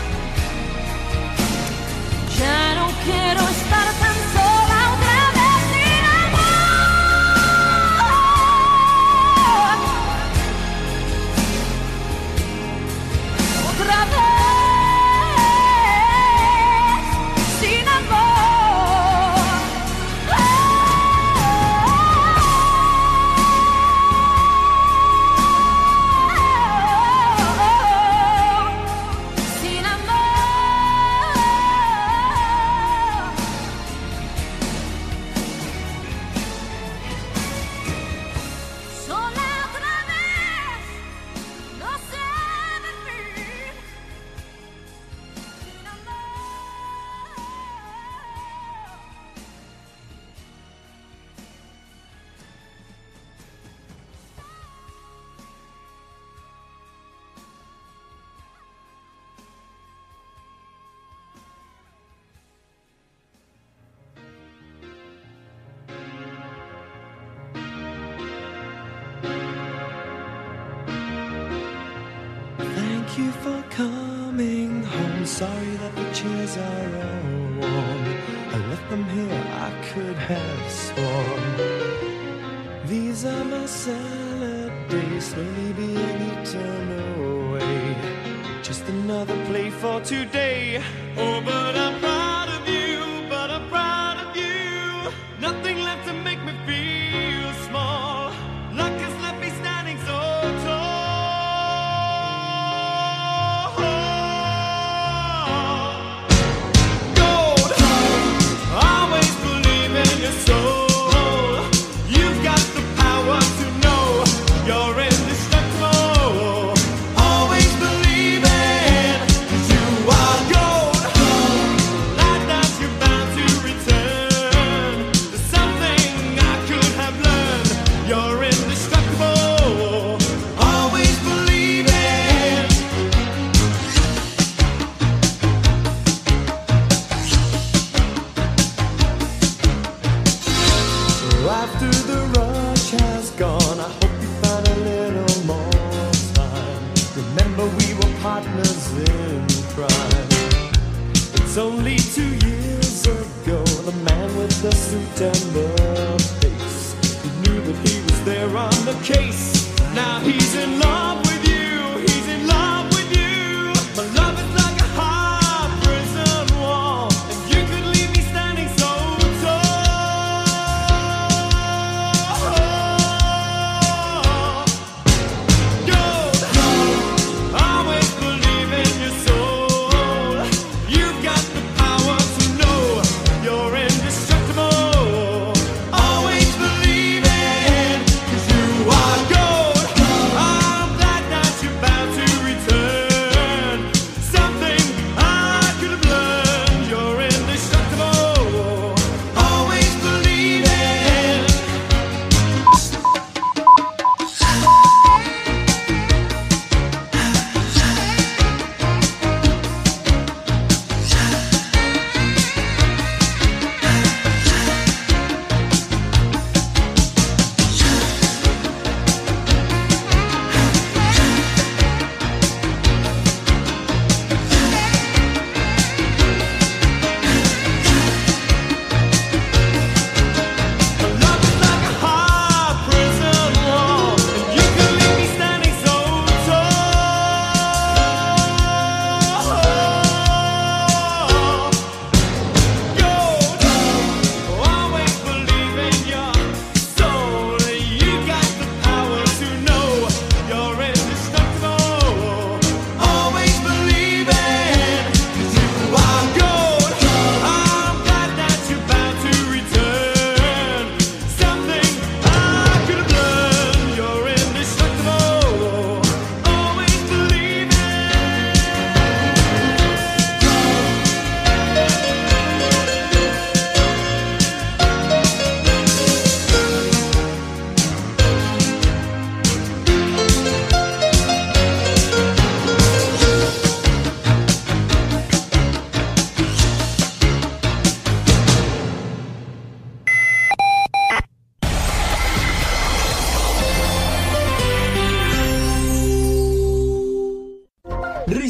ya no quiero estar tan sola otra vez. Sin amor, otra vez, sin amor. Sin amor. Sola otra vez, no sé vivir. Sin amor. Thank you for coming home. Sorry that the chairs are all warm. I left them here, I could have sworn. These are my salad days, slowly being eaten away. Just another play for today. Oh, but I'm proud of you, but I'm proud of you. Nothing left to make me feel small. Luck has left me standing so tall. Gold, always believe in your soul. You've got the power to know you're indestructible. Always believe it, 'cause you are gold. Like that you're bound to return. There's something I could have learned. You're indestructible. Always believe it. After the rush has gone, I hope you found a little more time. Remember we were partners in crime. It's only 2 years ago, the man with the suit and the face, he knew that he was there on the case. Now he's in love with you, he's in love with you. My love is like a hard prison wall, and you could leave me standing so tall. Gold, always believe in your soul. You've got the power to know you're indestructible. Always believe it, 'cause you are gold. I'm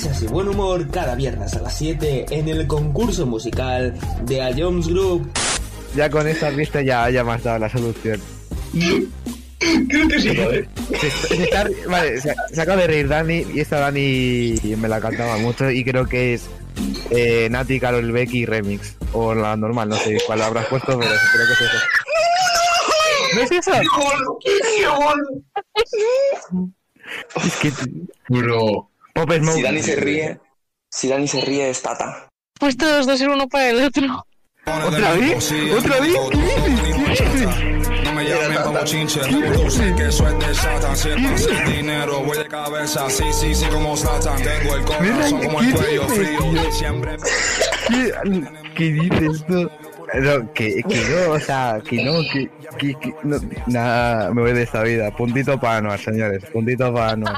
risas y buen humor cada viernes a las 7 en el concurso musical de A Jones Group. Ya con esta pista ya me has dado la solución. Creo que sí, ¿vale? Se acaba de reír Dani, y esta Dani me la cantaba mucho y creo que es Nati, Karol Becky Remix. O la normal, no sé cuál habrás puesto, pero creo que es eso. ¿No es eso? ¡Qué gol! Es que... Bro. Pop Smoke. Si Dani se ríe es Tata. Pues todos dos el uno para el otro. ¿Otra vez? ¿Otra vez? ¿Qué dices? No me llamen como chinche, tú sé que eso es de Satan. Si es para el dinero, voy de cabeza, sí, como Satan. Tengo el corazón como el cuello frío, siempre. ¿Qué dices tú? No, que no, o sea, que no, nada, me voy de esta vida. Puntito para Anuar, señores, puntito para Anuar.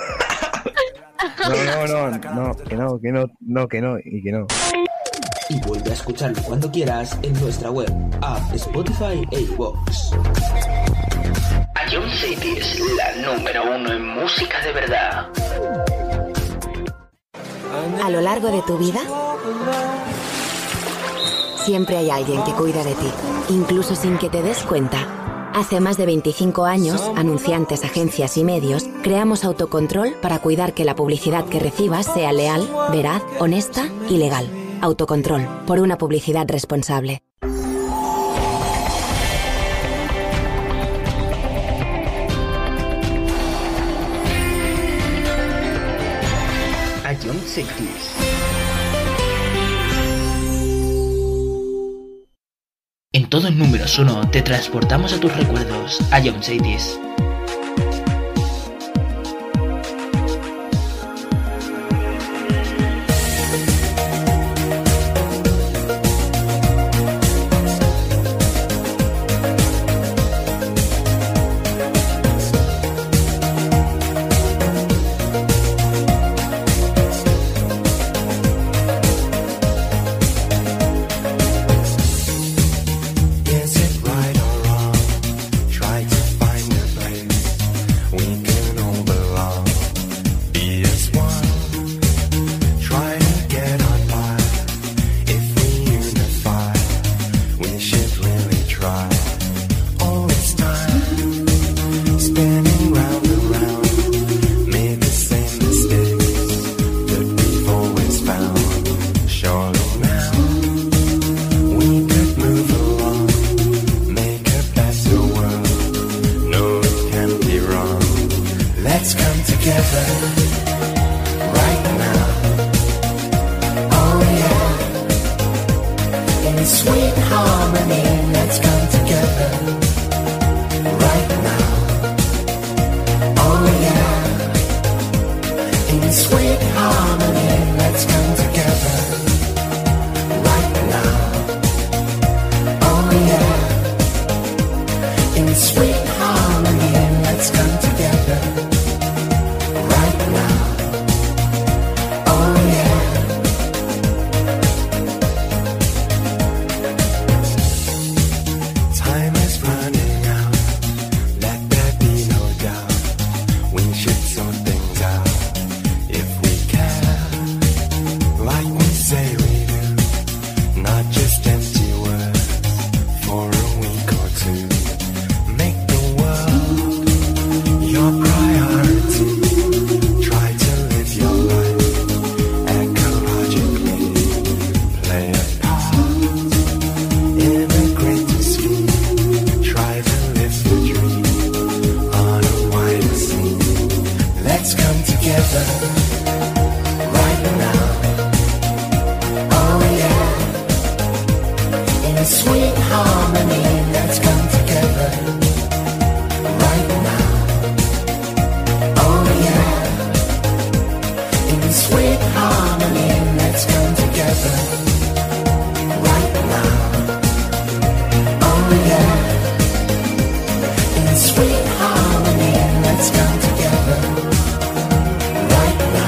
No, que no. Y vuelve a escucharlo cuando quieras en nuestra web, app, Spotify e iVoox. A John City es la número 1 en música de verdad. A lo largo de tu vida, siempre hay alguien que cuida de ti, incluso sin que te des cuenta. Hace más de 25 años, anunciantes, agencias y medios, creamos Autocontrol para cuidar que la publicidad que recibas sea leal, veraz, honesta y legal. Autocontrol, por una publicidad responsable. A John City. En todo el número 1 te transportamos a tus recuerdos, a John City. Sweet harmony, let's come together right now.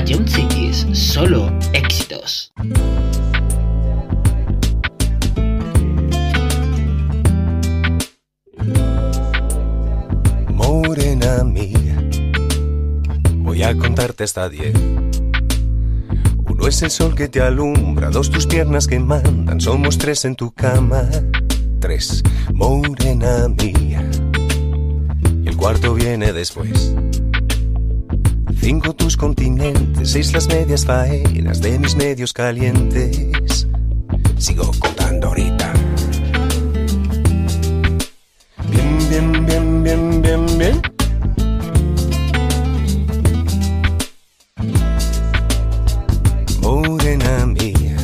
Young Cities, solo éxitos. Morena mía, voy a contarte hasta 10. Uno es el sol que te alumbra, 2 tus piernas que mandan, somos 3 en tu cama. 3, morena mía, y el cuarto viene después. 5 tus continentes, 6 las medias faenas de mis medios calientes. Sigo contando ahorita. Bien, bien, bien, bien, bien, bien. Morena mía,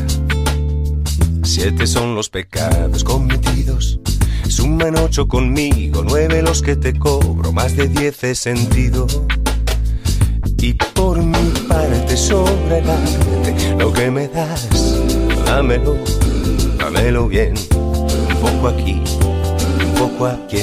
7 son los pecados cometidos. Suman 8 conmigo, 9 los que te cobro, más de 10 he sentido. Y por mi parte sobra el arte, lo que me das, dámelo, dámelo bien. Un poco aquí, un poco aquí.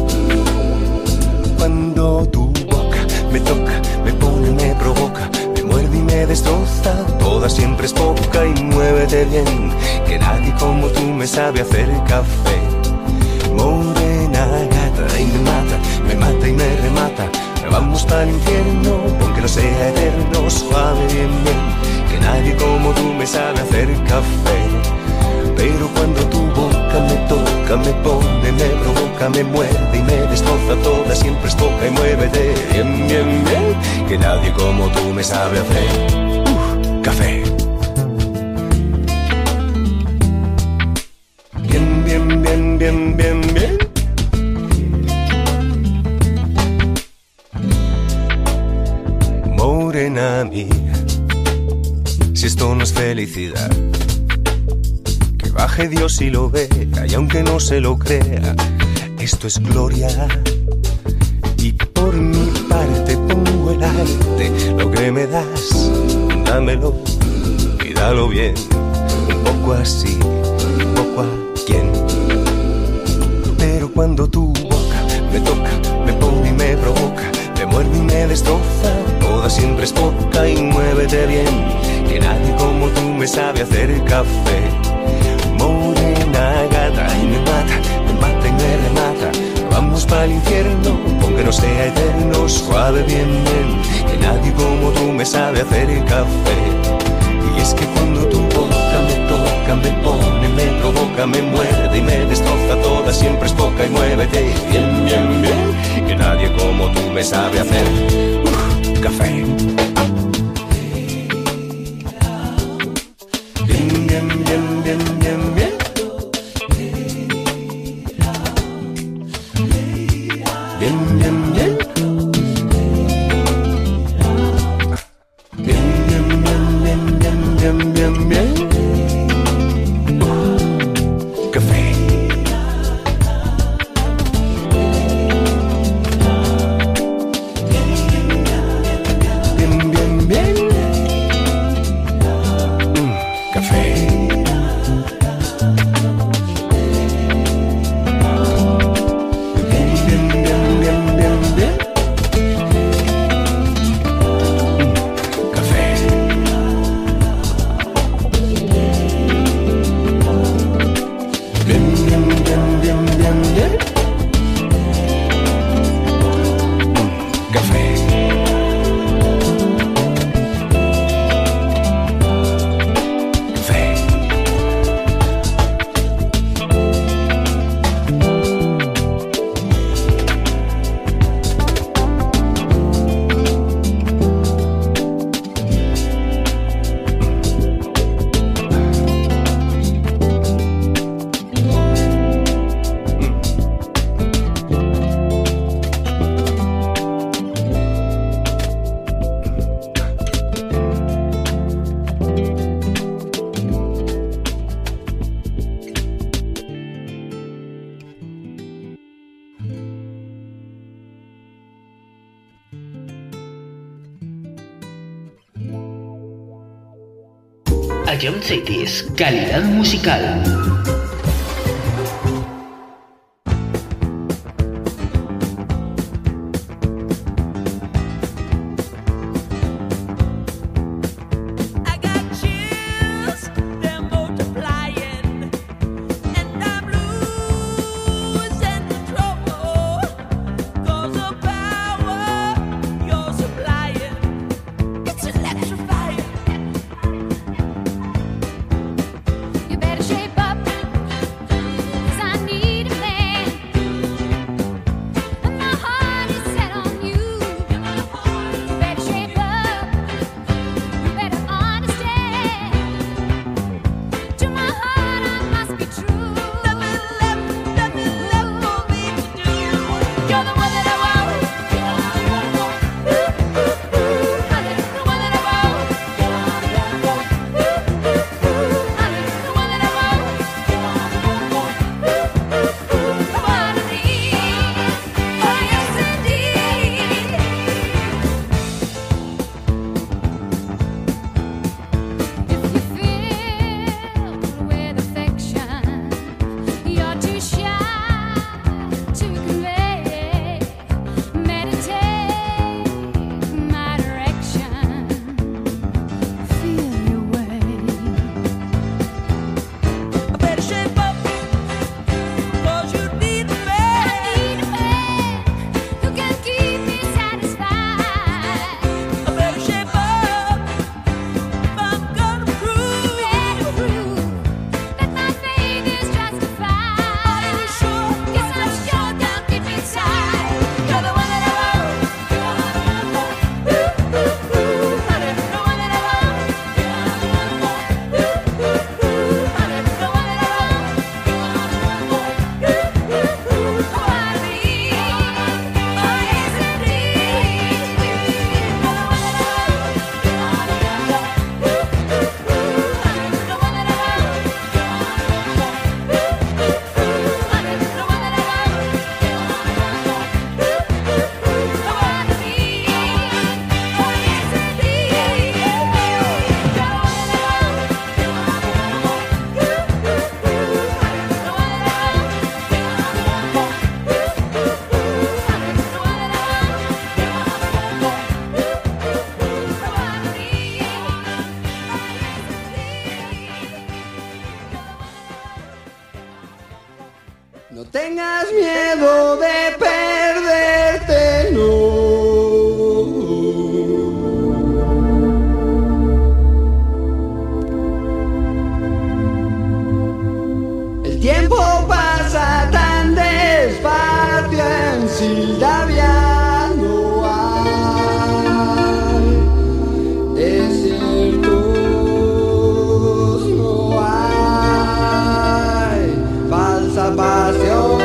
Cuando tu boca me toca, me pone, me provoca, me muerde y me destroza, toda siempre es poca y muévete bien, que nadie como tú me sabe hacer café. Morena gata y me mata y me remata. Vamos para el infierno, aunque no sea eterno, suave bien, bien, que nadie como tú me sabe hacer café. Pero cuando tu boca me toca, me pone, me provoca, me muerde y me destroza, toda siempre es poca y muévete bien, bien, bien, que nadie como tú me sabe hacer café. Bien, bien, bien, bien, bien, bien. Morena mía, si esto no es felicidad, que baje Dios y lo vea, y aunque no se lo crea, esto es gloria. Y por mi parte pongo el arte, lo que me das, dámelo y dalo bien, un poco así, un poco a quien. Pero cuando tu boca me toca, me pone y me provoca, me muerde y me destroza, toda siempre es poca y muévete bien, que nadie como tú me sabe hacer café. Morena gata y me mata y me remata. Vamos para el infierno, aunque no sea eterno, suave bien, bien, que nadie como tú me sabe hacer café. Y es que cuando tu boca me toca, me pone, me provoca, me muerde y me destroza, toda siempre es poca y muévete bien, bien, bien, que nadie como tú me sabe hacer café. Bien, bien, bien, bien, bien, bien. Bien, bien, bien. Bien, bien, bien, bien, bien, bien, bien. Café. Bien, bien, bien. Café. Young Cities, calidad musical. tengas miedo de perderte, no. El tiempo pasa tan despacio en Sildavia, no hay desiertos, no hay falsa pasión.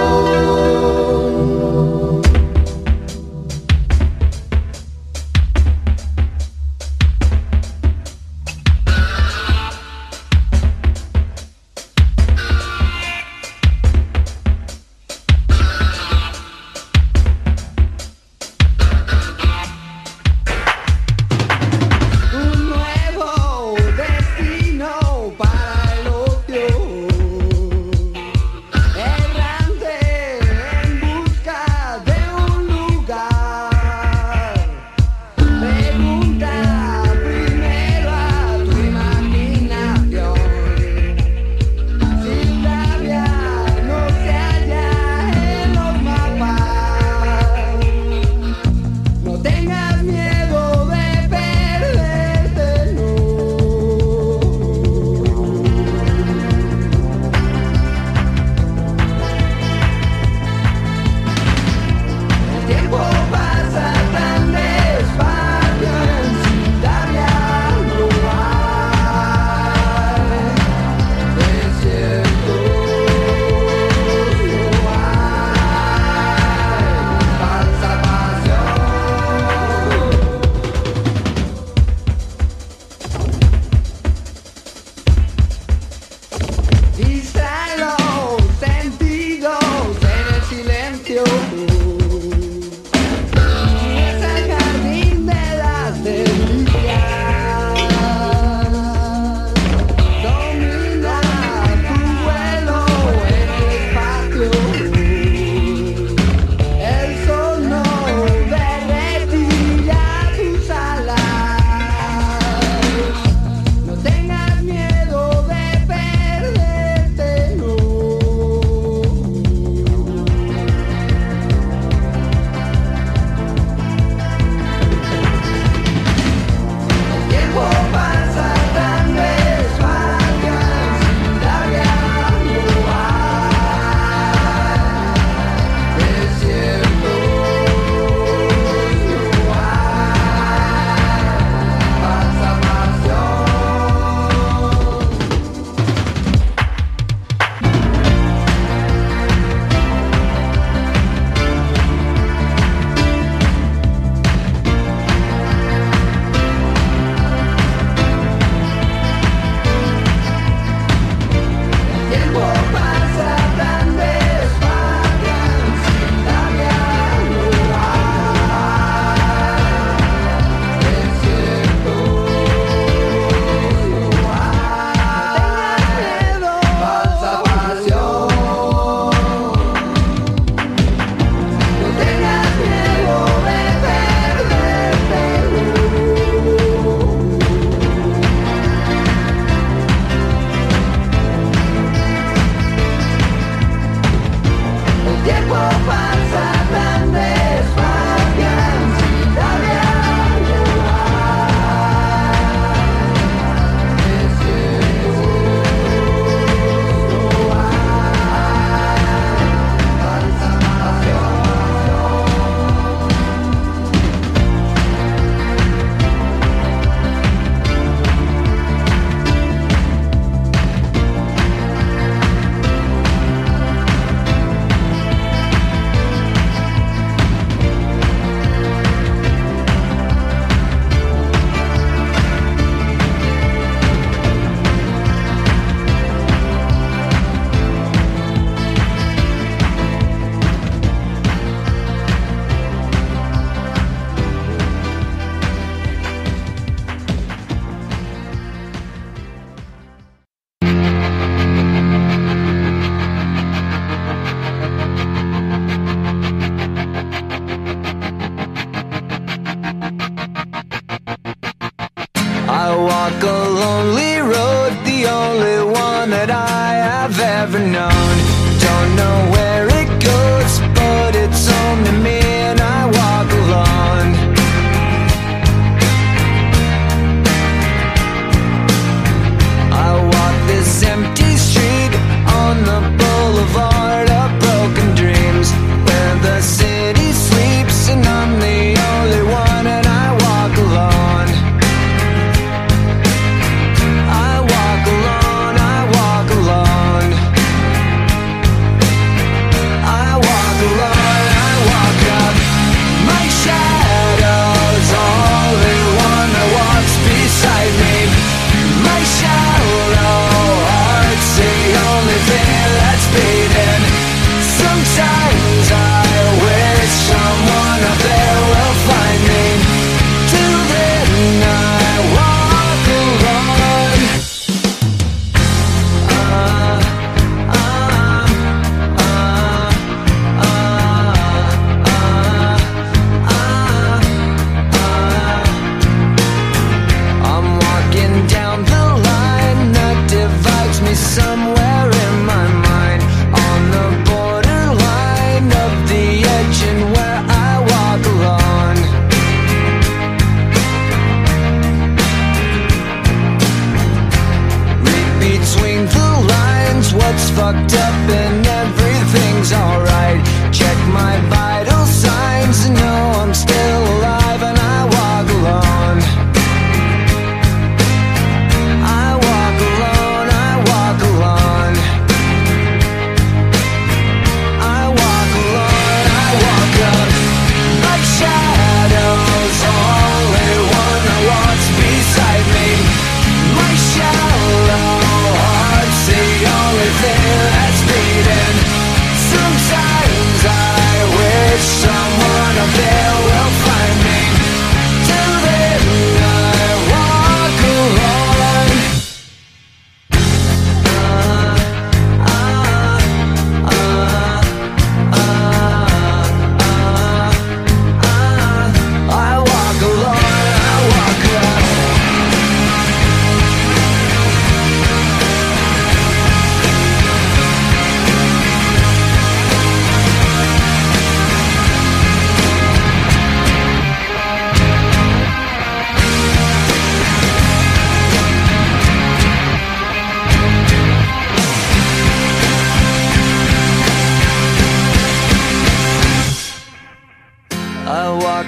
Un nuevo destino para el ocio, errante en busca de un lugar. Pregunta primero a tu imaginación. Sildavia no se halla en los mapas. No tengas miedo de perderte, no. El tiempo pasa tan despacio en Sildavia, no hay desiertos, no hay falsa pasión. Distrae los sentidos en el silencio. Es el jardín de las delicias. Domina tu vuelo en el espacio. El sol no derretirá tus alas. No tengas miedo de perderte, no. El tiempo pasa tan despacio en Sildavia, no hay desiertos, no hay falsa pasión. El tiempo pasa tan despacio en Sildavia, no hay desiertos, no hay falsa pasión. No tengas miedo de perderte, no. El tiempo pasa tan despacio en Sildavia, no hay desiertos, no hay falsa pasión. I walk a lonely road, the only one that I have ever known. Don't know where it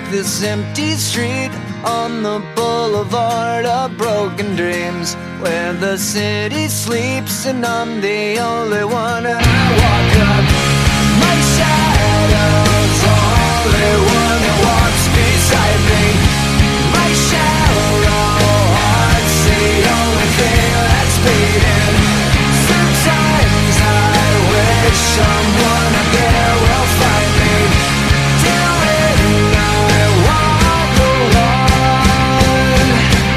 this empty street on the boulevard of broken dreams, where the city sleeps and I'm the only one. And I walk up, my shadow's only one that walks beside me. My shallow heart's the only thing that's beating. Sometimes I wish someone out there will find me. Till then I walk alone.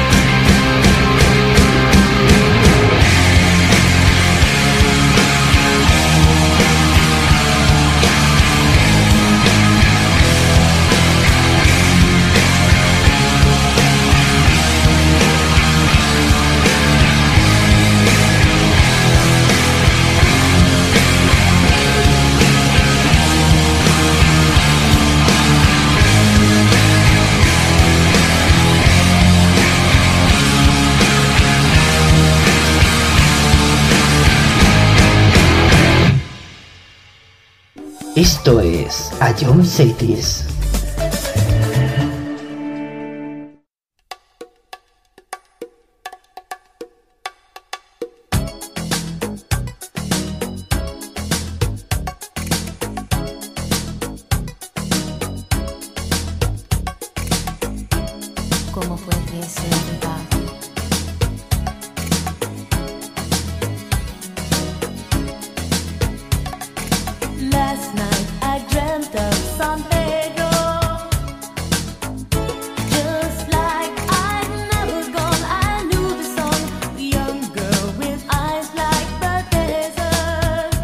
Esto es Ion Cities. ¿Cómo fue que se va? Last night I dreamt of San Pedro, just like I'd never gone. I knew the song, the young girl with eyes like the desert.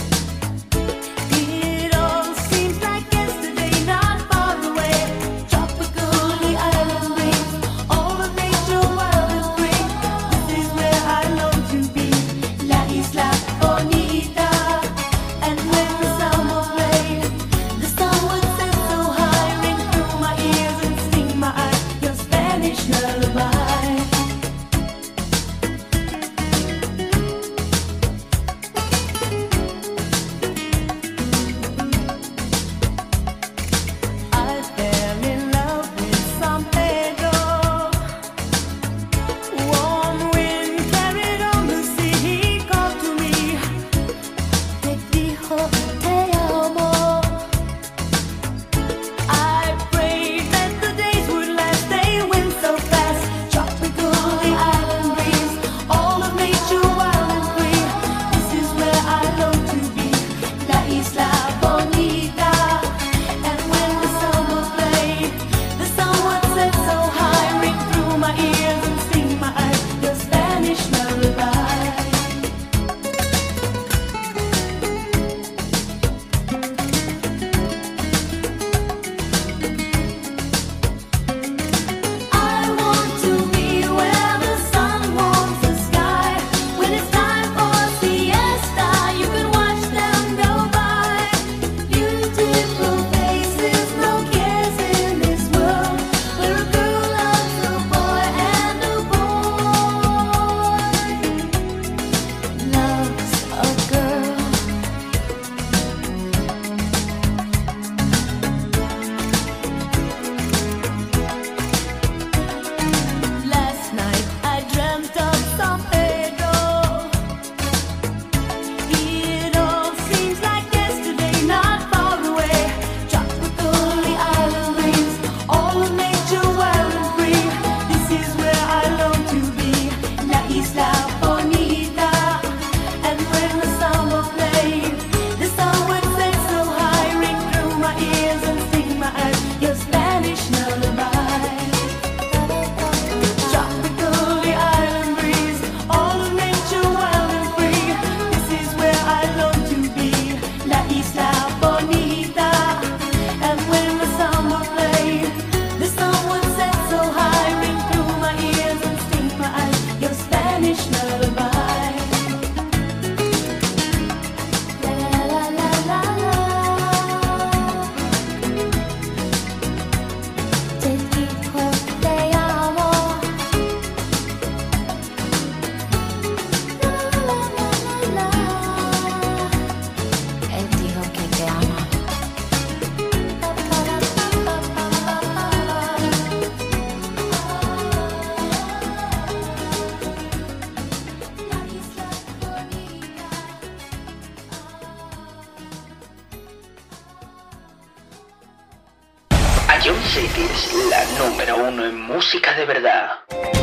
It all seems like yesterday, not far away. Tropical, the island breeze, all of nature. Ion City es la número uno en música de verdad.